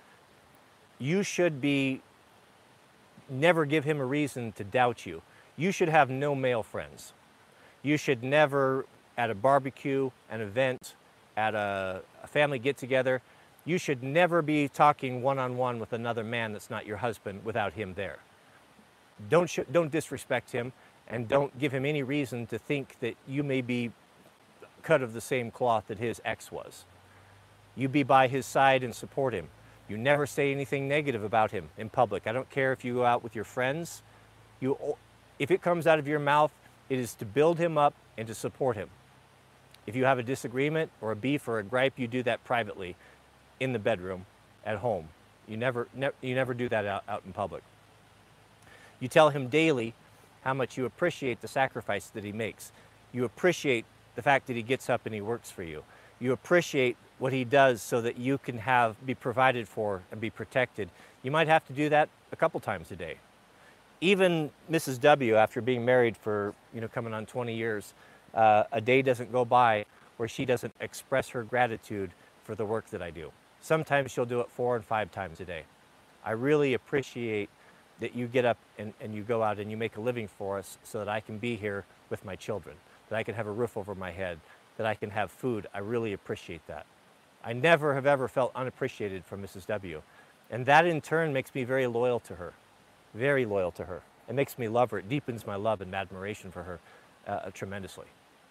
You should be, never give him a reason to doubt you. You should have no male friends. You should never, at a barbecue, an event, at a, a family get-together, you should never be talking one-on-one with another man that's not your husband without him there. Don't, sh don't disrespect him, and don't give him any reason to think that you may be cut of the same cloth that his ex was. You be by his side and support him. You never say anything negative about him in public. I don't care if you go out with your friends. You, if it comes out of your mouth, it is to build him up and to support him. If you have a disagreement or a beef or a gripe, you do that privately in the bedroom, at home. You never, ne you never do that out, out in public. You tell him daily how much you appreciate the sacrifice that he makes. You appreciate the fact that he gets up and he works for you. You appreciate what he does so that you can have, be provided for and be protected. You might have to do that a couple times a day. Even Missus W, after being married for, you know, coming on twenty years, uh, a day doesn't go by where she doesn't express her gratitude for the work that I do. Sometimes she'll do it four and five times a day. I really appreciate that you get up and, and you go out and you make a living for us so that I can be here with my children, that I can have a roof over my head, that I can have food. I really appreciate that. I never have ever felt unappreciated from Missus W. And that in turn makes me very loyal to her, very loyal to her. It makes me love her. It deepens my love and admiration for her uh, tremendously.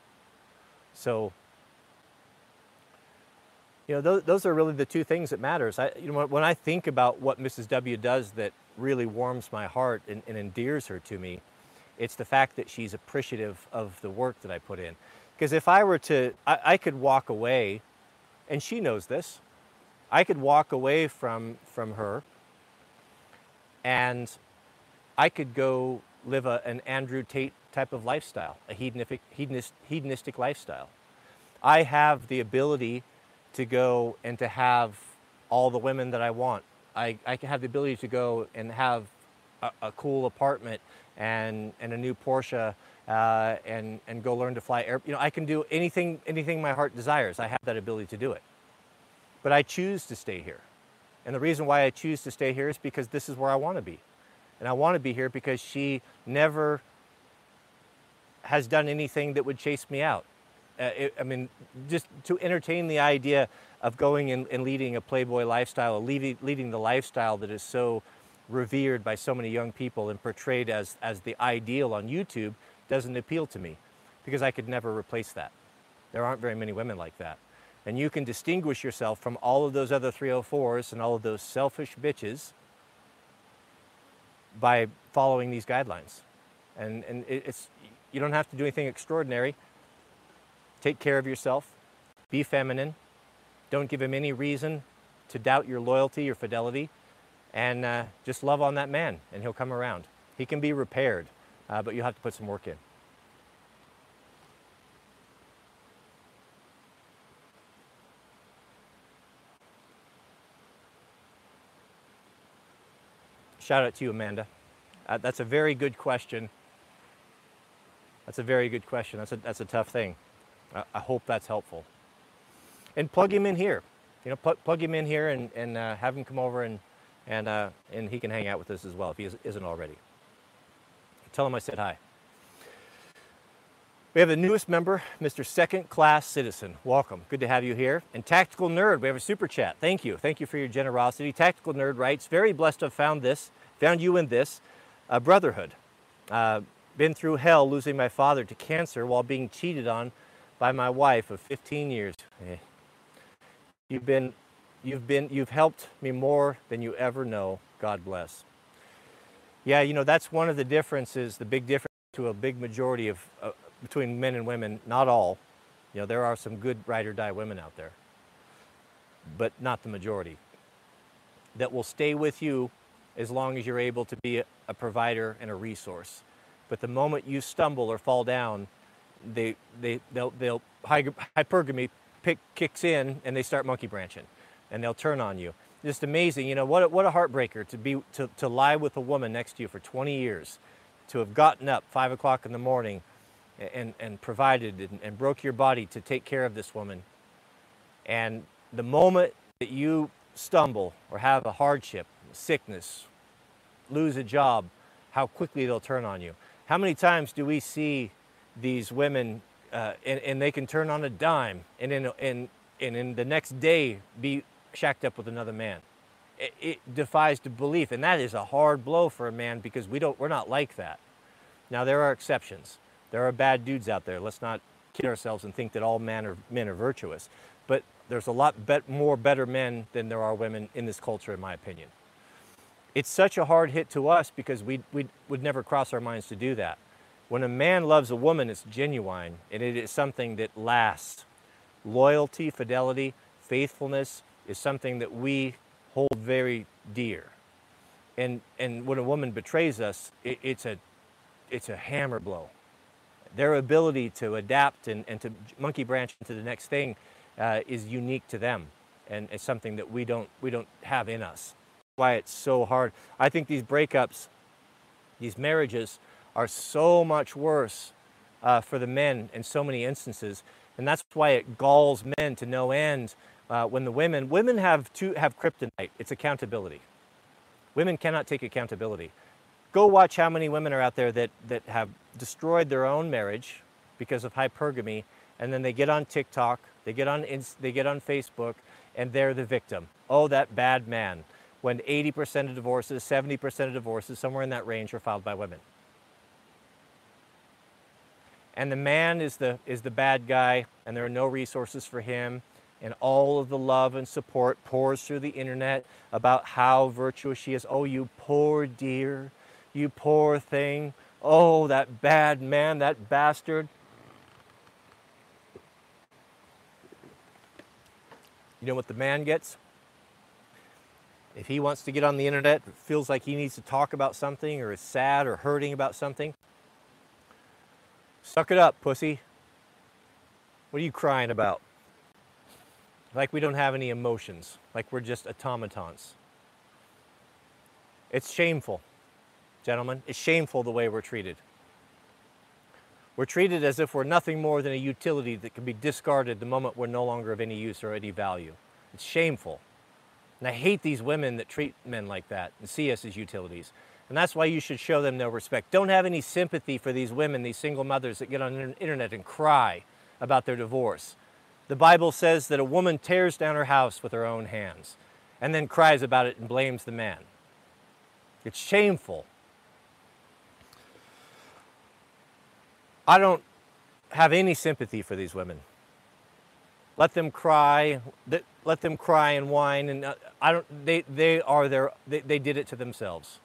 So, you know, those, those are really the two things that matters. I, you know, when I think about what Missus W does that really warms my heart and, and endears her to me, it's the fact that she's appreciative of the work that I put in. Because if I were to, I, I could walk away, and she knows this, I could walk away from, from her and I could go live a, an Andrew Tate type of lifestyle, a hedonistic, hedonist, hedonistic lifestyle. I have the ability to go and to have all the women that I want. I, I can have the ability to go and have a, a cool apartment and, and a new Porsche uh, and, and go learn to fly air. You know, I can do anything, anything my heart desires. I have that ability to do it. But I choose to stay here. And the reason why I choose to stay here is because this is where I want to be. And I want to be here because she never has done anything that would chase me out. Uh, it, I mean, just to entertain the idea of going and, and leading a Playboy lifestyle, leading, leading the lifestyle that is so revered by so many young people and portrayed as, as the ideal on YouTube doesn't appeal to me, because I could never replace that. There aren't very many women like that. And you can distinguish yourself from all of those other three oh fours and all of those selfish bitches by following these guidelines. And, and it's, you don't have to do anything extraordinary. Take care of yourself, be feminine, don't give him any reason to doubt your loyalty, your fidelity, and uh, just love on that man and he'll come around. He can be repaired, uh, but you'll have to put some work in. Shout out to you, Amanda. Uh, that's a very good question. That's a very good question. That's a, that's a tough thing. I, I hope that's helpful. And plug him in here. You know, plug, plug him in here and, and uh, have him come over and, and, uh, and he can hang out with us as well if he is, isn't already. Tell him I said hi. We have the newest member, Mister Second Class Citizen. Welcome. Good to have you here. And Tactical Nerd, we have a super chat. Thank you. Thank you for your generosity. Tactical Nerd writes, very blessed to have found this, found you in this, uh, brotherhood. Uh, been through hell losing my father to cancer while being cheated on by my wife of fifteen years. Eh. You've been, you've been, you've helped me more than you ever know. God bless. Yeah, you know, that's one of the differences, the big difference to a big majority of, uh, between men and women, not all. You know, there are some good ride or die women out there, but not the majority, that will stay with you as long as you're able to be a, a provider and a resource. But the moment you stumble or fall down, they, they, they'll, they'll, hypergamy pick, kicks in and they start monkey branching and they'll turn on you. Just amazing, you know, what a, what a heartbreaker to be, to, to lie with a woman next to you for twenty years, to have gotten up five o'clock in the morning and, and provided and, and broke your body to take care of this woman. And the moment that you stumble or have a hardship, sickness, lose a job, how quickly they'll turn on you. How many times do we see these women uh, and, and they can turn on a dime and in, and, and in the next day be shacked up with another man? It, it defies to belief, and that is a hard blow for a man because we don't, we're not like that. Now there are exceptions. There are bad dudes out there. Let's not kid ourselves and think that all men are, men are virtuous. But there's a lot bet, more better men than there are women in this culture, in my opinion. It's such a hard hit to us because we we would never cross our minds to do that. When a man loves a woman, it's genuine, and it is something that lasts. Loyalty, fidelity, faithfulness is something that we hold very dear. And and when a woman betrays us, it, it's a it's a hammer blow. Their ability to adapt and, and to monkey branch into the next thing uh, is unique to them, and it's something that we don't we don't have in us. Why it's so hard. I think these breakups, these marriages, are so much worse uh, for the men in so many instances, and that's why it galls men to no end. Uh, when the women women have to have kryptonite, it's accountability. Women cannot take accountability. Go watch how many women are out there that that have destroyed their own marriage because of hypergamy, and then they get on TikTok, they get on they get on Facebook, and they're the victim. Oh, that bad man. When eighty percent of divorces, seventy percent of divorces, somewhere in that range, are filed by women. And the man is the, is the bad guy, and there are no resources for him, and all of the love and support pours through the internet about how virtuous she is. Oh, you poor dear, you poor thing. Oh, that bad man, that bastard. You know what the man gets? If he wants to get on the internet, feels like he needs to talk about something or is sad or hurting about something, suck it up, pussy. What are you crying about? Like we don't have any emotions, like we're just automatons. It's shameful, gentlemen. It's shameful the way we're treated. We're treated as if we're nothing more than a utility that can be discarded the moment we're no longer of any use or any value. It's shameful. And I hate these women that treat men like that and see us as utilities. And that's why you should show them no respect. Don't have any sympathy for these women, these single mothers that get on the internet and cry about their divorce. The Bible says that a woman tears down her house with her own hands and then cries about it and blames the man. It's shameful. I don't have any sympathy for these women. Let them cry. Let them cry and whine, and I don't. They they are their. They, they did it to themselves.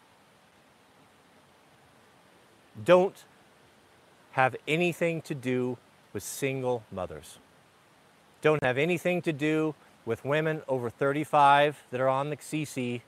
Don't have anything to do with single mothers. Don't have anything to do with women over thirty-five that are on the C C.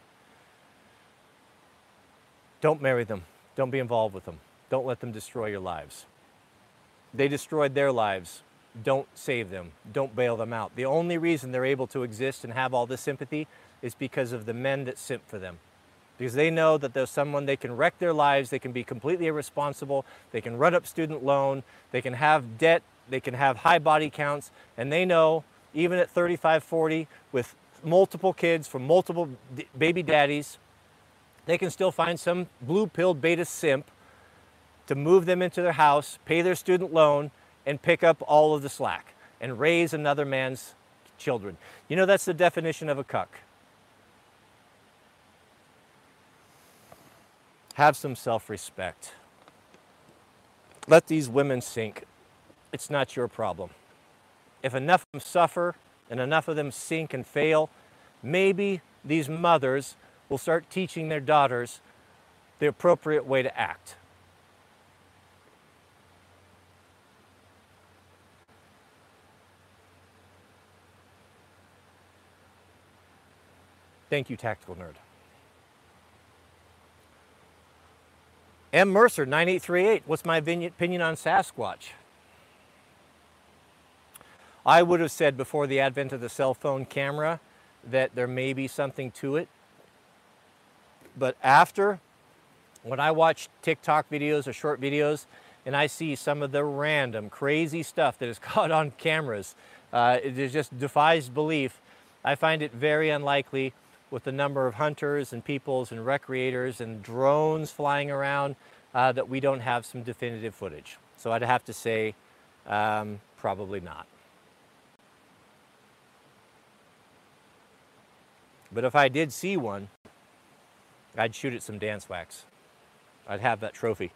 Don't marry them. Don't be involved with them. Don't let them destroy your lives. They destroyed their lives. Don't save them. Don't bail them out. The only reason they're able to exist and have all this sympathy is because of the men that simp for them, because they know that there's someone they can wreck their lives, they can be completely irresponsible, they can run up student loan, they can have debt, they can have high body counts, and they know even at thirty-five, forty with multiple kids from multiple baby daddies, they can still find some blue-pilled beta simp to move them into their house, pay their student loan, and pick up all of the slack and raise another man's children. You know, that's the definition of a cuck. Have some self-respect. Let these women sink. It's not your problem. If enough of them suffer and enough of them sink and fail, maybe these mothers will start teaching their daughters the appropriate way to act. Thank you, Tactical Nerd. M. Mercer, nine eight three eight. What's my opinion on Sasquatch? I would have said before the advent of the cell phone camera that there may be something to it. But after, when I watch TikTok videos or short videos and I see some of the random crazy stuff that is caught on cameras, uh, it just defies belief. I find it very unlikely, with the number of hunters and peoples and recreators and drones flying around, uh, that we don't have some definitive footage. So I'd have to say, um, probably not. But if I did see one, I'd shoot it some dance wax. I'd have that trophy.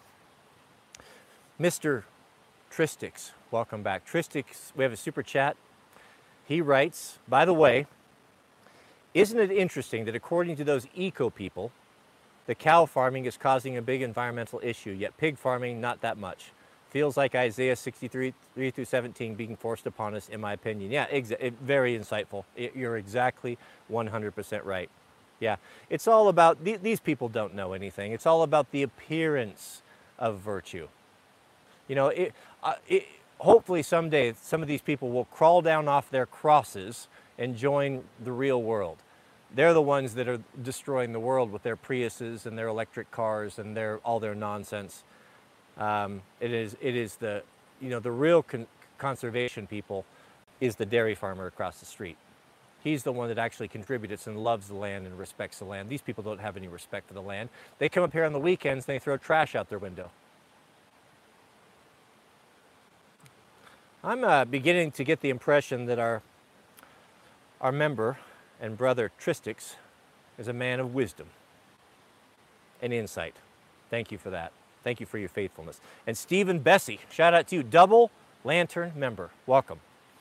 Mister Tristix, welcome back. Tristix, we have a super chat. He writes, by the way, isn't it interesting that according to those eco people, the cow farming is causing a big environmental issue, yet pig farming not that much? Feels like Isaiah sixty-three, three through seventeen being forced upon us, in my opinion. Yeah, exa very insightful. It, you're exactly one hundred percent right. Yeah, it's all about, th these people don't know anything. It's all about the appearance of virtue. You know, it, uh, it, hopefully someday some of these people will crawl down off their crosses and join the real world. They're the ones that are destroying the world with their Priuses and their electric cars and their all their nonsense. Um, it is it is the you know the real con conservation people is the dairy farmer across the street. He's the one that actually contributes and loves the land and respects the land. These people don't have any respect for the land. They come up here on the weekends and they throw trash out their window. I'm uh, beginning to get the impression that our Our member and brother Tristix is a man of wisdom and insight. Thank you for that. Thank you for your faithfulness. And Stephen Bessie, shout out to you, Double Lantern member. Welcome.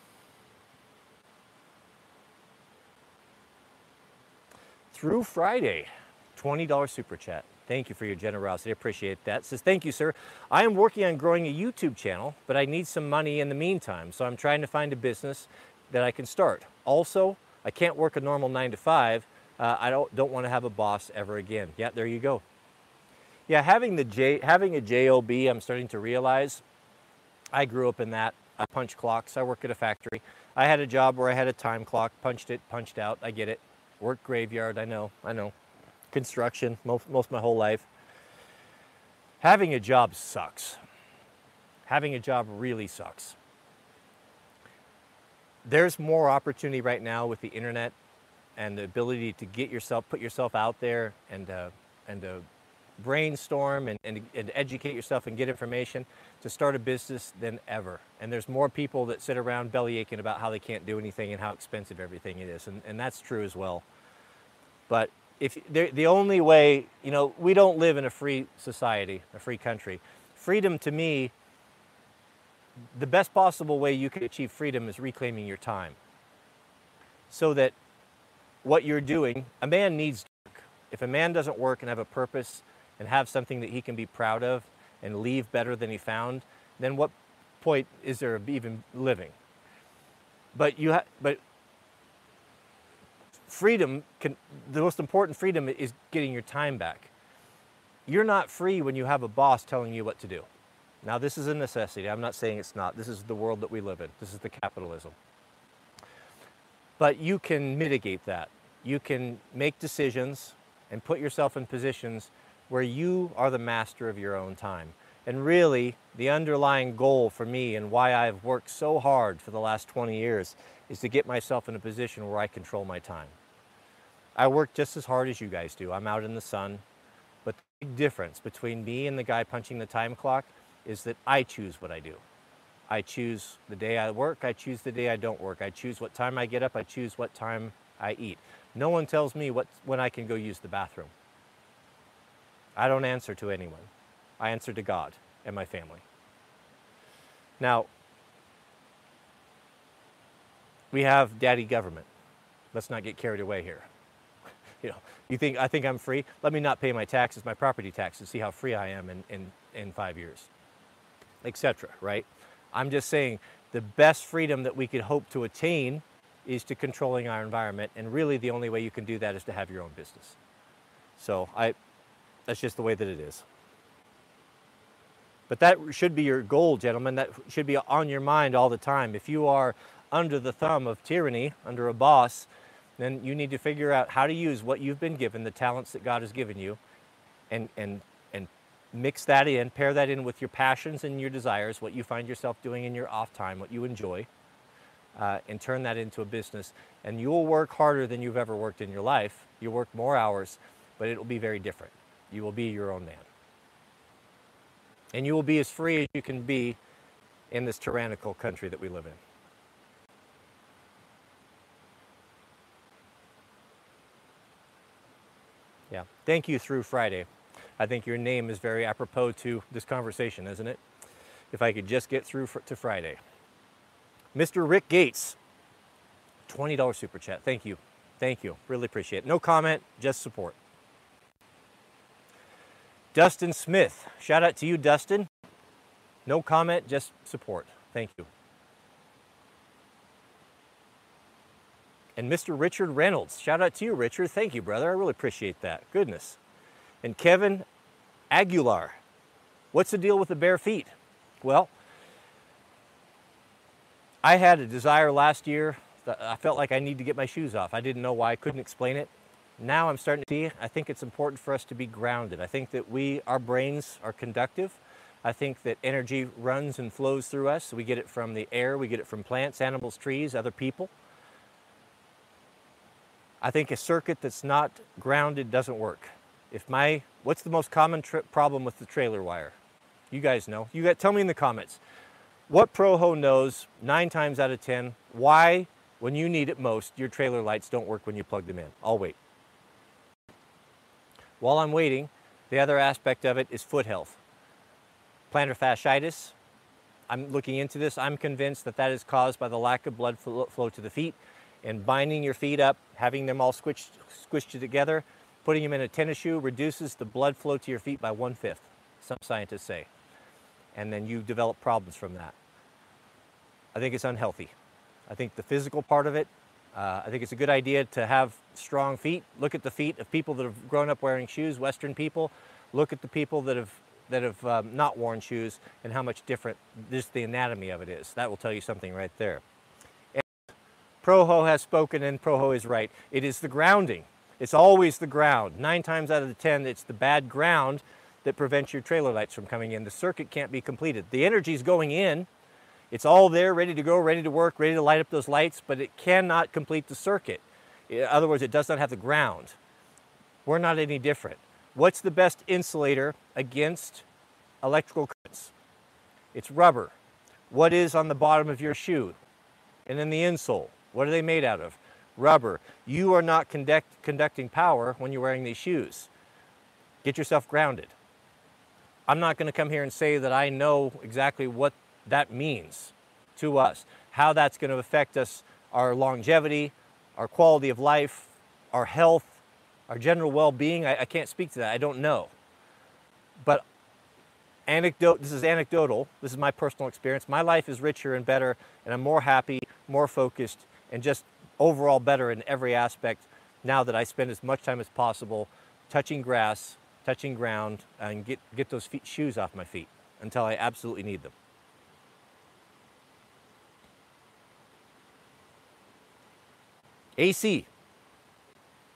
Through Friday, twenty dollar super chat. Thank you for your generosity. I appreciate that. It says, thank you, sir. I am working on growing a YouTube channel, but I need some money in the meantime, so I'm trying to find a business that I can start. Also, I can't work a normal nine to five. Uh, I don't don't want to have a boss ever again. Yeah, there you go. Yeah, having the J having a job, I'm starting to realize. I grew up in that. I punch clocks. I work at a factory. I had a job where I had a time clock, punched it, punched out. I get it. Worked graveyard. I know. I know. Construction. Most most of my whole life. Having a job sucks. Having a job really sucks. There's more opportunity right now with the internet and the ability to get yourself, put yourself out there and uh, and uh, brainstorm and, and, and educate yourself and get information to start a business than ever. And there's more people that sit around belly aching about how they can't do anything and how expensive everything is. And, and that's true as well. But if the only way, you know, we don't live in a free society, a free country. Freedom to me, the best possible way you can achieve freedom is reclaiming your time. So that what you're doing, a man needs to work. If a man doesn't work and have a purpose and have something that he can be proud of and leave better than he found, then what point is there of even living? But you ha but freedom can, the most important freedom is getting your time back. You're not free when you have a boss telling you what to do. Now, this is a necessity. I'm not saying it's not. This is the world that we live in. This is the capitalism. But you can mitigate that. You can make decisions and put yourself in positions where you are the master of your own time. And really, the underlying goal for me and why I've worked so hard for the last twenty years is to get myself in a position where I control my time. I work just as hard as you guys do. I'm out in the sun. But the big difference between me and the guy punching the time clock is that I choose what I do. I choose the day I work. I choose the day I don't work. I choose what time I get up. I choose what time I eat. No one tells me what, when I can go use the bathroom. I don't answer to anyone. I answer to God and my family. Now, we have daddy government. Let's not get carried away here. You know, you think I think I'm free? Let me not pay my taxes, my property taxes, see how free I am in, in, in five years, et cetera, right? I'm just saying the best freedom that we could hope to attain is to controlling our environment, and really the only way you can do that is to have your own business. So I, that's just the way that it is. But that should be your goal, gentlemen. That should be on your mind all the time. If you are under the thumb of tyranny, under a boss, then you need to figure out how to use what you've been given, the talents that God has given you, and, and, and mix that in, pair that in with your passions and your desires, what you find yourself doing in your off time, what you enjoy, uh, and turn that into a business. And you will work harder than you've ever worked in your life. You'll work more hours, but it will be very different. You will be your own man. And you will be as free as you can be in this tyrannical country that we live in. Yeah, thank you through Friday. I think your name is very apropos to this conversation, isn't it? If I could just get through for, to Friday. Mister Rick Gates, twenty dollar super chat. Thank you. Thank you. Really appreciate it. No comment, just support. Dustin Smith, shout out to you, Dustin. No comment, just support. Thank you. And Mister Richard Reynolds, shout out to you, Richard. Thank you, brother. I really appreciate that. Goodness. And Kevin Aguilar, what's the deal with the bare feet? Well, I had a desire last year. I felt like I need to get my shoes off. I didn't know why. I couldn't explain it. Now I'm starting to see, I think it's important for us to be grounded. I think that we, our brains are conductive. I think that energy runs and flows through us. We get it from the air, we get it from plants, animals, trees, other people. I think a circuit that's not grounded doesn't work. If my, what's the most common problem with the trailer wire? You guys know. You got, tell me in the comments. What Proho knows nine times out of ten why, when you need it most, your trailer lights don't work when you plug them in? I'll wait. While I'm waiting, the other aspect of it is foot health. Plantar fasciitis, I'm looking into this. I'm convinced that that is caused by the lack of blood flow to the feet, and binding your feet up, having them all squished, squished together, putting them in a tennis shoe reduces the blood flow to your feet by one-fifth, some scientists say. And then you develop problems from that. I think it's unhealthy. I think the physical part of it, uh, I think it's a good idea to have strong feet. Look at the feet of people that have grown up wearing shoes, Western people. Look at the people that have that have um, not worn shoes and how much different just the anatomy of it is. That will tell you something right there. And Proho has spoken, and Proho is right. It is the grounding. It's always the ground. Nine times out of the ten, it's the bad ground that prevents your trailer lights from coming in. The circuit can't be completed. The energy's going in. It's all there, ready to go, ready to work, ready to light up those lights, but it cannot complete the circuit. In other words, it does not have the ground. We're not any different. What's the best insulator against electrical currents? It's rubber. What is on the bottom of your shoe? And then the insole. What are they made out of? Rubber. You are not conduct, conducting power when you're wearing these shoes. Get yourself grounded. I'm not going to come here and say that I know exactly what that means to us, how that's going to affect us, our longevity, our quality of life, our health, our general well-being. I, I can't speak to that. I don't know. But anecdote, this is anecdotal. This is my personal experience. My life is richer and better, and I'm more happy, more focused, and just overall better in every aspect now that I spend as much time as possible touching grass, touching ground, and get, get those feet, shoes off my feet until I absolutely need them. A C.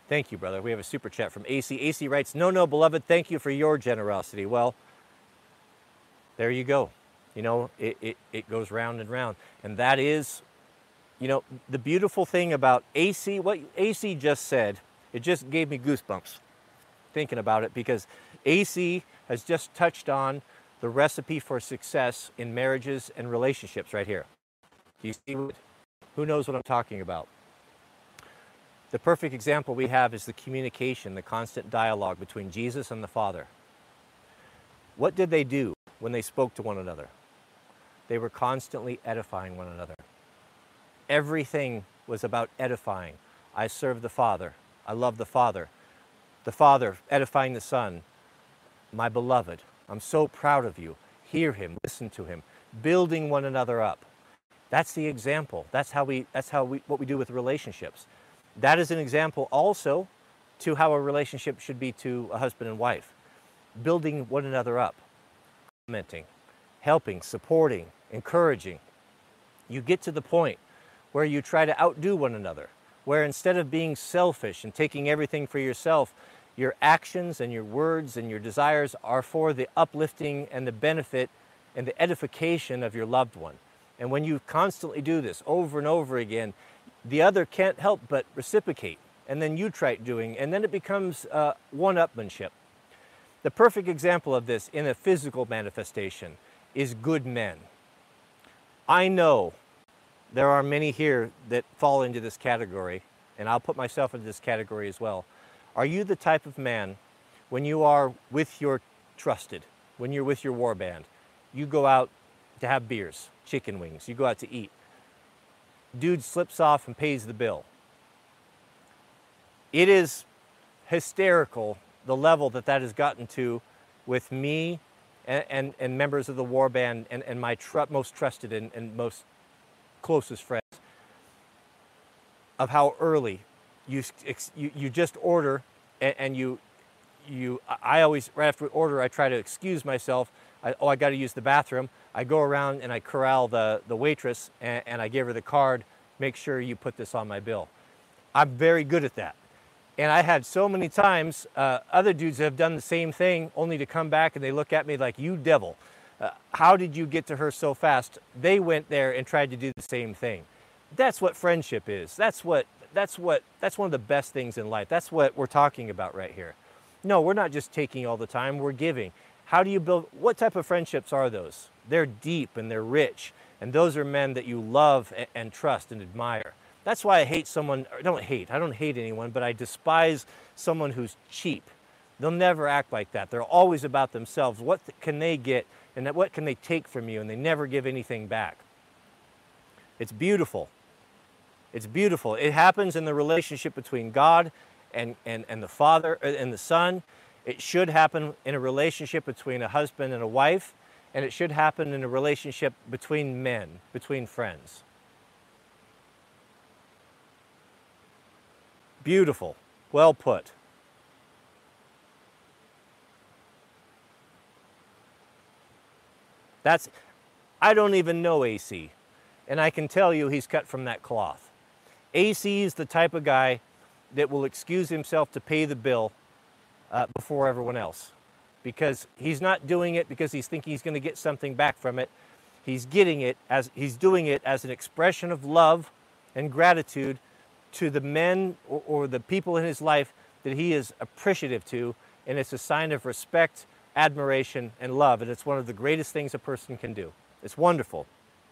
Thank you, brother. We have a super chat from A C. A C writes, no, no, beloved, thank you for your generosity. Well, there you go. You know, it, it, it goes round and round. And that is, you know, the beautiful thing about A C, what A C just said, it just gave me goosebumps thinking about it, because A C has just touched on the recipe for success in marriages and relationships right here. Do you see what, who knows what I'm talking about? The perfect example we have is the communication, the constant dialogue between Jesus and the Father. What did they do when they spoke to one another? They were constantly edifying one another. Everything was about edifying. I serve the Father. I love the Father. The Father edifying the Son. My beloved, I'm so proud of you. Hear him, listen to him, building one another up. That's the example. That's how we, that's how we, what we do with relationships. That is an example also to how a relationship should be to a husband and wife. Building one another up, commenting, helping, supporting, encouraging. You get to the point where you try to outdo one another, where instead of being selfish and taking everything for yourself, your actions and your words and your desires are for the uplifting and the benefit and the edification of your loved one. And when you constantly do this over and over again, the other can't help but reciprocate, and then you try doing, and then it becomes uh, one-upmanship. The perfect example of this in a physical manifestation is good men. I know there are many here that fall into this category, and I'll put myself into this category as well. Are you the type of man, when you are with your trusted, when you're with your war band, you go out to have beers, chicken wings, you go out to eat, dude slips off and pays the bill? It is hysterical the level that that has gotten to with me and, and, and members of the war band and, and my tr most trusted and, and most closest friends, of how early you, you, you just order and, and you, you, I always, right after we order, I try to excuse myself. I, oh, I got to use the bathroom. I go around and I corral the, the waitress and, and I give her the card, make sure you put this on my bill. I'm very good at that. And I had so many times, uh, other dudes have done the same thing only to come back and they look at me like, you devil, uh, how did you get to her so fast? They went there and tried to do the same thing. That's what friendship is. That's what, that's what, that's one of the best things in life. That's what we're talking about right here. No, we're not just taking all the time, we're giving. How do you build, what type of friendships are those? They're deep and they're rich. And those are men that you love and, and trust and admire. That's why I hate someone, or don't hate, I don't hate anyone, but I despise someone who's cheap. They'll never act like that. They're always about themselves. What can they get and what can they take from you? And they never give anything back. It's beautiful. It's beautiful. It happens in the relationship between God and, and, and the Father and the Son. It should happen in a relationship between a husband and a wife, and it should happen in a relationship between men, between friends. Beautiful. Well put. That's, I don't even know A C, and I can tell you he's cut from that cloth. A C is the type of guy that will excuse himself to pay the bill uh, before everyone else, because he's not doing it because he's thinking he's going to get something back from it. He's getting it as, he's doing it as an expression of love and gratitude to the men or, or the people in his life that he is appreciative to, and it's a sign of respect, admiration, and love, and it's one of the greatest things a person can do. It's wonderful.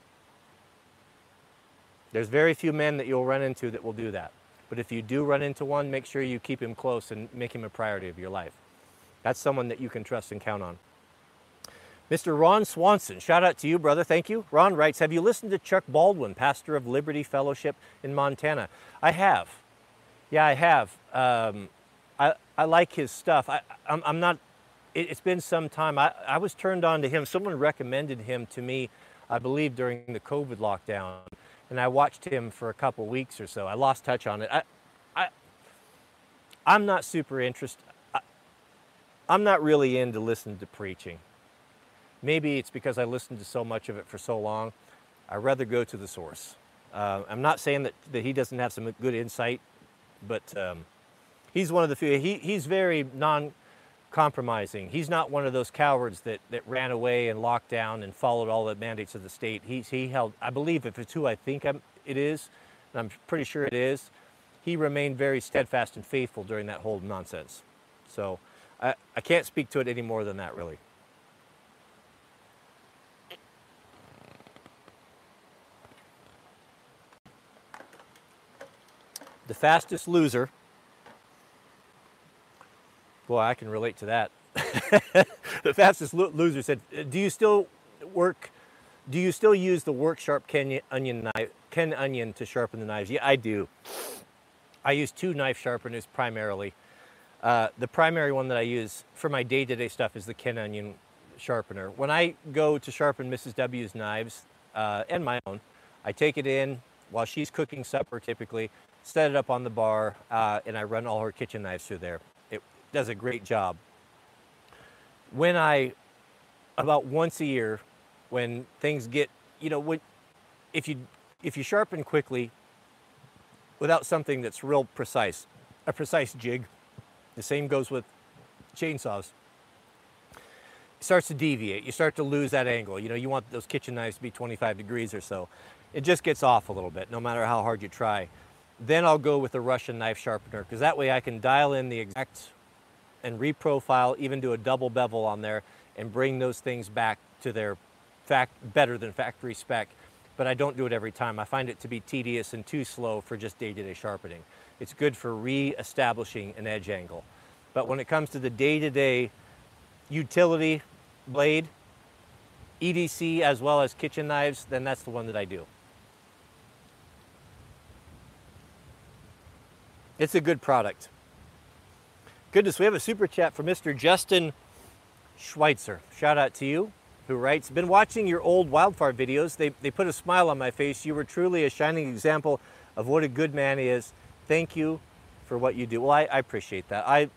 There's very few men that you'll run into that will do that. But if you do run into one, make sure you keep him close and make him a priority of your life. That's someone that you can trust and count on. Mister Ron Swanson, shout out to you, brother. Thank you. Ron writes, have you listened to Chuck Baldwin, pastor of Liberty Fellowship in Montana? I have. Yeah, I have. Um, I, I like his stuff. I, I'm, I'm not, it, it's been some time. I, I was turned on to him. Someone recommended him to me, I believe, during the COVID lockdown. And I watched him for a couple weeks or so. I lost touch on it. I, I, I'm not super interested. I, I'm not really into listening to preaching. Maybe it's because I listened to so much of it for so long. I'd rather go to the source. Uh, I'm not saying that, that he doesn't have some good insight, but um, He's one of the few. He, he's very non-compromising. He's not one of those cowards that, that ran away and locked down and followed all the mandates of the state. He's, he held, I believe, if it's who I think I'm, it is, and I'm pretty sure it is, he remained very steadfast and faithful during that whole nonsense. So I, I can't speak to it any more than that, really. The fastest loser. Boy, I can relate to that. The fastest lo loser said, "Do you still work? Do you still use the Work Sharp Ken Onion knife, Ken Onion to sharpen the knives?" Yeah, I do. I use two knife sharpeners primarily. Uh, the primary one that I use for my day-to-day stuff is the Ken Onion sharpener. When I go to sharpen Missus W's knives uh, and my own, I take it in while she's cooking supper typically, set it up on the bar, uh, and I run all her kitchen knives through there. It does a great job. When I, about once a year, when things get, you know, when, if you if you sharpen quickly without something that's real precise, a precise jig, the same goes with chainsaws. It starts to deviate. You start to lose that angle. You know, you want those kitchen knives to be twenty-five degrees or so. It just gets off a little bit, no matter how hard you try. Then I'll go with the Russian knife sharpener, because that way I can dial in the exact and reprofile, even do a double bevel on there, and bring those things back to their fact better than factory spec. But I don't do it every time. I find it to be tedious and too slow for just day-to-day sharpening. It's good for re-establishing an edge angle. But when it comes to the day-to-day utility blade, E D C as well as kitchen knives, then that's the one that I do. It's a good product. Goodness, we have a super chat from Mister Justin Schweitzer. Shout out to you, who writes, "Been watching your old wildfire videos. They, they put a smile on my face. You were truly a shining example of what a good man is. Thank you for what you do." Well, I, I appreciate that. I,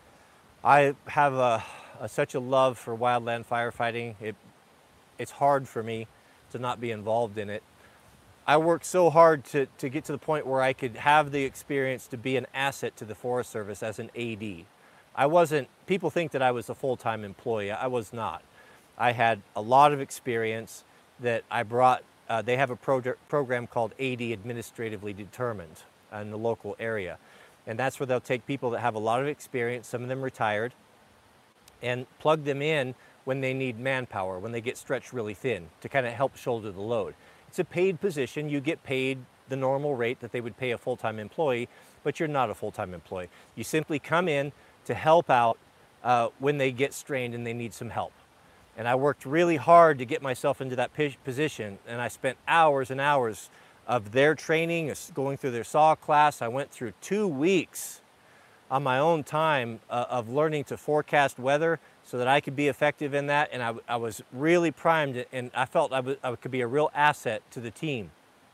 I have a, a, such a love for wildland firefighting. It, it's hard for me to not be involved in it. I worked so hard to, to get to the point where I could have the experience to be an asset to the Forest Service as an A D. I wasn't, people think that I was a full-time employee. I was not. I had a lot of experience that I brought. Uh, they have a pro program called A D Administratively Determined in the local area. And that's where they'll take people that have a lot of experience, some of them retired, and plug them in when they need manpower, when they get stretched really thin, to kind of help shoulder the load. It's a paid position. You get paid the normal rate that they would pay a full-time employee, but you're not a full-time employee. You simply come in to help out uh, when they get strained and they need some help. And I worked really hard to get myself into that position, and I spent hours and hours of their training, going through their saw class. I went through two weeks on my own time uh, of learning to forecast weather so that I could be effective in that, and I, I was really primed, and I felt I, was, I could be a real asset to the team.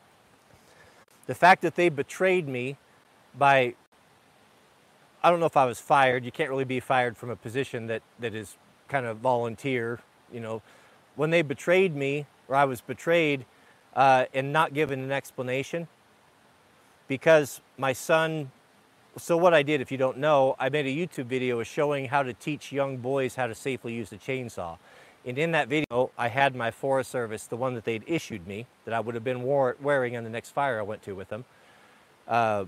The fact that they betrayed me by, I don't know if I was fired. You can't really be fired from a position that, that is kind of volunteer, you know. When they betrayed me, or I was betrayed, uh, and not given an explanation, because my son, so what I did, if you don't know, I made a YouTube video showing how to teach young boys how to safely use a chainsaw. And in that video, I had my Forest Service, the one that they'd issued me, that I would have been wore, wearing on the next fire I went to with them, uh,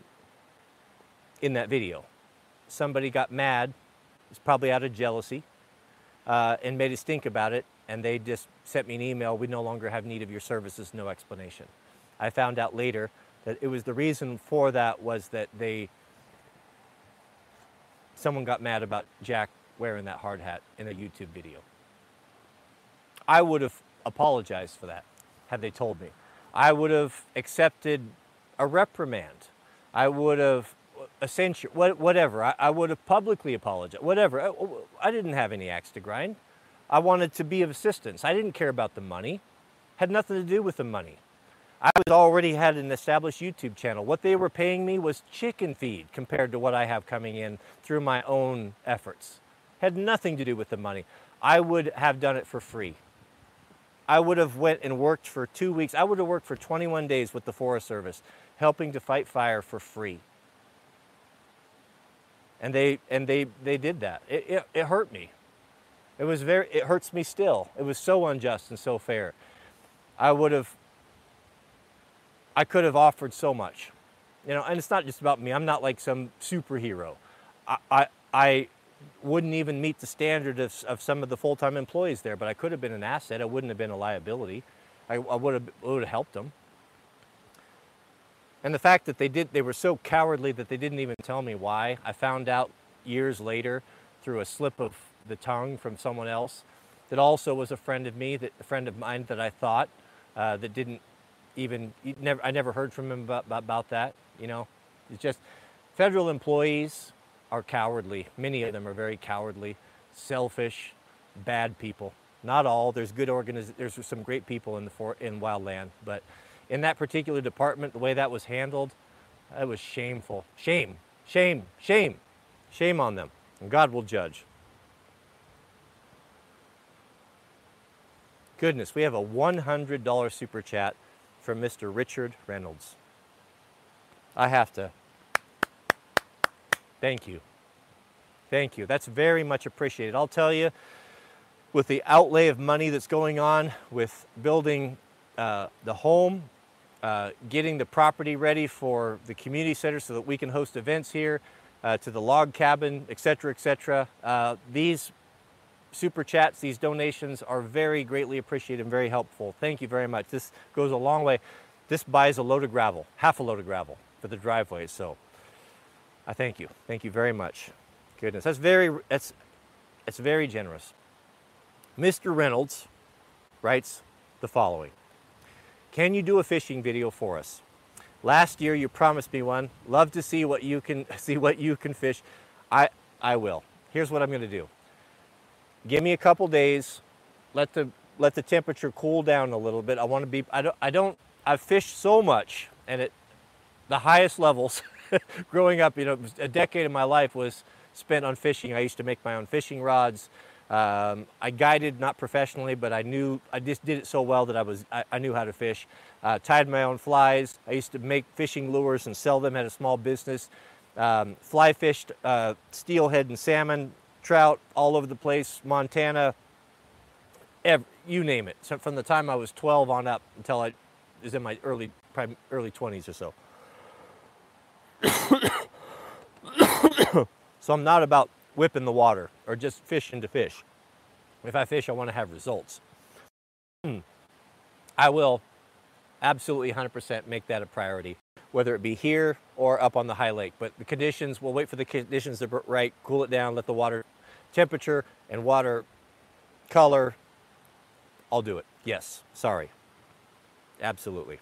in that video. Somebody got mad, it's probably out of jealousy, uh, and made a stink about it, and they just sent me an email, "We no longer have need of your services, no explanation." I found out later that it was the reason for that was that they, someone got mad about Jack wearing that hard hat in a YouTube video. I would have apologized for that had they told me. I would have accepted a reprimand. I would have a censure, whatever. I, I would have publicly apologized, whatever. I, I didn't have any axe to grind. I wanted to be of assistance. I didn't care about the money. Had nothing to do with the money. I was already had an established YouTube channel. What they were paying me was chicken feed compared to what I have coming in through my own efforts. Had nothing to do with the money. I would have done it for free. I would have went and worked for two weeks. I would have worked for twenty-one days with the Forest Service, helping to fight fire for free. And they, and they, they did that. It, it, it hurt me. It was very, it hurts me still. It was so unjust and so fair. I would have, I could have offered so much, you know, and it's not just about me. I'm not like some superhero. I, I, I wouldn't even meet the standard of, of some of the full-time employees there, but I could have been an asset. I wouldn't have been a liability. I, I would have, would have helped them. And the fact that they did, they were so cowardly that they didn't even tell me why. I found out years later through a slip of the tongue from someone else that also was a friend of me, that a friend of mine that I thought uh, that didn't even, never, I never heard from him about, about that, you know. It's just, federal employees are cowardly. Many of them are very cowardly, selfish, bad people. Not all, there's good organiz, there's some great people in the for, in wildland, but in that particular department, the way that was handled, it was shameful. Shame, shame, shame, shame on them. And God will judge. Goodness, we have a one hundred dollar super chat from Mister Richard Reynolds. I have to, thank you. Thank you, that's very much appreciated. I'll tell you, with the outlay of money that's going on with building uh, the home, Uh, getting the property ready for the community center so that we can host events here, uh, to the log cabin, et cetera, et cetera. Uh, these super chats, these donations are very greatly appreciated and very helpful. Thank you very much. This goes a long way. This buys a load of gravel, half a load of gravel for the driveway. So I thank you. Thank you very much. Goodness, that's very, that's, that's very generous. Mister Reynolds writes the following. Can you do a fishing video for us? Last year you promised me one. Love to see what you can see what you can fish. I I will. Here's what I'm going to do. Give me a couple days. Let the let the temperature cool down a little bit. I want to be I don't I don't I've fished so much, and at the highest levels growing up, you know, a decade of my life was spent on fishing. I used to make my own fishing rods. Um, I guided, not professionally, but I knew, I just did it so well that I was, I, I knew how to fish. Uh, tied my own flies. I used to make fishing lures and sell them, had a small business. Um, fly fished uh, steelhead and salmon, trout all over the place, Montana, every, you name it. So from the time I was twelve on up until I was in my early, probably early twenties or so. So I'm not about whipping the water or just fishing to fish. If I fish, I want to have results. I will absolutely one hundred percent make that a priority, whether it be here or up on the high lake. But the conditions, we'll wait for the conditions to be right, cool it down, let the water temperature and water color, I'll do it. Yes, sorry. Absolutely.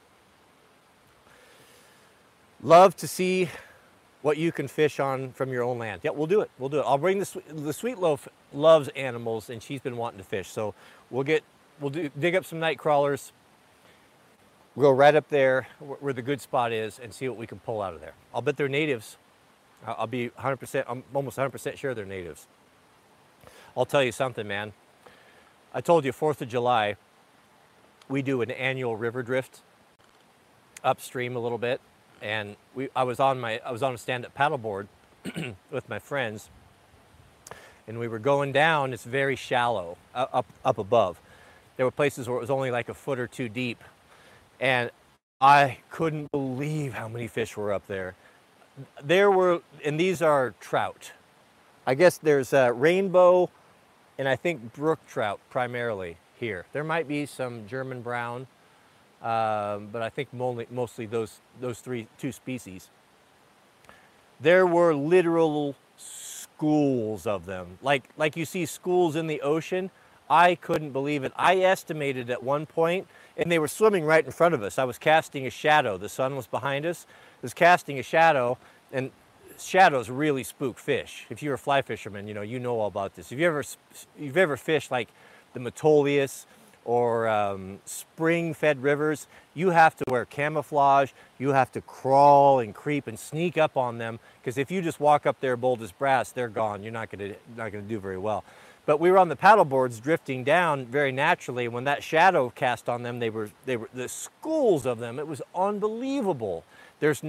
Love to see what you can fish on from your own land. Yeah, we'll do it. We'll do it. I'll bring the the Sweet Loaf loves animals, and she's been wanting to fish. So we'll get we'll do, dig up some night crawlers. We'll go right up there where the good spot is and see what we can pull out of there. I'll bet they're natives. I'll be one hundred percent. I'm almost one hundred percent sure they're natives. I'll tell you something, man. I told you fourth of July, we do an annual river drift upstream a little bit. And we, I was on my, I was on a stand-up paddleboard with my friends, and we were going down. It's very shallow uh, up up above. There were places where it was only like a foot or two deep, and I couldn't believe how many fish were up there. There were, and these are trout. I guess there's uh, rainbow, and I think brook trout primarily here. There might be some German brown. Um, but I think mostly, mostly those, those three, two species. There were literal schools of them. Like, like you see schools in the ocean. I couldn't believe it. I estimated at one point, and they were swimming right in front of us. I was casting a shadow. The sun was behind us. I was casting a shadow, and shadows really spook fish. If you're a fly fisherman, you know, you know all about this. If you ever, you've ever fished like the Metolius, or um, spring-fed rivers, you have to wear camouflage, you have to crawl and creep and sneak up on them, because if you just walk up there bold as brass, they're gone. You're not gonna, not gonna do very well. But we were on the paddle boards drifting down very naturally. When that shadow cast on them, they were, they were the schools of them. It was unbelievable. There's no,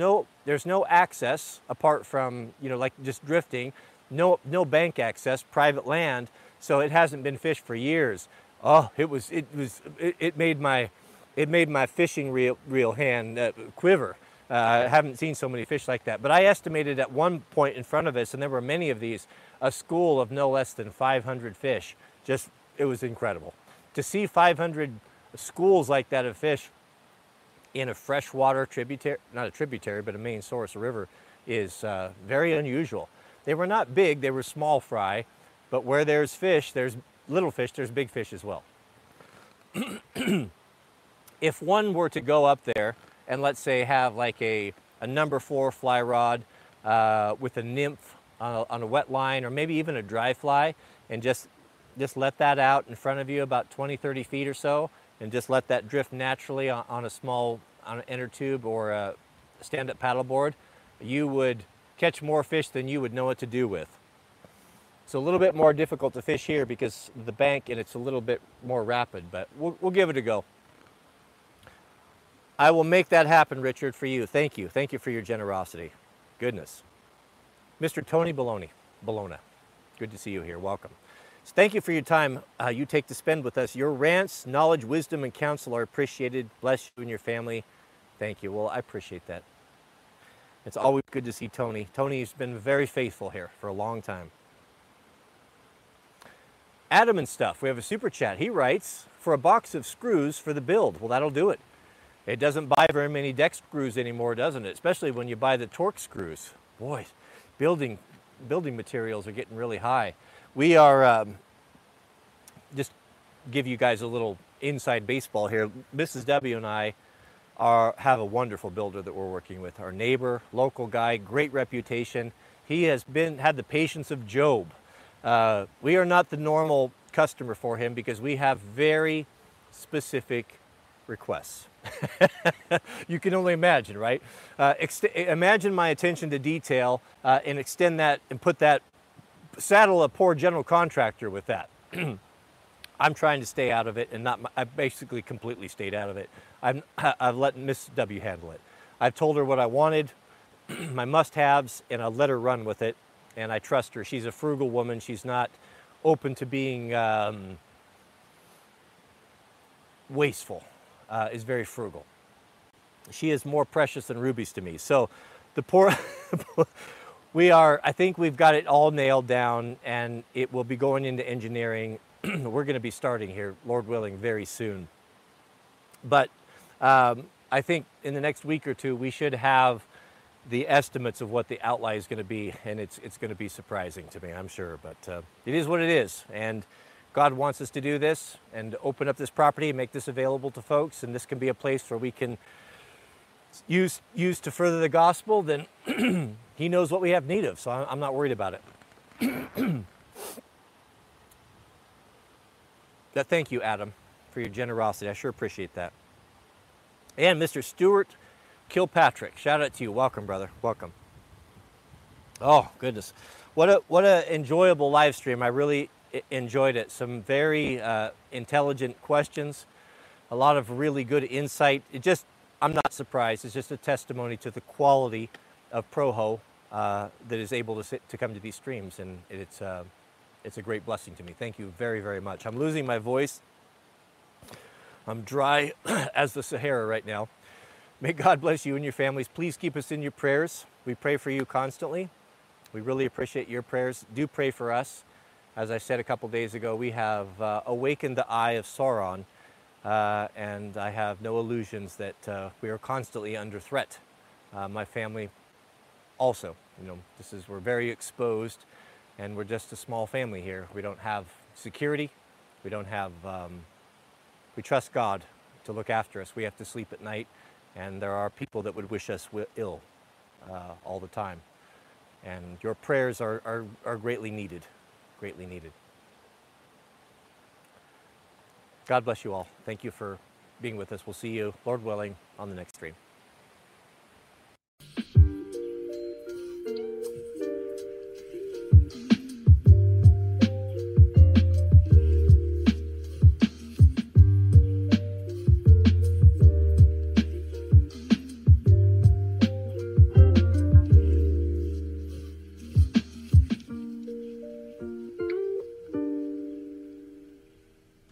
there's no access apart from, you know, like just drifting, no, no bank access, private land. So it hasn't been fished for years. Oh, it was, it was, it, it made my, it made my fishing reel, reel hand uh, quiver. Uh, I haven't seen so many fish like that. But I estimated at one point in front of us, and there were many of these, a school of no less than five hundred fish. Just, it was incredible. To see five hundred schools like that of fish in a freshwater tributary, not a tributary, but a main source, a river, is uh, very unusual. They were not big, they were small fry, but where there's fish, there's little fish, there's big fish as well. If one were to go up there and let's say have like a, a number four fly rod uh, with a nymph on a, on a wet line, or maybe even a dry fly, and just, just let that out in front of you about twenty, thirty feet or so, and just let that drift naturally on, on a small, on an inner tube or a stand-up paddleboard, you would catch more fish than you would know what to do with. It's a little bit more difficult to fish here because of the bank and it's a little bit more rapid, but we'll, we'll give it a go. I will make that happen, Richard, for you. Thank you. Thank you for your generosity. Goodness. Mister Tony Bologna, Bologna, good to see you here. Welcome. So thank you for your time uh, you take to spend with us. Your rants, knowledge, wisdom, and counsel are appreciated. Bless you and your family. Thank you. Well, I appreciate that. It's always good to see Tony. Tony's been very faithful here for a long time. Adam and stuff, we have a super chat. He writes, for a box of screws for the build. Well, that'll do it. It doesn't buy very many deck screws anymore, doesn't it? Especially when you buy the Torx screws. Boy, building, building materials are getting really high. We are, um, just give you guys a little inside baseball here. Missus W and I are, have a wonderful builder that we're working with. Our neighbor, local guy, great reputation. He has been, had the patience of Job. Uh, we are not the normal customer for him because we have very specific requests. You can only imagine, right? Uh, imagine my attention to detail uh, and extend that and put that, saddle a poor general contractor with that. I'm trying to stay out of it and not, I basically completely stayed out of it. I'm, I've let Miss W handle it. I've told her what I wanted, my must-haves, and I let her run with it. And I trust her. She's a frugal woman. She's not open to being um, wasteful. Uh, is very frugal. She is more precious than rubies to me. So the poor, we are, I think we've got it all nailed down, and it will be going into engineering. We're going to be starting here, Lord willing, very soon. But um, I think in the next week or two, we should have the estimates of what the outlay is going to be, and it's, it's going to be surprising to me, I'm sure. But uh, it is what it is. And God wants us to do this and open up this property and make this available to folks, and this can be a place where we can use, use to further the gospel. Then he knows what we have need of, so I'm not worried about it. But thank you, Adam, for your generosity. I sure appreciate that. And Mister Stuart Kilpatrick, shout out to you. Welcome, brother. Welcome. Oh, goodness. What a, what a enjoyable live stream. I really enjoyed it. Some very uh, intelligent questions, a lot of really good insight. It just, I'm not surprised. It's just a testimony to the quality of Proho uh, that is able to sit, to come to these streams, and it's uh, it's a great blessing to me. Thank you very, very much. I'm losing my voice. I'm dry as the Sahara right now. May God bless you and your families. Please keep us in your prayers. We pray for you constantly. We really appreciate your prayers. Do pray for us. As I said a couple days ago, we have uh, awakened the eye of Sauron, uh, and I have no illusions that uh, we are constantly under threat. Uh, my family also, you know, this is, we're very exposed, and we're just a small family here. We don't have security. We don't have, um, we trust God to look after us. We have to sleep at night, and there are people that would wish us ill uh, all the time. And your prayers are, are, are greatly needed. Greatly needed. God bless you all. Thank you for being with us. We'll see you, Lord willing, on the next stream.